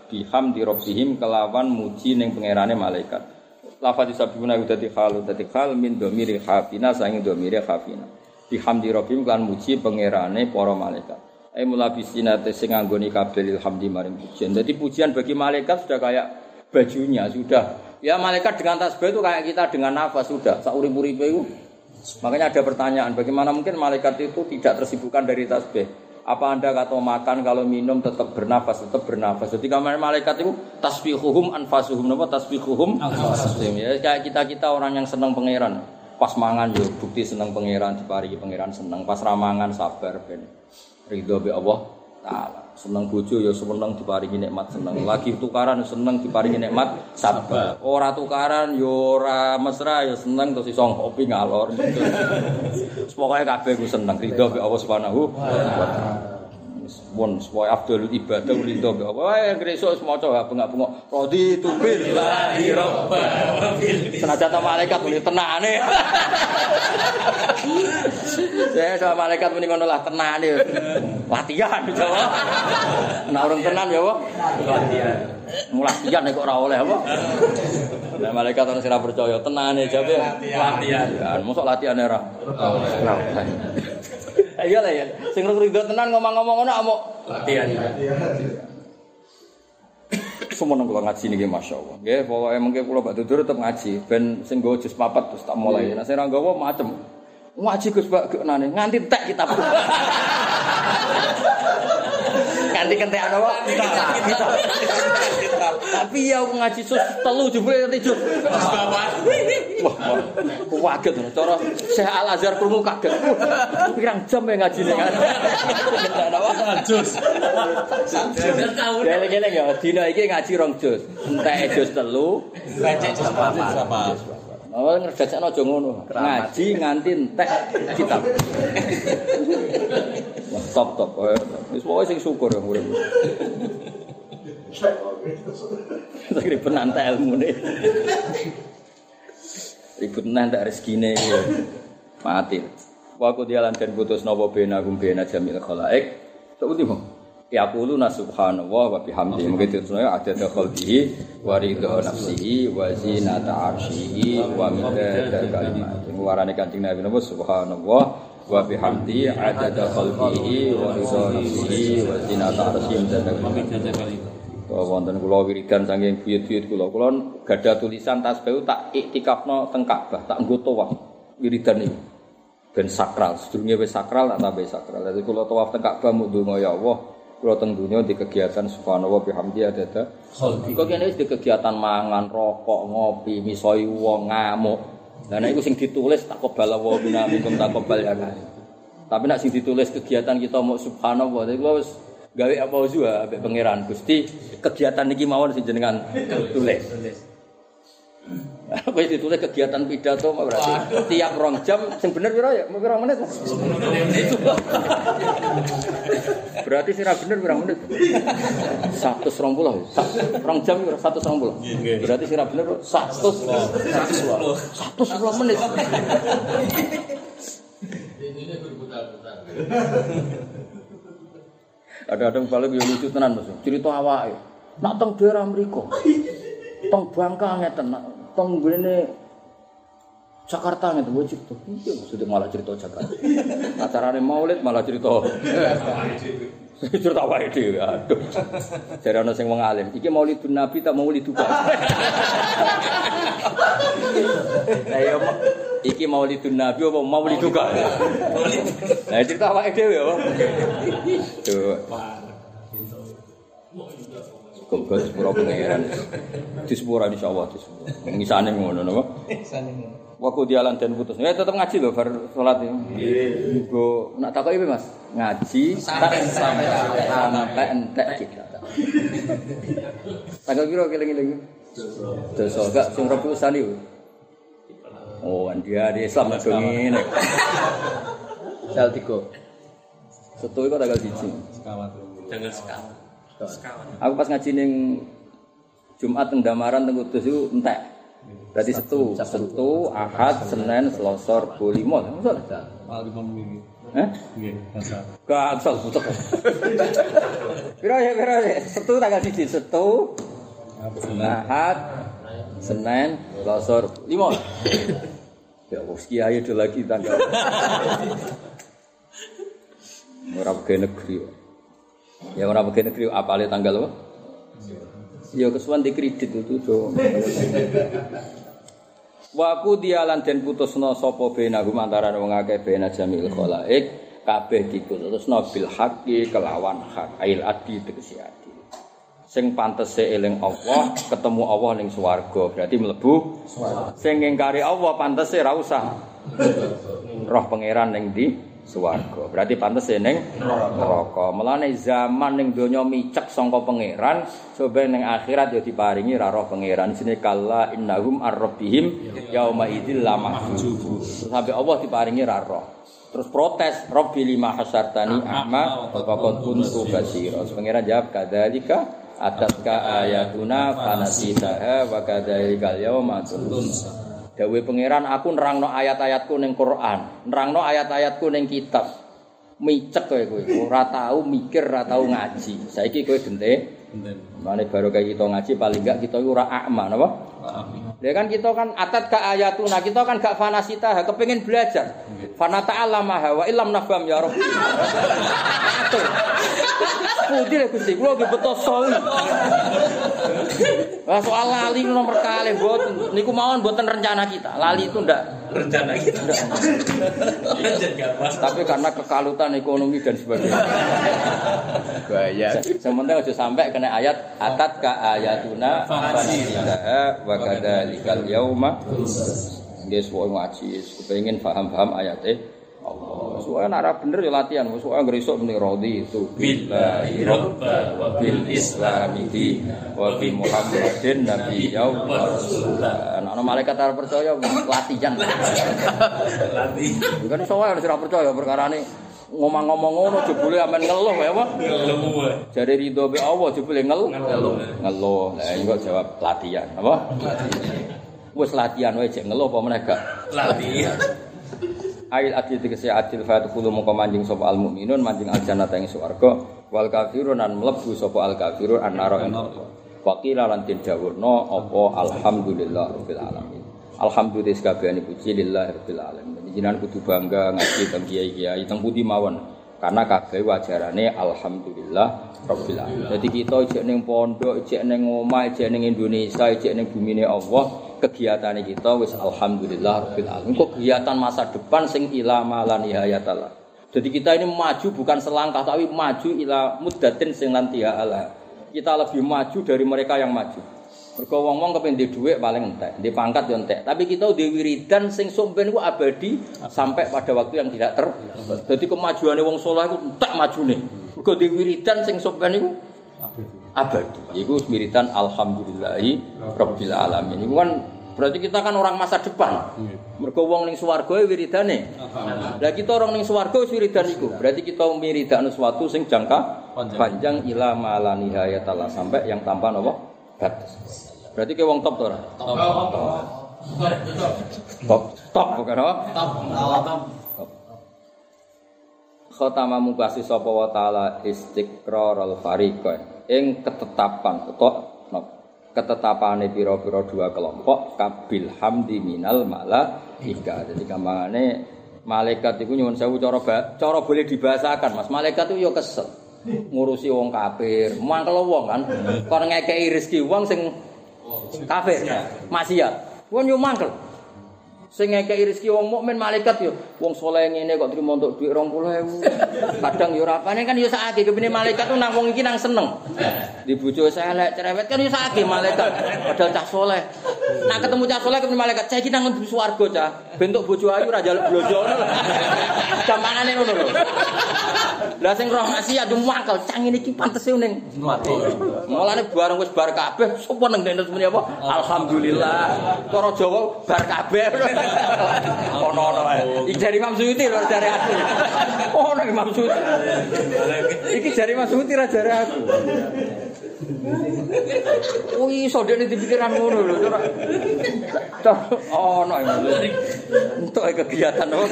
bihamdi rabbihim kelawan muji ning pangerane malaikat. Lafaz disabuna dadi khalu dadi khal min dhamiri khafina saking dhamiri khafina. Bihamdi rabbihim lan muji pangerane para malaikat. Ai mulabisina te sing nganggoni kabeh hamdi maring pujian. Jadi pujian bagi malaikat sudah kayak bajunya sudah. Ya malaikat dengan tasbih itu kayak kita dengan nafas sudah. Saurip-uripe itu. Makanya ada pertanyaan, bagaimana mungkin malaikat itu tidak tersibukkan dari tasbih? Apa Anda kalau makan, kalau minum tetap bernafas, tetap bernafas. Jadi kamar malaikat itu tasbihuhum anfasuhum, napa tasbihuhum anfasuhum. Ya kayak kita-kita orang yang senang pangeran. Pas mangan yo bukti senang pangeran, diparingi pangeran senang. Pas ramangan sabar ben ridho be Allah taala. Seneng bojo ya seneng diparingi nikmat seneng. Lagi tukaran seneng diparingi nikmat sabar. Ora tukaran ya ora mesra ya seneng terus iso ngopi ngalor. Pokoke kabeh ku seneng ridho be Allah Subhanahu wa taala. Won sesuai afdhalul ibadah ridho be Allah. Wae gresuk maca bengak-bengok radi tu billahi rabbal senajan ta malaikat muni tenane. Saya sama malaikat muni ngono lah tenane. Latihan Jawa. Nek urung tenan ya apa? Latihan. Mulatihan nek kok ora oleh apa? Nek malaikat ora sira percaya tenane jabe latihan. Mosok latihan ora. Ayo lah ya. Sing ridho tenan ngomong-ngomong ngono amuk latihan. Semono kula ngaji niki masyaallah. Nggih, pokoke mengke kula bak dudur tetep ngaji ben sing nggo jus papat terus tak mulai. Nek sing ora nggawa macem. Ngaji Gus Pak genane nganti entek kitab. Ganti kentekan apa? Kitab. Tapi ya ngaji sus telu jebule nanti jus. Wah, kaget lho. Cara Syekh Al Azhar krungu kaget. Pirang jam ya ngajine kan. Kentekan apa? Jus. Gele-gele ya dina iki ngaji rong jus. Entek jus telu, becek jus papat. Oh ngerjajakno aja ngono. Ngaji nganti entek kitab. Wah, top-top. Wis pokoke sing syukur ya urip. Sakire penantai ilmune. Ribut nanti rezekine ya. Mati. Wa qul dialan dan putus napa bena gum bena jamil khalaik. Seperti mo. Ya qulu subhanallah wa bihamdihi mungkin terusnya ada khalqihi wa ridha nafsihi wa zinata arsyihi wa midada kalimatihi. Warane Kanjeng Nabi napa subhanallah wa bihamdihi adada khalqihi wa ridha nafsihi wa zinata arsyihi dan kalimatihi. Wonten kula wiridan saking buyut-buyut kula. Kula gadah tulisan tasbih tak iktikafno teng Ka'bah, tak nggo tawaf wiridan iki. Ben sakral, sedurunge wis sakral tak tambah sakral. Dadi kula tawaf teng Ka'bah mung ndonga ya Allah, kula teng dunya di kegiatan subhanallah bihamdi adada. Kok kene wis di kegiatan mangan, rokok, ngopi, misoi wong, ngamuk. Lah nek iku sing ditulis takobal wa bina minkum takobal ya. Tapi nek sing ditulis kegiatan kita mau subhanallah, iku wis gawe apa juga ambek pangeran Gusti kegiatan niki mawon sing jenengan tulis. Wis ditulis kegiatan pidato berarti tiap rong jam sing bener pira ya? Pira menit? Berarti sira bener pira menit? seratus dua puluh. Rong jam pira seratus dua puluh. Berarti sira bener seratus seratus sepuluh menit. Ini berputar-putar. Ada-ada balik yo lucu tenan Mas. Cerita awake. Nak teng daerah mriku. Teng Bangka ngeten, teng ngene Jakarta ngeten wae cerita. Iya maksudnya malah cerita Jakarta. Acarane Maulid malah cerita. Cerita awake dhewe. Aduh. Jare ana sing wong alim, iki Maulidun Nabi ta Maulid duka. Ayo iki Maulidun Nabi apa Maulid duka? Maulid. Lah cerita awake dhewe apa? Tuh. Kok sepuro pengeran. Di sepuro insyaallah di sepuro. Ngisane ngono napa? Ngisane ngono. Waktu dialan dan putus. Ya tetap ngaji lho bar salat ya. Nggih. Go nak takoki piye Mas? Ngaji sampai sampai entek kita. Tanggal piro keling-eling? Dosa gak sing rebu usani. Oh, dia di Islam nek ngene. Sel tiga. Setu iku tanggal siji. Sekawan. Tanggal sekawan. Sekawan. Aku pas ngaji ning Jumat teng Damaran teng Kudus iku entek. Berarti Setu, Setu, Ahad, Senin, Selasa, Rabu, lima. Maksud?
Ah, lima minggu.
Hah?
Nggih, asal.
Gak asal butek. Piro ya, piro ya. Setu tanggal siji, Setu, Ahad, Senin, Selasa, lima. Ya wis kiai do lagi tanggal. Ora pegawai negeri. Ya ora pegawai negeri apale tanggal apa? Ya kesuwen di kredit itu do. Wa ku dialan den putusna sapa benagum antarané wong akeh bena jamil khalaik kabeh diputusna bil haqqi kelawan hak ail adi tegese adi. Sing pantese eling Allah ketemu Allah ning swarga berarti mlebu swarga. Sing ngingkari Allah pantese ra usah roh pangeran ning ndi swarga. Berarti pantese ning neraka. Mulane zaman ning donya micek sangka pangeran, coba ning akhirat ya diparingi ra roh pangeran. Sine kala innahum ar-rabbihim yauma idzil lamahjubun. Sampai Allah diparingi ra roh. Terus protes, Rabbi lima hasyartani a'ma wa qad kuntu basira. Pangeran jawab kadzalika atatka ayatuna fanasitaha wa kadzalikal yauma tunsa. Dawe pangeran aku nerangno ayat-ayatku ning Quran, nerangno ayat-ayatku ning kitab. Micek kowe kowe, ora tau mikir, ora tau ngaji. Saiki kowe gente. Mane baru kayak kita ngaji paling enggak kita ora akma napa? Ya kan kita kan atat ka ayatuna, kita kan gak fanasita, kepengin belajar. Fana ta'allama wa illam nafham ya Rabbi. Putih lek Gusti, kula nggih beto sawi. Lah soal lali nomor kali mboten niku mawon mboten rencana kita. Lali itu ndak
Rencana kita.
Tapi karena kekalutan ekonomi dan sebagainya.
Bahaya.
Sementara aja sampai kena ayat atat ka ayatuna fanasiha wa kadzalikal yauma. Nggih suwe ngaji, kepengin paham-paham ayate Allah. Suwe nek ora bener ya latihan, suwe ngresuk muni radi itu billahi rabba wa bil islami wa bi muhammadin nabiyya wa rasulullah. Ana malaikat ora percaya latihan. Latihan. Bukan suwe ora percaya perkarane ngomong-ngomong ngono jebule amen ngeluh ya apa? Ngeluh. Jare ridho be Allah jebule ngeluh. Ngeluh. Lah engko jawab latihan, apa? Wis latihan wae jek ngeluh apa meneh gak? Latihan. Ail adil tegese adil fatul mongko manjing sapa al mukminun manjing al jannata ing swarga wal kafirun an mlebu sapa al kafirun an naro ing neraka. Waqila lan den dawuhna apa alhamdulillah rabbil alamin. Alhamdulillah kabehane puji lillah rabbil alamin. Jenengan kudu bangga ngaji teng kiai-kiai teng pundi mawon karena kabeh wajarane alhamdulillah rabbil alamin. Dadi kita ijek ning pondok, ijek ning omah, ijek ning Indonesia, ijek ning bumine Allah kegiatan kita wis alhamdulillah rabbil alamin. Kok kegiatan masa depan sing ila malan nihayatallah. Jadi kita ini maju bukan selangkah tapi maju ila muddatin sing lan tiala. Kita lebih maju dari mereka yang maju. Mergo wong-wong kepen ndek dhuwit paling entek, ndek pangkat yo entek. Tapi kita ndek wiridan sing somben ku abadi sampai pada waktu yang tidak ter. Jadi kemajuane wong saleh iku entek majune. Mergo ndek wiridan sing somben iku abadi. Iku wiridan alhamdulillahi rabbil alamin. Iku kan berarti kita kan orang masa depan. Mergo wong ning swarga wiridane. Lah kita orang ning swarga wis wiridan iku. Berarti kita miridakno sesuatu sing jangka panjang ila malani hayatallah sampai yang tanpa napa batas. Berarti ke wong top to ora? Top. Top. Top bukan apa? Top. Top. Khatama mukasi sapa wa taala istiqrarul fariqain ing ketetapan utawa ketetapane pira-pira dua kelompok kabil hamdi minal malaika. Jadi gampangane malaikat iku nyuwun sewu cara cara boleh dibahasakan Mas. Malaikat itu yo kesel ngurusi wong kafir, mangkel wong kan. Kon ngekeki rezeki wong sing kafir, maksiat. Wong yo mangkel. Sing ngekeki rezeki wong mukmin malaikat yo wong saleh ngene kok trimo entuk dhuwit dua puluh ribu. Kadang yo rapane kan yo sakake kepene malaikat tuh nang wong iki nang seneng. Di bojo elek cerewet kan yo sakake malaikat padahal cah saleh. Nak ketemu cah saleh kepene malaikat, "Cah iki nang mlebu swarga, Cah. Bentuk bojo ayu ora njaluk blojo ngono lho." Gampangane ngono lho. Lah sing roh maksiat yo mangkel, cah ngene iki pantese ning mati. Mulane bareng wis bar kabeh sapa nang dene muni apa? Alhamdulillah. Cara Jawa bar kabeh. Ono-ono ae. Iki jari Imam Suyuti lho jare aku. Ono Imam Suyuti. Iki jari Imam Suyuti ra jare aku. Oh iso dene dipikiran ngono lho, ora. Ono entuk kegiatan apa.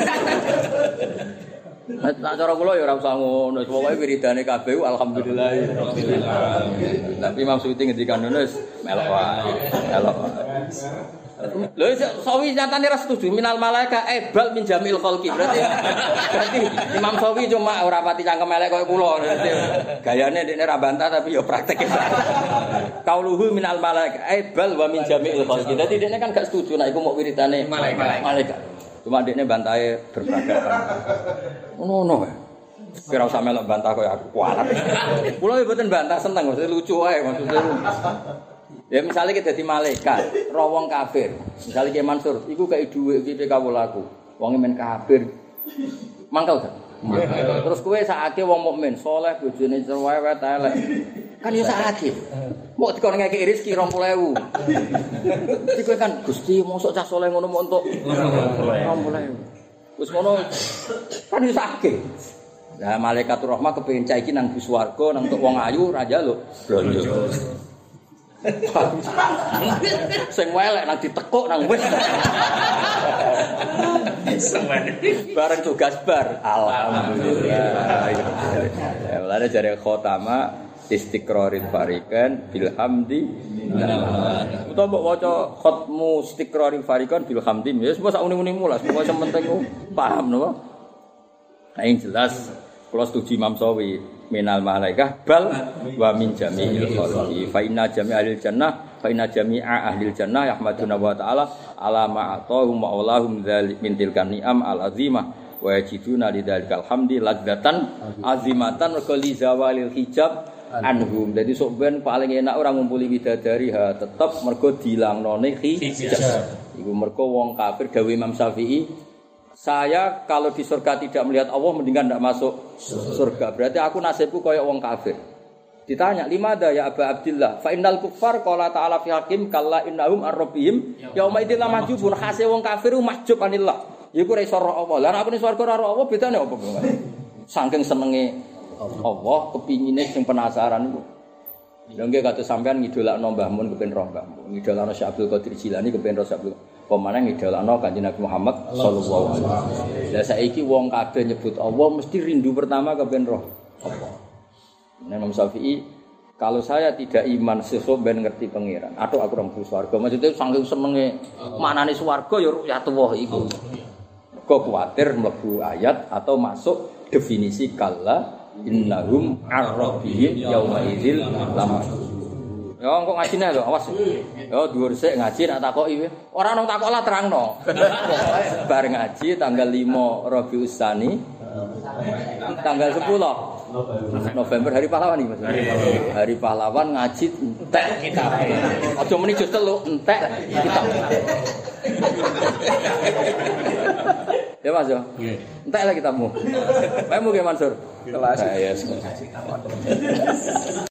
Nah cara kula ya ora usah ngono, pokoke wiridane kabeh alhamdulillah. Tapi Imam Suyuti ngendikan ngono wis melok wae. Melok. Lho sawi nyatane ra setuju minal malaika ebal min jamil khalqi. Berarti berarti Imam Sawi cuma ora pati cangkem elek koyo kula. Gayane dekne ra bantah tapi ya praktek. Qauluhu minal malaika ebal wa min jamil khalqi. Dadi dekne kan gak setuju nek iku mok wiridane malaikat. Malaikat. Cuma dekne bantahe berperadaban. Ngono wae. Kira usah melok bantah koyo aku kualat. Kula yo mboten bantah seneng, maksudnya lucu wae maksudnya. Ya misalnya kita jadi malaikat, roh wong kafir. Misalnya kayak Mansur, iku kayak duit iki kawulaku. Wong men kafir. Mangkel kan? Terus kowe sakake wong mukmin, saleh, bojone cerewet elek. Kan ya sakake. Mok dikon ngekeki rezeki dua puluh ribu. Iki kowe kan Gusti mosok cah saleh ngono mok entuk dua puluh ribu. Wis ngono kan ya sakake. Lah malaikatur rahmah kepengin cah iki nang bus warga, nang entuk wong ayu ra njaluk blonjo. Sing welek nang ditekuk nang wis. Bareng tugas bar. Alhamdulillah. Ya mulane jare khotama istiqrarin farikan bil hamdi. Utawa mbok waca khotmu istiqrarin farikan bil hamdi. Ya wis sak uni-unimu lah, pokoke sing penting ku paham napa. Nah yang jelas kula setuju Imam Sawi minal malaikah bal wa min jami'il khalqi fa inna jami'al jannah fa inna jami'a ahlil jannah yahmaduna wa ta'ala ala ma atahum wa allahum dzalik min tilkan ni'am al azimah wa yajiduna lidzalikal hamdi ladzatan azimatan wa li zawalil hijab anhum. Dadi sok ben paling enak orang ngumpuli widadari ha tetep mergo dilangnone hijab. Iku mergo wong kafir gawe Imam Syafi'i, saya kalau di surga tidak melihat Allah mendingan tidak masuk surga. Berarti aku nasibku kayak wong kafir. Ditanya, "Limada ya Aba Abdillah? Fa innal kuffar qala ta'ala fi hakim kalla innahum ar-rabbihim yauma idzin lamahjubun." Khase wong kafir mahjub anillah. Iku ora iso ro Allah. Lah nek swarga ora ro Allah bedane apa kok? Saking senenge Allah, kepingine sing penasaran iku. Lha nggih kados sampean ngidolakno Mbah Mun kepen roh Mbah Mun. Ngidolakno Syekh Abdul Qadir Jilani kepen roh Syekh Abdul Pemane ngidolakno Kanjeng Nabi Muhammad sallallahu alaihi wasallam. Lah saiki wong kabeh nyebut Allah mesti rindu pertama kepen roh Allah. Imam Syafi'i, kalau saya tidak iman sesuk ben ngerti pangeran. Aduh aku ora mlebu swarga. Maksudnya saking senenge manane swarga ya ru'yatullah iku. Kok kuwatir mlebu ayat atau masuk definisi kalla innahum ar-rabbihim yauma idzil lamah. Ya engko ngajine lho, awas. Ya dhuwur sik ngaji nak takoki. Ora nang takok lah terangno. Bar ngaji tanggal lima Rabiul Tsani. Tanggal sepuluh November hari pahlawan iki Mas. Hari pahlawan ngaji entek kitab. Aja muni jus telu entek kitab. Ya Mas yo. Nggih. Entek lah kitabmu. Kamu ge Mansur. Kelas. Ya yes.